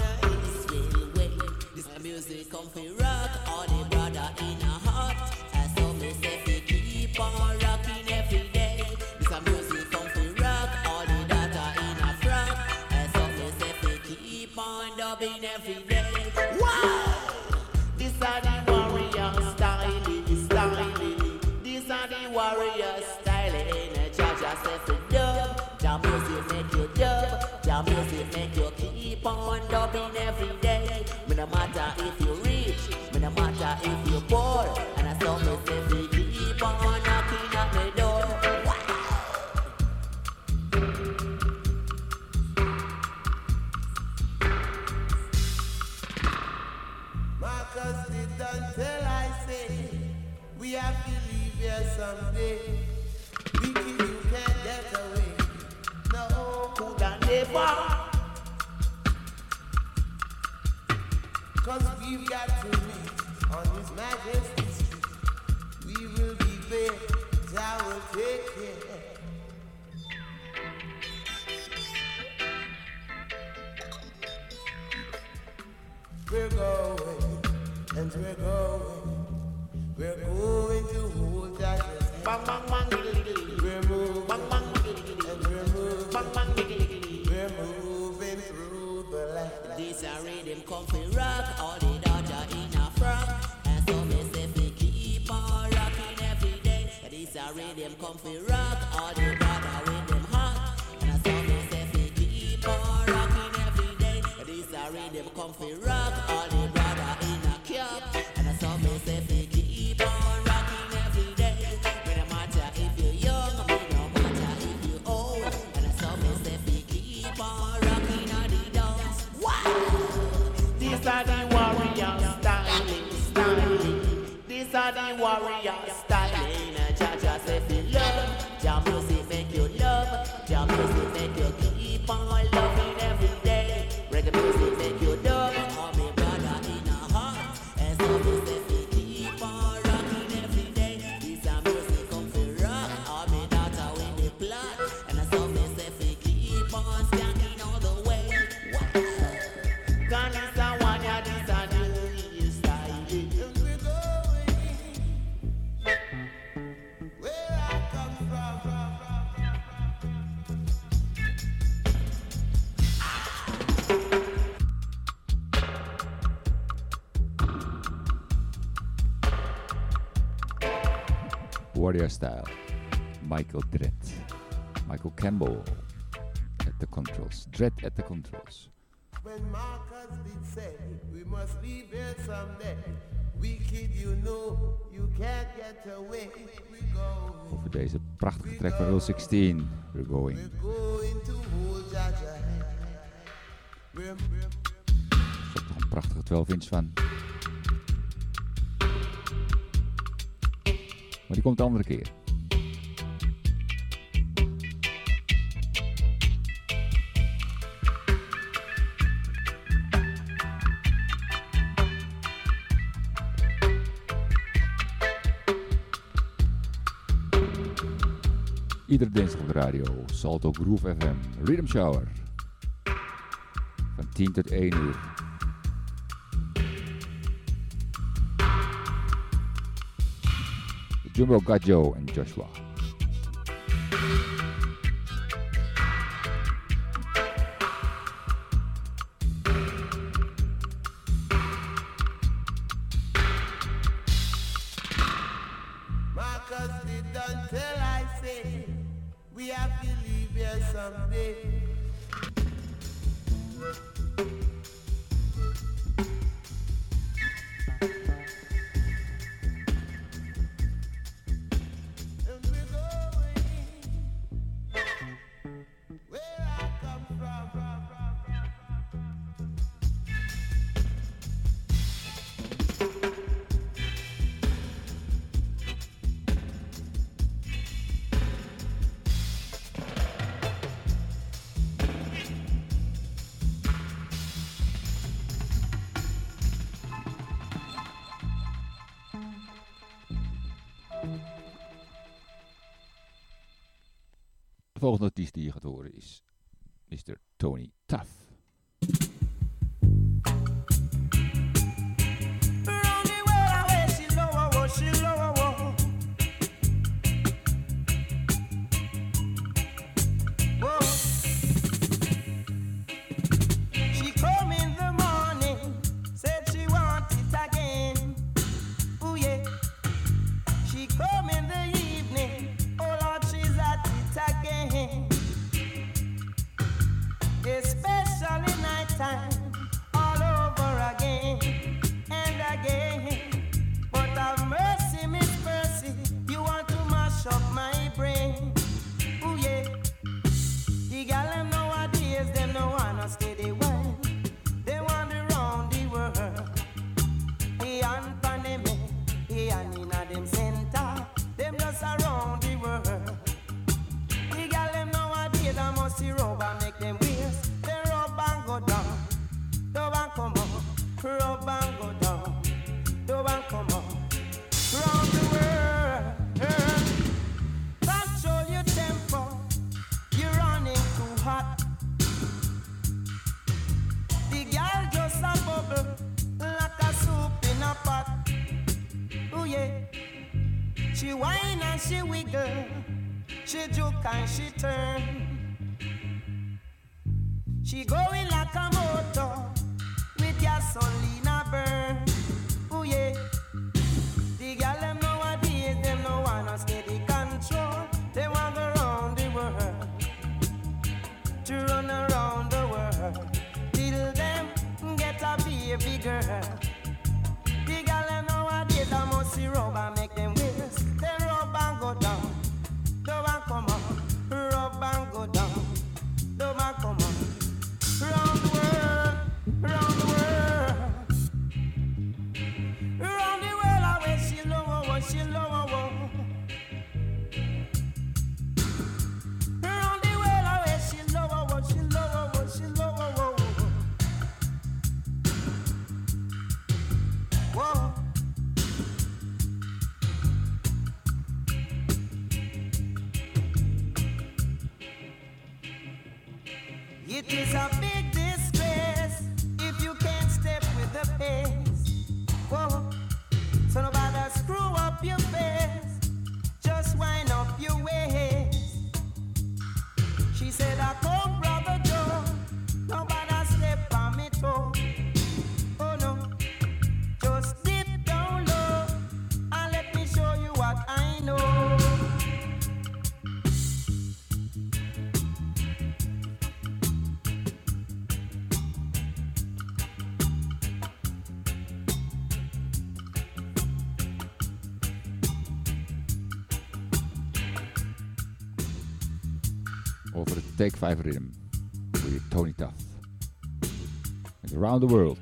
Music come for rock, all the brother in a heart. As some me say we keep on rocking every day. This a music come for rock, all the data in a front. As some me say we keep on dubbing every day. Wow! This are the warrior styling. These are the warrior styling. Jaja say for dub, the music make you dub. The music make you keep on dubbing every day. No matter if you rich, no matter if you're poor, and I saw me say we keep on knocking at the door. We have to leave here someday. Wicked, you can't get away. No, could I never? Cause we've got to meet on His Majesty's street. We will be there, I will take care. We're going, and we're going to hold that hand. Bang bang bang diddly. We're moving, bang bang diddly. And we're moving, bang bang diddly. We're moving through the land. This a rhythm come fi rock, all the dodger in a frock. And so me say fi keep on rocking every day. This a rhythm come fi rock, all the brother with them hot. And so me say fi keep on rocking every day. This a rhythm come fi rock, all the brother in a cap. And so me say fi keep on rocking every day. Me no matter if you young, me no matter if you old. And so me say fi keep on rocking all the dance. These are the warrior styling. These are the warrior styling. Jah say fi love, Jah music make you love, Jah music make you keep on loving every day. Reggae music make you love, all me brother in a heart. And so me say fi keep on rocking every day. This a music come fi rock, all me daughter with the plot. And so me say fi keep on standing all the way. Cause this a warrior, this a the warrior styling. Where I come from. Warrior Style. Michael Dredd. Michael Campbell at the controls. Dredd at the controls. When Marcus did say, we must leave here someday. Wicked, you know, you can't get away. We go. Over deze prachtige track van Rule 16. We're going. Going to hold Jaja. Er is ook nog een prachtige 12-inch van. Maar die komt de andere keer. Iedere dinsdag op de radio, Salto Groove FM, Rhythm Shower. Van 10 tot 1 uur. Jumbo got Joe en Joshua. Marcus didn't tell I say, we have to leave here someday. De volgende artiest die je gaat horen is Mr. Tony Tuff. Them send yeah. She whine and she wiggle, she juke and she turn. She going like a motor with gasoline burn. Oh yeah. The girl them nowadays, them no want a steady control. They want to go round the world, to run around the world, till them get a baby girl. The girl them nowadays, I must see rub and make them waist. They rub and go down, don't want come on. Rub and go down, don't want come on. Round the world, round the world, round the world. I wish she low, she low. Round the world, I wish she low, she low, she low. Whoa. It is a big disgrace if you can't step with the pace. Whoa. So nobody screw up your face, just wind up your waist. She said, I come, brother Joe, nobody step on me toe. Oh no, just dip down low and let me show you what I know. Over het Take 5 Rhythm. Door je Tony Tuff. Met Around the World.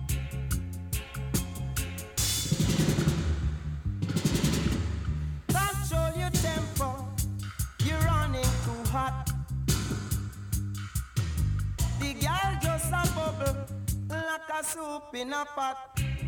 Control your tempo, you're running too hot. The girl just a bubble like a soup in a pot.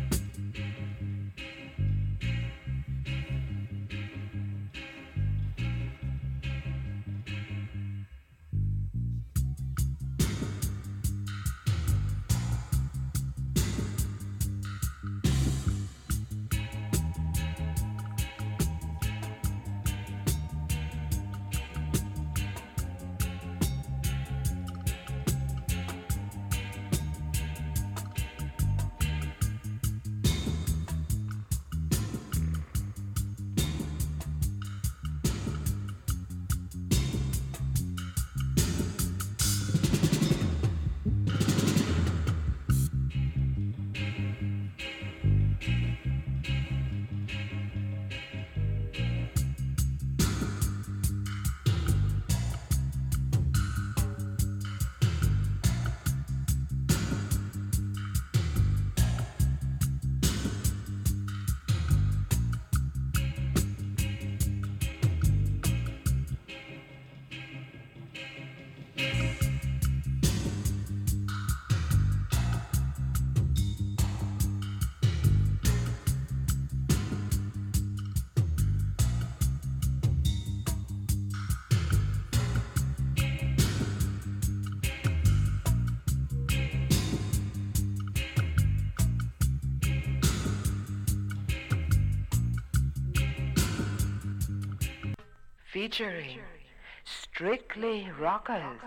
Featuring Strictly Rockers.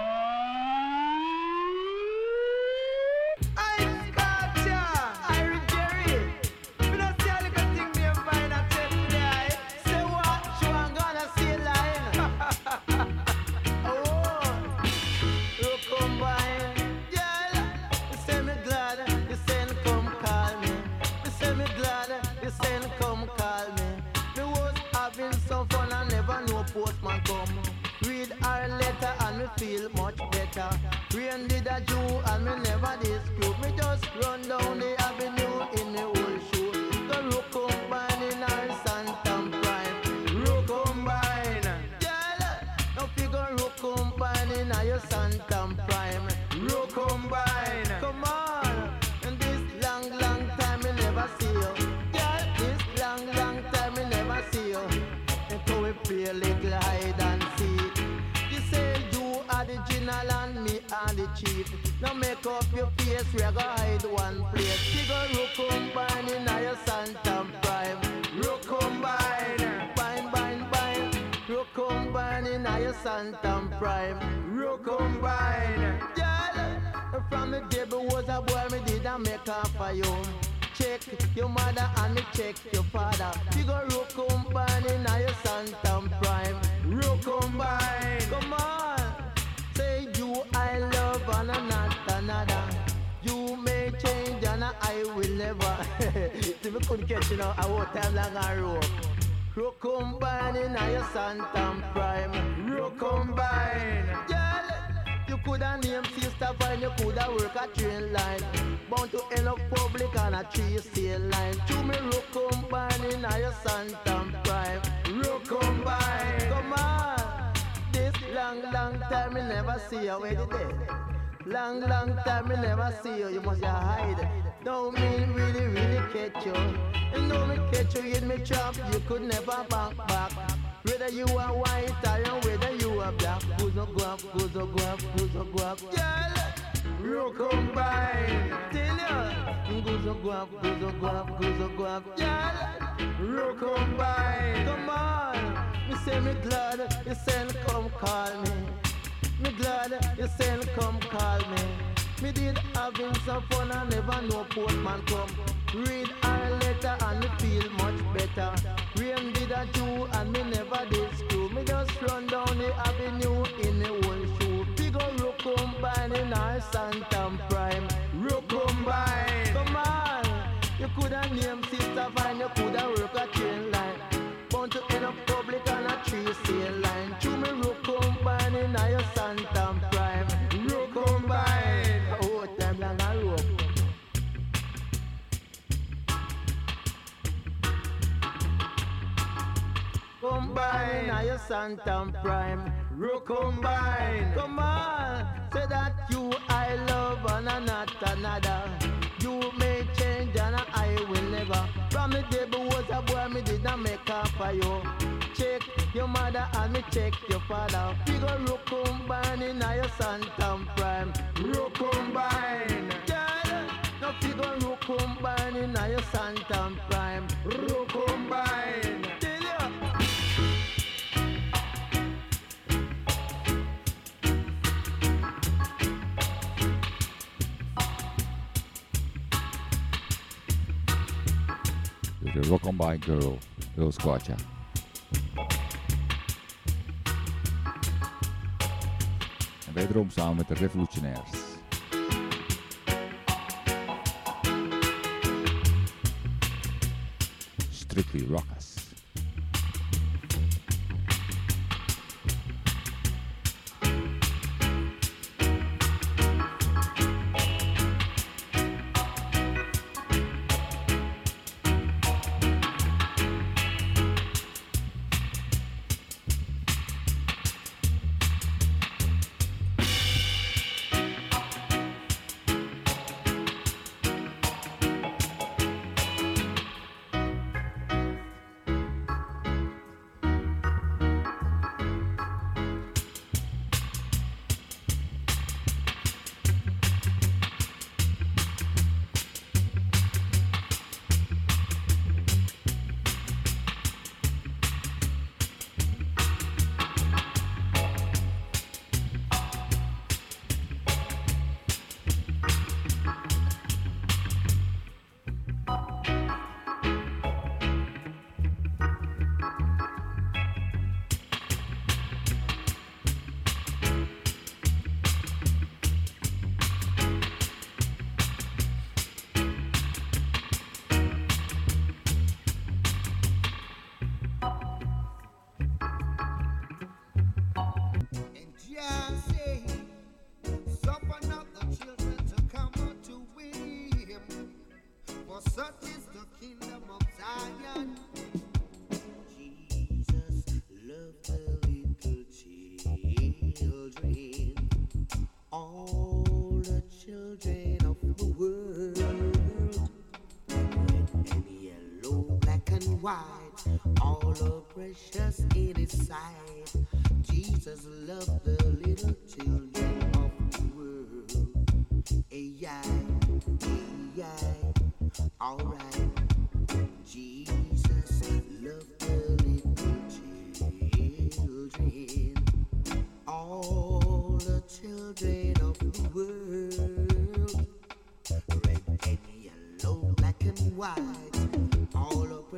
Postman come, read our letter and we feel much better. Rain did a Jew and me never dispute. Me just run down the avenue in the old shoe. The rook combine in our Santam Prime. Rook combine, yeah. No figure rook combine in our Santam Prime. Rook combine, come on. And this long time me never see you. Yeah, this long time me never see you. So we play a little hide and seek. You say you are the general and me are the chief. Now make up your face, we are gonna hide one place. Figure you combine in your Santam Prime. Santam Prime. Recombine. Girl, from the day I was a boy, me did a make up for you. Check your mother and me check your father. You go recombine in your Santam Prime. Recombine. Come on. Say you I love and not another. You may change and I will never. See me couldn't catch you now. I won't time long and rope. Recombine in your Santam Prime. Recombine. Girl, you coulda named sister fine, you coulda work a train line. Bound to end up public on a tree sail line. To me recombine in your Santam Prime. Recombine. Come on. This long time me never see you. Where did it? Long time me never see you. You must hide. Don't mean really catch you. And know me catch you in me trap, you could never back. Whether you are white or whether you are black. Goes no go up. Girl, recombine. Tell you. Goes no go up. Girl, recombine. Come on. Me say me glad you send come call me. Me glad you send come call me. Me did having some fun and never know postman come. Read our letter and me feel much better. Rain did a do and me never did screw. Me just run down the avenue in the one shoe. Big ol' recombine in our Santam Prime. Recombine. Come on. You coulda named sister fine, you coulda work a train line. Bound to end up public on a tree sail line. To me recombine in your Santam Prime. Recombine. Oh, time long a rope. Combine in your Santam Prime. Recombine. Come on. Say that you I love and not another. You may change and I will never. From the day I was a boy, me did not make up for you. Check your mother and me check your father. We go recombine in your Santam Prime. Recombine. Girl, no figure recombine in your Santam Prime. Recombine. Tell you. The Recombine Girl, Bill Squatcha. En wederom samen met de Revolutionairs. Strictly Rockers. white, all are precious in His sight. Jesus loved the little children of the world. Alright. Jesus loved the little children.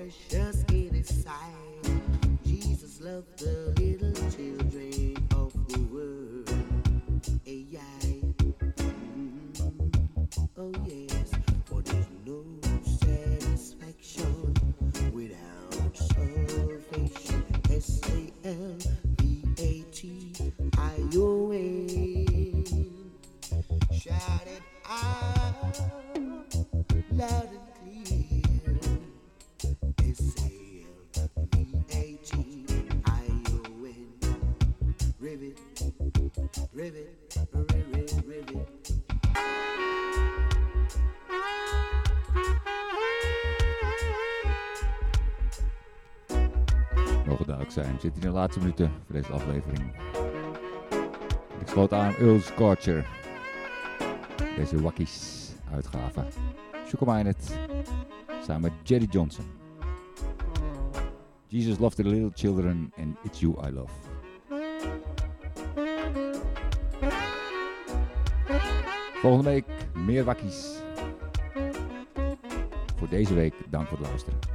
precious in his sight. Jesus loved the little children of the world. Oh yes, for there's no satisfaction without salvation. S-A-L-V-A-T-I-O-N. Shout it out loud and clear. S-A-L-V-A-T-I-O-N. Rivet, rivet, rivet, rivet. Mogen duidelijk zijn. We zitten in de laatste minuten voor deze aflevering. Ik sloot aan Earl Scorcher. Deze Wakkies uitgave. Sugar-Minded. Samen met Jerry Johnson. Jesus loved the little children and it's you I love. Volgende week meer Wakkies. Voor deze week dank voor het luisteren.